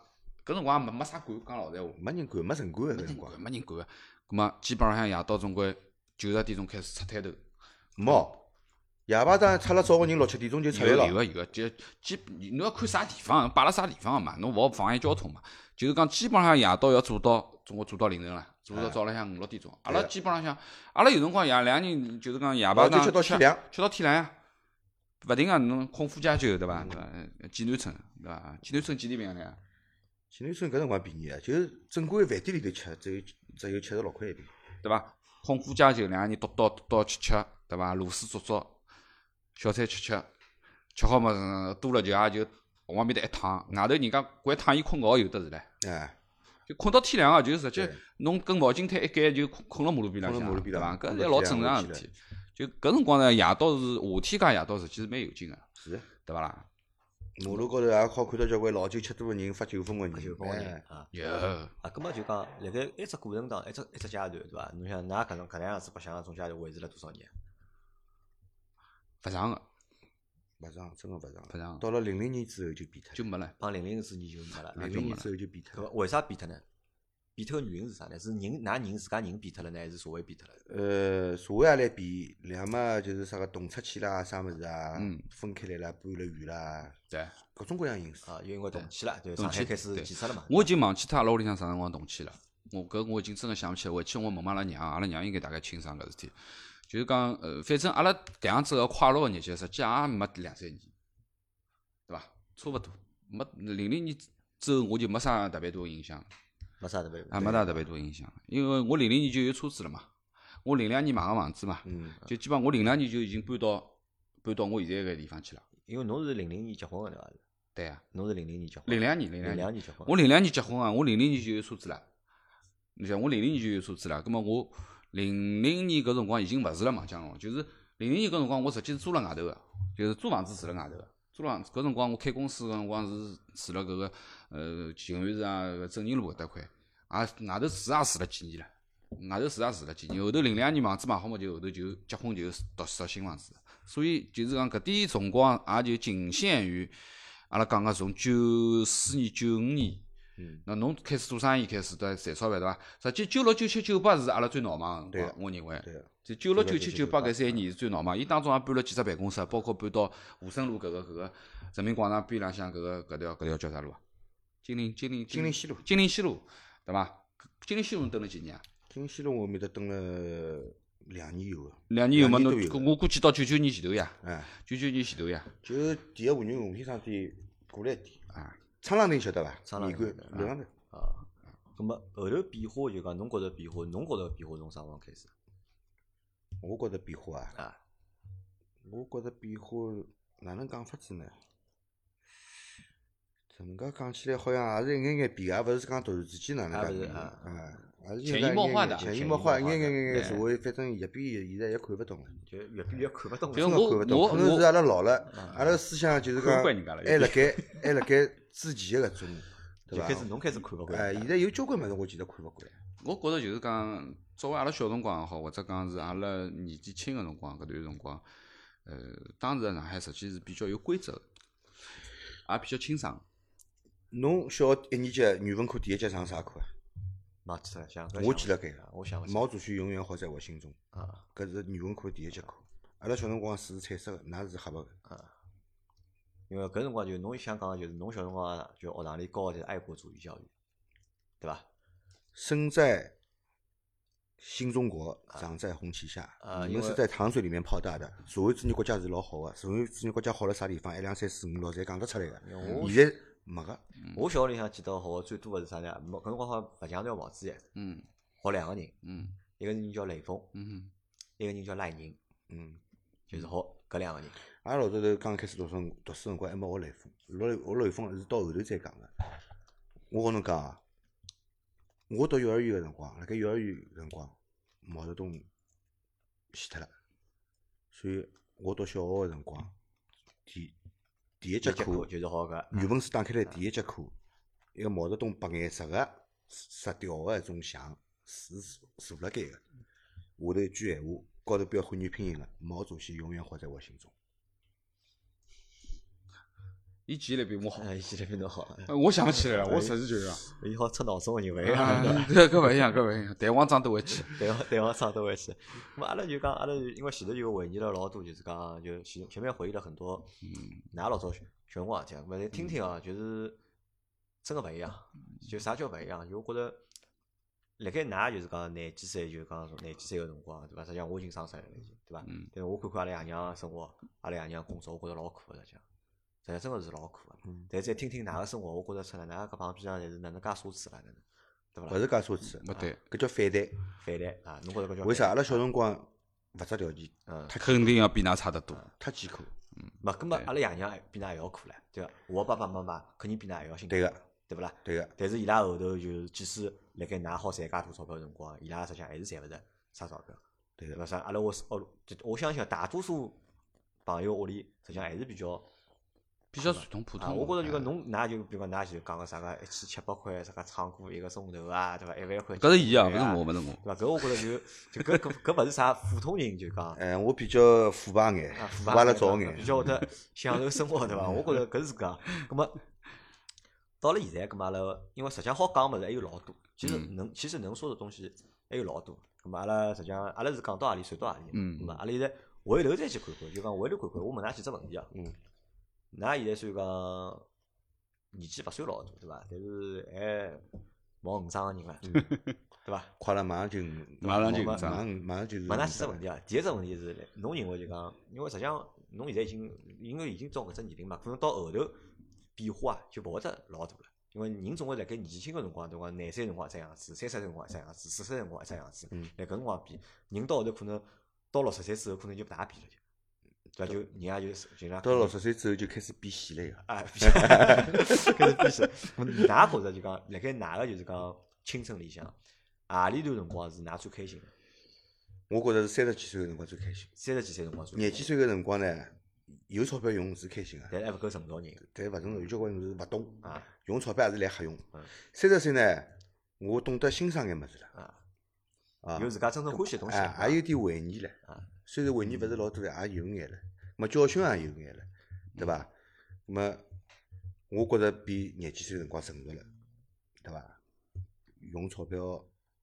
S2: 搿辰光也没啥管，讲老实闲话，
S3: 没人管，没城管搿辰光。
S2: 没人管个。葛末基本上向夜到总归90点钟开始出摊头。
S3: 没，夜排档出了早个人6、7点钟就出来了。
S2: 有个，就侬要看啥地方，摆辣啥地方个嘛，侬勿好妨碍交通嘛。就是讲基本上夜到要做到，总归做到凌晨了，做到早浪向5、6点钟。阿拉基本上向，阿拉有辰光两个人就是讲夜排档
S3: 吃到天亮，
S2: 吃到天亮呀。勿停个侬空腹加酒对伐？济南村对伐？济南村几钿瓶呀？
S3: 济南村搿辰光便宜啊，就是正规饭店里头吃，只有76块一瓶，
S2: 对伐？空腹加酒，两个人倒吃，对伐？螺丝做，小菜吃，吃好嘛，多了就也就往面搭一躺，外头人家掼躺椅困觉有得是唻。
S3: 哎，
S2: 就困到天亮啊，就直接侬跟毛巾摊一盖就困辣马路边浪向，对伐？搿是老正常个事体。就搿辰光呢，夜到是夏天介夜到，实际是蛮有劲个，
S3: 是，
S2: 对伐啦？
S3: 马路高头也好看到交关老酒吃多个人发酒疯个人，
S1: 啊，
S2: 有
S1: 啊，葛末就讲辣盖一只过程当一只阶段，对伐？侬想㑚搿能样子白相种阶段维持了多少年？
S2: 勿长个，
S3: 勿长，真个勿长。
S2: 勿长。
S3: 到了00年之后就变脱，
S2: 就没了。
S1: 帮00之年就没了。
S3: 00年之后就变脱。
S1: 搿么为啥变脱呢？变脱个原因是啥呢？是㑚人自家人变脱了呢，还是社会变脱了？
S3: 社会也来变，两嘛就是啥个动出去啦，啥物事啊，分开来啦，搬了远啦，
S2: 对，
S3: 各种各样因素
S1: 啊，因为动迁了，对，上海开始建设了嘛。
S2: 我已经忘记脱阿拉屋里向啥辰光动迁了。我已经真个想不起来。回去我问问阿拉娘应该大概清爽搿事体。就是讲，反正阿拉搿样子个快乐个日脚，实际也没2、3年，对伐？差勿多，没00年之后我就没啥特别多影响。
S1: 没啥特别，
S2: 没啥特别多影响，因为我00年就有车子了嘛，我02年买个房子嘛，就基本上我02年就已经搬到我现在搿地方去了。
S1: 因为侬是00年结婚个对伐？
S2: 对啊，
S1: 侬是00年结婚。
S2: 02
S1: 年结婚。
S2: 我02年结婚啊，我00年就有车子了。你想我00年就有车子了，葛末我00年搿辰光已经勿住辣邙江了，就是00年搿辰光我实际是租辣外头个，就是租房子住辣外头个。租房子搿辰光我开公司搿辰光是住辣搿个静安寺啊正宁路搿搭块，外头住也住了几年了，后头02年房子买好嘛，就后头就结婚就读新房子，所以就是讲搿点辰光也就仅限于阿拉讲个从94年95年。那侬开始做生意开始赚钞票对伐？实际96、97、98是阿拉最闹忙个辰光，我认为。就96、97、98搿3年是最闹忙。伊当中也搬了几只办公室，包括搬到武胜路搿个人民广场边浪向搿条叫啥路啊？金陵西路，对伐？金陵西路蹲了几年啊？
S3: 金陵西路我面搭蹲了2年有个。
S2: 2年有嘛？侬我估计到99年前头呀。99年前头呀。
S3: 就第一华润红天商店过来一点。
S2: 啊。
S3: 昌浪亭晓得伐？
S1: 昌浪亭
S3: 刘浪头。
S1: 啊，咁么后头变化就讲侬觉着变化，从啥辰光开始？
S3: 我觉着变化啊。我觉着变化哪能讲法子呢？这能介讲起来好像也是一眼眼变，也勿是讲突然之间哪能介变也是
S2: 潜移默化的，
S3: 潜移默化，一眼社会，反正越变现在也看勿懂了，
S1: 就越变越看勿懂了。
S3: 真个看勿懂，可能是阿拉老了，阿拉思想就是讲还辣盖之前个搿种，对伐？
S1: 侬开始看勿惯。
S3: 现在有交关物事我其实看勿惯。
S2: 我觉着就是讲，作为阿拉小辰光也好，或者讲是阿拉年纪轻个辰光搿段辰光，当时上海实际是比较有规则，也比较清爽。
S3: 侬小学1年级语文课第一节上啥课啊？
S1: 忘记了，
S3: 我记了该，
S1: 我想
S3: 毛主席永远活在我心中。
S1: 啊，
S3: 搿是语文课第一节课。阿拉小辰光水是彩色个，㑚是黑白个。
S1: 因为搿辰光就侬想讲个就是侬小辰光就学堂里教个就是爱国主义教育，对伐？
S3: 生在新中国，长在红旗下。你们是在糖水里面泡大的。社会主义国家是老好个，社会主义国家好辣啥地方？1、2、3、4、5、6侪讲得出来个。现在没个。
S1: 我小学里向记得学个最多个是啥呢？搿辰光好像白墙条房子耶。学2个人。一个人叫雷锋。一个人叫赖宁。就是学搿2个人。
S3: 阿拉老早头刚开始读书辰光还没学雷锋，学雷锋是到后头再讲个。我跟侬讲啊，我读幼儿园个辰光，辣盖幼儿园辰光，毛泽东死脱了，所以我读小学个辰光，第一节课
S1: 就是学搿
S3: 语文书打开来第一节课，一个毛泽东白颜色个石雕个一种像是坐辣盖个，下头一句闲话，高头标汉语拼音个，毛主席永远活在我心中。
S2: 伊记忆力比我好。
S1: 伊记忆力比侬好，
S2: 我想起来了，我实事求是啊。
S1: 伊好出脑松个人勿一样，
S2: 搿勿一样，搿勿一样，弹簧装都会去。
S1: 对方上都会去。咁阿拉就讲，阿拉因为前头就回忆了老多，就是讲就前面回忆了很多，㑚老早小辰光事体，咁再听听啊，就是真个勿一样。就啥叫勿一样？就我觉着，辣盖㑚就是讲廿几岁，就讲廿几岁个辰光，对伐？实际上我已经30岁了，已经，对伐？但是我看看阿拉爷娘生活，阿拉爷娘工作，我觉着老苦个，实际上真个是老苦个。但再听听㑚个生活，我觉着出来，㑚搿帮逼样侪是哪能介奢侈啦，哪能，对伐？
S3: 勿是介奢侈，
S2: 勿对，
S3: 搿叫反弹。
S1: 反弹啊！侬觉着搿叫
S3: 为啥？阿拉小辰光物质条件
S2: 肯定要比㑚差得多。
S3: 太艰苦。
S1: 没，搿么阿拉爷娘比㑚还要苦唻，对伐？我爸爸妈妈肯定比㑚还要辛苦，
S3: 对个，
S1: 对勿啦？
S3: 对个。
S1: 但是伊拉后头就即使辣盖㑚好赚介多钞票个辰光，伊拉实际上还是赚勿着啥钞票，
S3: 对个。
S1: 对伐？啥？阿拉我相信大多数朋友屋里实际上还是比较
S2: 传统普通。
S1: 我觉着就讲侬㑚就比如讲㑚就讲个啥个一千700块，啥个唱歌1个钟头啊，对伐？1万块。
S2: 搿是伊啊，勿是我，勿是我。
S1: 对伐？搿我觉着就搿勿是啥普通人就讲。
S3: 我比较腐败眼，腐败了早眼，
S1: 比较会得享受生活，对伐？我觉着搿是搿。葛末到了现在，葛末阿拉因为实际上好讲物事还有老多，其实能说的东西还有老多。葛末阿拉实际上阿拉是讲到何里算到何里。葛末阿拉现在回头再去看看，就讲回头看看，我问㑚几只问题啊。㑚现在虽然讲年纪勿算老大，对伐？但是还毛50个人了，对伐？
S3: 快了，马上就
S2: 马上就
S3: 马上就是。
S1: 问㑚几只问题啊？第一只问题是，侬认为就讲，因为实际上侬现在因为已经到搿只年龄嘛，可能到后头变化啊就勿会得老大了。因为人总归辣盖年轻个辰光，对伐？廿岁辰光一只样子，30岁辰光一只样子，40岁辰光一只样子。辣搿辰光变，人到后头可能到60岁之后，可能就勿大变了就。对伐？就人家就
S3: 到60岁之后就开始变细了呀。
S1: 开始变细。㑚觉着就讲，辣盖㑚个就是讲青春里向，何里段辰光是㑚最开心的？
S3: 我觉着是30几岁个辰光最开心。
S1: 30几岁辰光最。
S3: 廿几岁个辰光呢，有钞票用是开心个，
S1: 但还勿够成熟人。
S3: 但勿成熟，有交关是勿懂
S1: 啊，
S3: 用钞票也是来瞎用。30岁呢，我懂得欣赏眼物事了。
S1: 有自家真正欢喜个东西。
S3: 也有点回忆了。虽然回忆勿是老多了，也有眼了。么教训也有眼了，对伐？么我觉着比廿几岁辰光成熟了，对伐？用钞票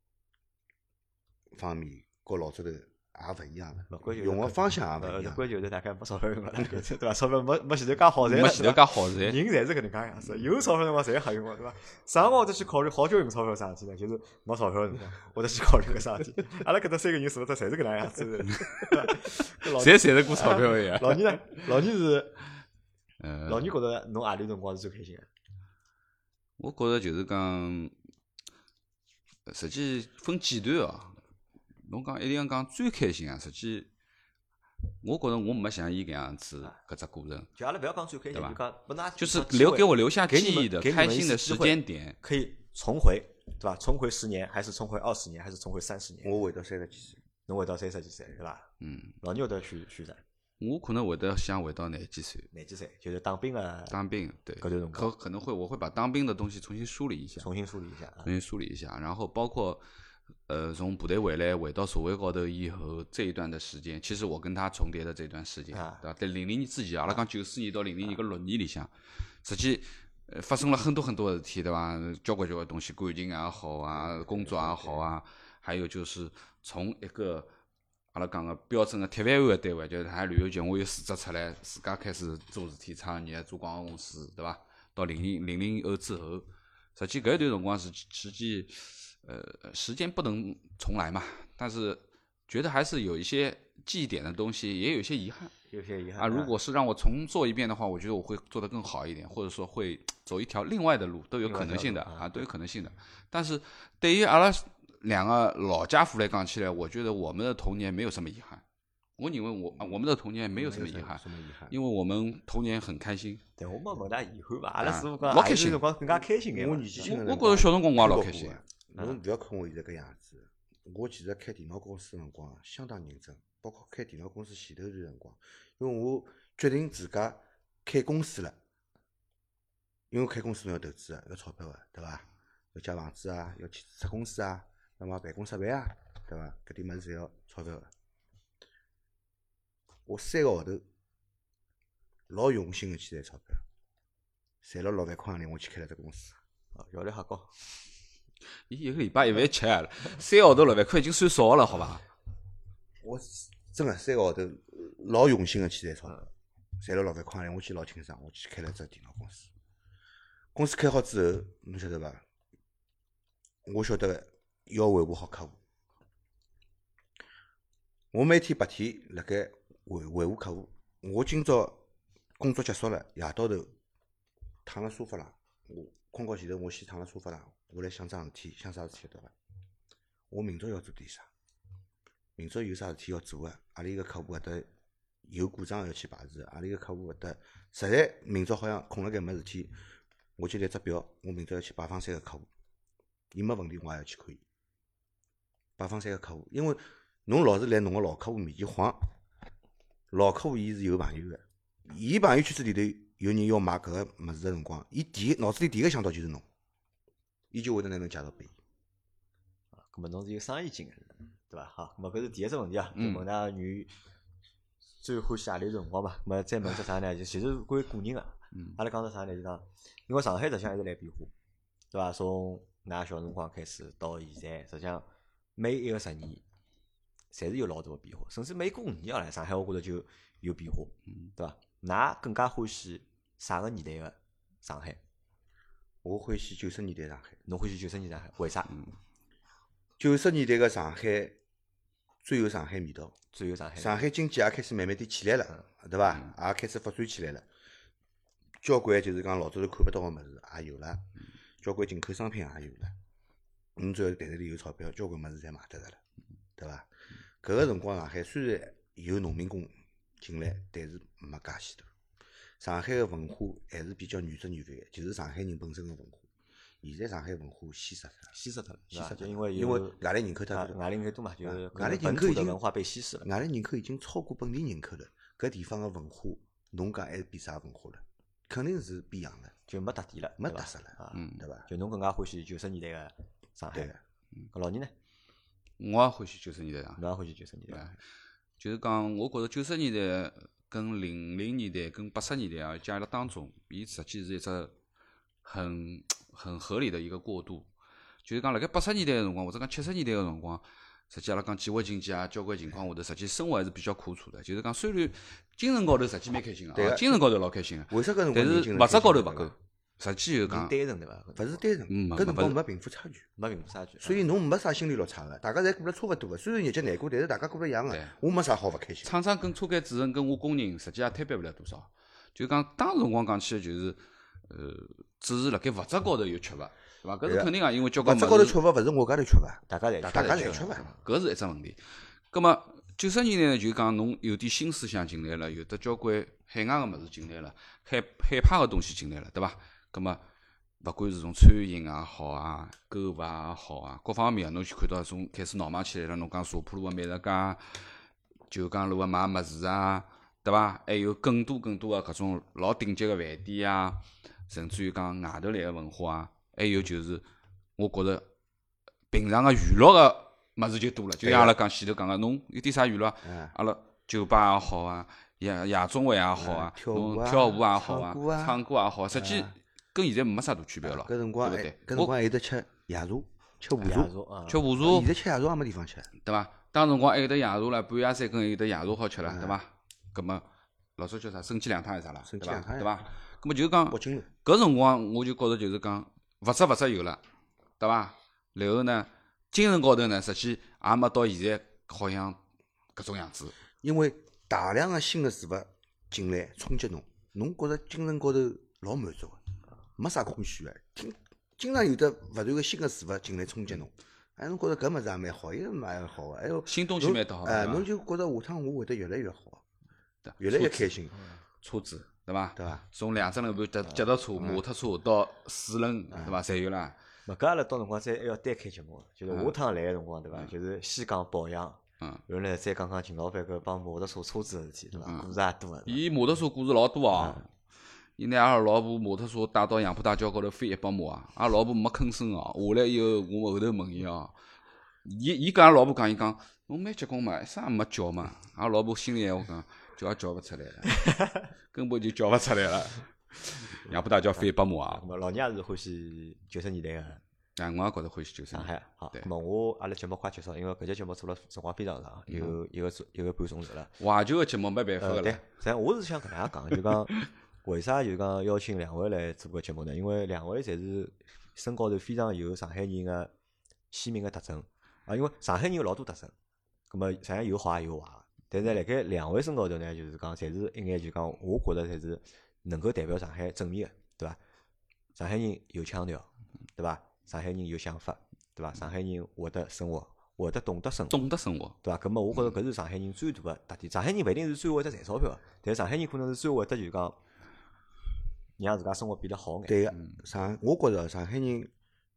S3: 方面和老早头也勿一样了，用个方向也勿一样。
S1: 关键就是大概没钞票用了，对伐？钞票没前头介好赚，
S2: 没前头介好赚。
S1: 人侪是搿能介样子，有钞票辰光侪瞎用个，对伐？啥辰光会得去考虑好久用钞票啥事体呢？就是没钞票辰光，会得去考虑搿啥事体。阿拉搿搭3个人是勿是侪是搿能样子？
S2: 侪赚得过钞票个呀。
S1: 老倪呢？老倪是，老倪觉着侬何里辰光是最开心个？
S2: 我觉着就是讲，实际分阶段哦。侬讲一定要讲最开心啊！实际，我觉着我没像伊搿样子搿只过程。
S1: 就阿拉勿要讲最开心，就讲拨㑚
S2: 就是给我留下记忆的开心的时间点，
S1: 可以重回，对伐？重回10年，还是重回20年，还是重回30年？
S3: 我回到30几岁，
S1: 侬回到30几岁，对伐？老倪会得选啥？
S2: 我可能会得想回到廿几岁，
S1: 就是当兵的。
S2: 当兵，对，
S1: 搿段辰光
S2: 可能我会把当兵的东西重新梳理一下，然后包括。从部队回来，回到社会高头以后，这一段的时间，其实我跟他重叠的这段时间，对吧？在00年之前，阿拉讲94年到00年搿6年里向，实际发生了很多很多的事体，对吧？交关东西，感情也好啊，工作也好啊，还有就是从一个阿拉讲个标准的铁饭碗的单位，就是海旅游局，我又辞职出来，自家开始做事体、创业、做广告公司，对吧？到00后之后，实际搿一段辰光实际。时间不能重来嘛，但是觉得还是有一些记忆点的东西，也有一些遗憾。啊！如果是让我重做一遍的话，我觉得我会做得更好一点，或者说会走一条另外的路，都有可能性的啊，都有可能性的。但是对于阿拉2个老家伙来讲起来，我觉得我们的童年没有什么遗憾。我认为我们的童年没有什么遗憾，因为我们童年很开心。
S1: 对，我没问大遗憾吧，阿拉师傅讲
S2: 老开心，
S1: 辰光更加开心眼。
S3: 我年纪轻，
S2: 我觉着小辰光我也老开心。
S3: 侬勿要看我现在搿样子，我其实开电脑公司的辰光相当认真，包括开电脑公司前头段辰光，因为我决定自家开公司了，因为开公司侬要投资要钞票对伐？要借房子啊，要去注册公司啊，要买办公设备啊，对伐？搿点物事侪要钞票我3个号头老用心的去赚钞票， 赚了6万块洋钿，我去开了只公司。
S1: 效率还高。
S2: 伊一个礼拜1万7啊，3个号头6万块已经算少了，好伐？
S3: 我真个3个号头老用心个去赚钞票，赚了6万块洋钿，我记得老清爽，我去开了只电脑公司。公司开好之后，侬晓得伐？我晓得要维护好客户。我每天白天辣盖维护客户，我今朝工作结束了，夜到头躺辣沙发浪，我困觉前头我先躺辣沙发浪，我来想桩事体，想啥事体晓得伐？我明朝要做点啥？明朝有啥事体要做个？阿里个客户搿搭有故障要去排除，阿里个客户搿搭实在明朝好像空辣盖没事体，我就列只表，我明朝要去拜访3个客户，伊没问题我也要去看伊。拜访3个客户，因为侬老是来侬个老客户面前晃，老客户伊是有朋友个，伊朋友圈子里头有人要买搿个物事个辰光，伊脑子里第一个想到就是侬，伊就会得拿侬介绍拨伊。
S1: 咁么侬是有生意经个，对伐？好，咁么搿是第一只问题啊，就问㑚女最欢喜何里辰光嘛？咁么再问只啥呢？就其实关于个人个，阿拉讲只啥呢？就讲，因为上海实际上一直来变化，对伐？从㑚小辰光开始到现在，实际上每一个10年，侪是有老大个变化，甚至每过5年啊，上海我觉着就有变化，对伐？㑚更加欢喜啥个年代个上海？
S3: 我欢喜90年代上海。
S1: 侬欢喜90年代上海？为啥
S3: ？90年代个上海最有上海味道，
S1: 最有上海。
S3: 上海经济也开始慢慢点起来了，对伐？也开始发展起来了。交关就是讲老早头看不到个物事也有了，交关进口商品也有了。侬只要袋子里有钞票，交关物事侪买得着了，对伐？搿个辰光上海虽然有农民工进来，但是没介许多。上海个文化还是比较原汁原味个，就是上海人本身个文化。现在上海文化稀释脱了，
S1: 就因为
S3: 外来人口太多，
S1: 外来人口多嘛，就是
S3: 外来人口已经
S1: 文化被稀释了，
S3: 外来人口已经超过本地人口了。搿地方个文化，侬讲还是比啥文化了？肯定是变样了，
S1: 就没特点了，
S3: 没特色了，对伐？
S1: 就侬更加欢喜90年代个上海，搿老倪呢？
S2: 我也欢喜90年代上海，
S1: 侬也欢喜90年代，
S2: 就是讲，我觉着90年代跟00年代跟80年代啊，加辣当中，伊实际是一只很合理的一个过渡。就是讲辣盖80年代个辰光，或者讲70年代个辰光，实际阿拉讲计划经济啊，交关情况下头，实际生活还是比较苦楚的。就是讲，虽然精神高头实际蛮开心个，精神高头老开心个，
S3: 为啥搿辰光
S2: 但是物质高头勿够。实际就讲，
S1: 单纯对伐？
S3: 勿是单纯，搿辰光没贫富差距，
S1: 没贫富差距，
S3: 所以侬没啥心理落差个，大家侪过得差勿多个。虽然日脚难过，但是大家过得一样个。我没啥好勿开心。
S2: 厂长跟车间主任跟我工人，实际也推别勿了多少。就讲当时辰光讲起来，就是只是辣盖物质高头有缺乏，对伐？搿是肯定个，因为交关
S3: 物质高头缺乏，勿是我家头缺乏，
S1: 大家
S3: 侪缺乏，
S2: 搿是一只问题。葛末90年代呢，就讲侬有点新思想进来了，有得交关海外个物事进来了，海派个东西进来了，对伐？葛末勿管是从餐饮也好啊，购物也好啊，各方面侬去看到从开始闹忙起来了。侬讲茶铺路个美食街、酒江路个卖物事啊，对伐？还有更多个搿种老顶级个饭店啊，甚至于讲外头来个文化啊，还有就是我觉着平常个娱乐个物事就多了。就像阿拉讲前头讲个，侬有点啥娱乐？阿拉酒吧也好啊，夜总会也好啊，侬跳舞也好啊，唱歌也好，实际跟现在没啥大区别了。
S3: 搿辰光还有得吃夜茶，吃茶，
S2: 吃茶。现
S3: 在吃夜茶也没地方吃，
S2: 对伐？当辰光还有得夜茶了，半夜3更有得夜茶好吃了，对伐？葛末老早叫啥？生鸡两汤还是啥啦？对伐？对伐？葛末就是讲，搿辰光我就觉着就是讲，物质有了，对伐？然后呢，精神高头呢，实际也没到现在好像搿种样子。
S3: 因为大量个新个事物进来冲击侬，侬觉着精神高头老满足个。没啥空虚个，经常有得勿断个新个事物进来冲击侬，侬觉着搿物事也蛮好，伊蛮好个，还有
S2: 新东西蛮多好，
S3: 侬就觉着下趟我会得越来越好，越来越开心。
S2: 车子对伐？
S3: 对伐？
S2: 从2只轮盘脚踏车、摩托车到4轮，对伐？侪有啦。
S1: 搿阿拉到辰光再还要单开节目，就是下趟来个辰光，对伐？就是先讲保养，然后呢再讲秦老板搿帮摩托车车子个事体，对伐？故事也多个。
S2: 伊摩托车故事老多啊。伊拿阿拉老婆摩托车带到杨浦大桥高头飞100码啊！阿拉老婆没吭声哦。下来以后，我后头问伊哦，伊跟阿拉老婆讲，伊讲侬蛮结棍嘛，啥也没叫嘛。阿拉老婆心里闲话讲，叫也叫勿出来了，根本就叫勿出来了。 杨浦大桥翻100码
S1: 啊。
S2: 啊
S1: 咁。么老倪也是欢喜90年代个
S2: 哎，我也觉着欢喜90
S1: 上海。好，
S2: 对
S1: 咁么阿拉节目快结束，因为搿节节目做了辰光非常长，有一个半钟头了。
S2: 怀旧个节目没办法个
S1: 对
S2: 了。，
S1: 实际上我是想搿能样讲，就讲为啥就讲邀请两位来做搿节目呢？因为两位侪是身高头非常有上海人个鲜明个特征啊。因为上海人有老多特征，咁么实际上有好也有坏个。但是辣盖两位身高头呢，就是讲侪是一眼就讲，我觉着侪是能够代表上海正面个，对伐？上海人有腔调，对伐？上海人有想法，对伐？上海人会得生活，会得懂得生活。
S2: 懂得生活，
S1: 对伐？咁么我觉着搿是上海人最大个特点。上海人勿一定是最会得赚钞票个，但是上海人可能是最会得就讲让自家生活变得好眼。
S3: 对个，我觉着上海人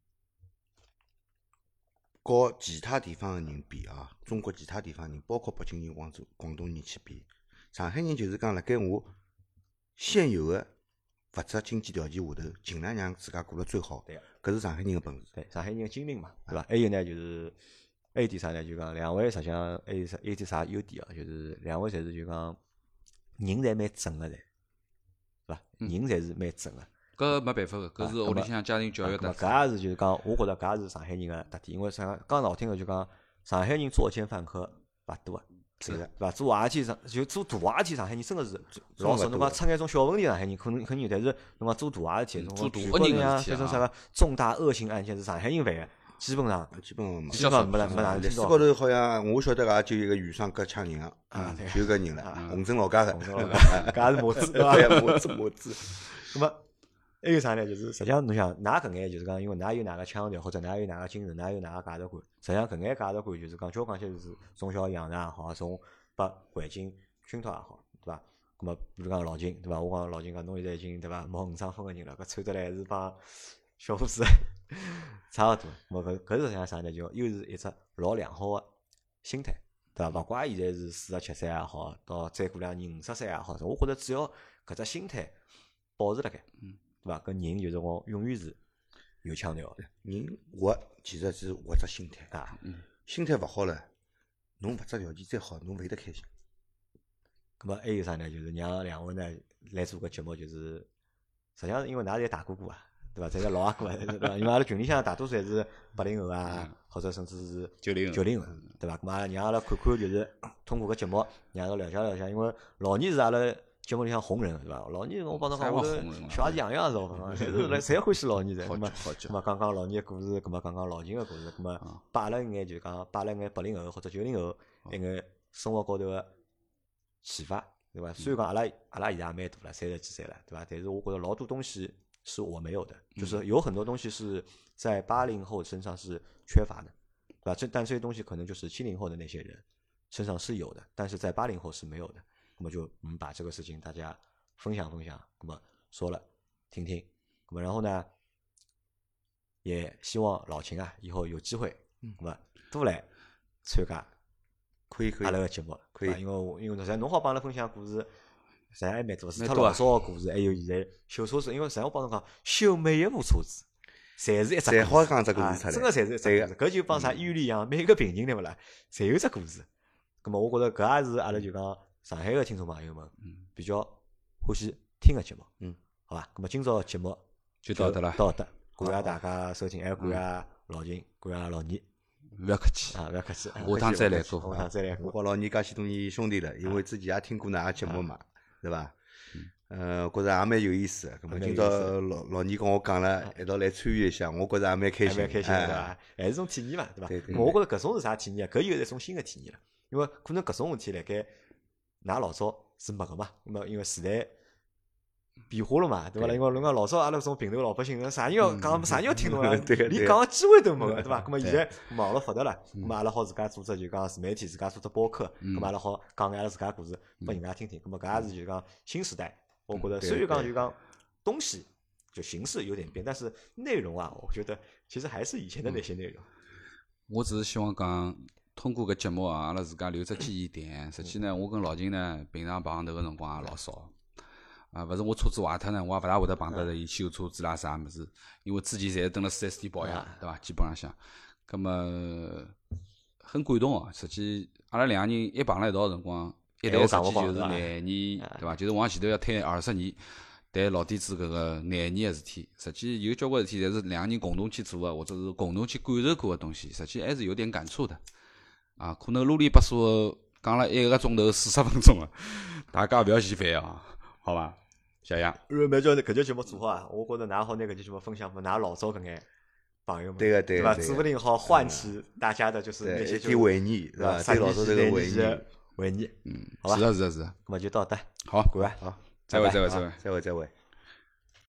S3: 和其他地方个人比啊，中国其他地方人，包括北京人、广东人去比，上海人就是讲辣盖我现有个物质经济条件下头，尽量让自家过得最好。
S1: 对
S3: 搿是上海人个本事。
S1: 对，上海人个精灵嘛，对伐？还有呢，就是还有点啥呢？就讲两位实际上还有点啥优点啊？就是两位侪是就讲人侪蛮正个噻，对伐？人侪是蛮正个。
S2: 搿没办法个，搿是屋里向家庭教育特质。
S1: 搿也是就是讲，我觉着搿也是上海人个特点。因为讲好听个就讲，上海人作奸犯科勿多个。
S3: 是的，
S1: 对伐？做坏事体就做大坏事体，上海人真个是老少。侬讲出眼种小问题，上海人可能有，但是侬讲做大坏事体，
S2: 做大
S1: 恶
S2: 人个事体
S1: 呀，这种啥个重大恶性案件是上海人犯个，基本上
S3: 基本上没。
S1: 基本上没哪能听到。
S3: 历史高头好像我晓得个，就一个余生割枪人
S1: 啊对
S3: 就搿人了，洪镇老家个，
S1: 搿也是模子对伐？
S3: 对，模子。
S1: 那么还有啥呢？就是实际上侬想，㑚搿眼就是讲，因为㑚有㑚个腔调，或者㑚有㑚个精神，㑚有㑚个价值观。实际上搿眼价值观就是讲，交关些就是从小养成也好，从把环境熏陶也好，对伐？咁么，比如讲老金，对伐？我讲老金讲，侬现在已经对伐冒5张分个人了，搿穿得来还是帮小伙子差勿多。咁么搿是实际上啥呢？就又是一只老良好个心态，对伐？勿怪现在是47岁也好，到再过2年50岁也好，我觉着只要搿只心态保持辣盖，对伐？搿人就是讲永远是有腔调的。
S3: 人活其实是活只心态
S1: 啊，
S3: 心态勿好了，侬物质条件再好，侬勿会得开心。
S1: 咁么还有啥呢？就是让两位呢来做个节目，就是实际上是因为㑚侪大哥哥啊，对伐？侪是老阿哥啊，对伐？因为阿拉群里向大多数还是80后啊，或者甚至是90后，对伐？咁阿拉让阿拉看看，就是通过搿节目，让阿拉了解了解，因为老倪是阿拉节目里向红人，对伐？老倪我帮侬讲，我小孩子样样是好，侪欢喜老倪噻。咁么讲讲老倪个故事，咁么讲讲老秦个故事，咁么摆了一眼就讲摆了一眼80后或者90后一眼生活高头个启发，对吧？虽然讲阿拉现在也蛮大了，30几岁了，对吧？但是我觉得老多东西是我没有的，就是有很多东西是在80后身上是缺乏的，对吧？但这些东西可能就是70后的那些人身上是有的，但是在80后是没有的。那么就把这个事情大家分享分享，那么说了听听，那么然后呢，也希望老秦啊以后有机会，那么多来参加。
S3: 可以
S1: 阿拉个节目
S3: 可以，
S1: 因为实际侬好帮阿拉分享故事，实际上还蛮多，除脱老早个故事，还有现在修车子，因为实际上我帮侬讲，修每一部车子，侪是一只，
S3: 侪好讲只故事出来，
S1: 真个侪是一只故事。搿就帮啥医院里一样，每个病人对勿啦，侪有只故事。咁么，我觉着搿也是阿拉就讲上海个听众朋友们比较欢喜听个节目，好伐？咁么今朝个节目
S2: 就到这了，
S1: 到这，感谢大家收听，还感谢老秦，感谢老倪。
S2: 勿要客气
S1: 啊，勿要客气，
S2: 下趟再来做，
S1: 下趟再来过。
S3: 我和老倪介许多年兄弟了，因为之前也听过㑚个节目嘛，对伐？觉着也蛮有意思个。咁么今朝老倪跟我讲了，一道来参与一下，我觉着也蛮开心，
S1: 蛮开心对伐？还是种体验嘛，对伐？
S3: 对。
S1: 我觉着搿种是啥体验啊？搿又是一种新个体验了，因为可能搿种事体辣盖㑚老早是没个嘛，那么因为时代变化了嘛，对伐？因为侬讲老早阿拉搿种平头老百姓，啥人要讲，啥人要听侬啊？连讲个机会都没个，对伐？咁么现在网络发达了，咁么阿拉好自家组织就讲自媒体，自家做只播客，咁么阿拉好讲眼阿拉自家故事拨人家听听。咁么搿也是就讲新时代，我觉得虽然讲就讲东西就形式有点变，但是内容啊，我觉得其实还是以前的那些内容。
S2: 我只是希望讲。通过搿节目啊，阿拉自家留只记忆点。实际呢，我跟老秦呢，平常碰头个辰光也老少。啊，勿是我车子坏脱呢，我也勿大会得碰到伊修车子啦啥物事，因为之前侪是蹲辣 4S 店保养，对伐？基本上向，葛么很感动哦。实际阿拉两个人一碰辣一道个辰光，一谈实际就是20年，对伐？就是往前头要推20年。 谈老底子搿个难言个事体，实际有交关事体侪是两个人共同去做个，或者是共同去感受过个东西，实际还是有点感触的。啊，可能啰里吧嗦讲了1个钟头40分钟了，大家勿要嫌烦啊，好伐？谢谢。
S1: 如果蛮叫搿节节目做好啊，我觉着㑚好拿搿节节目分享拨㑚老早搿眼朋友们，
S3: 对个
S1: 对伐？
S3: 对个，
S1: 指不定好唤起大家的就是那些
S3: 一点回忆，对伐？
S1: 啥
S3: 对老早这个回忆，
S1: 回忆，
S2: 嗯，
S1: 好吧
S2: 是的，是的，是的。
S1: 那么就到这，
S2: 好，
S1: 各位，
S3: 好，
S2: 再会，
S3: 拜拜
S2: 再会，再会。
S3: 再会，再会。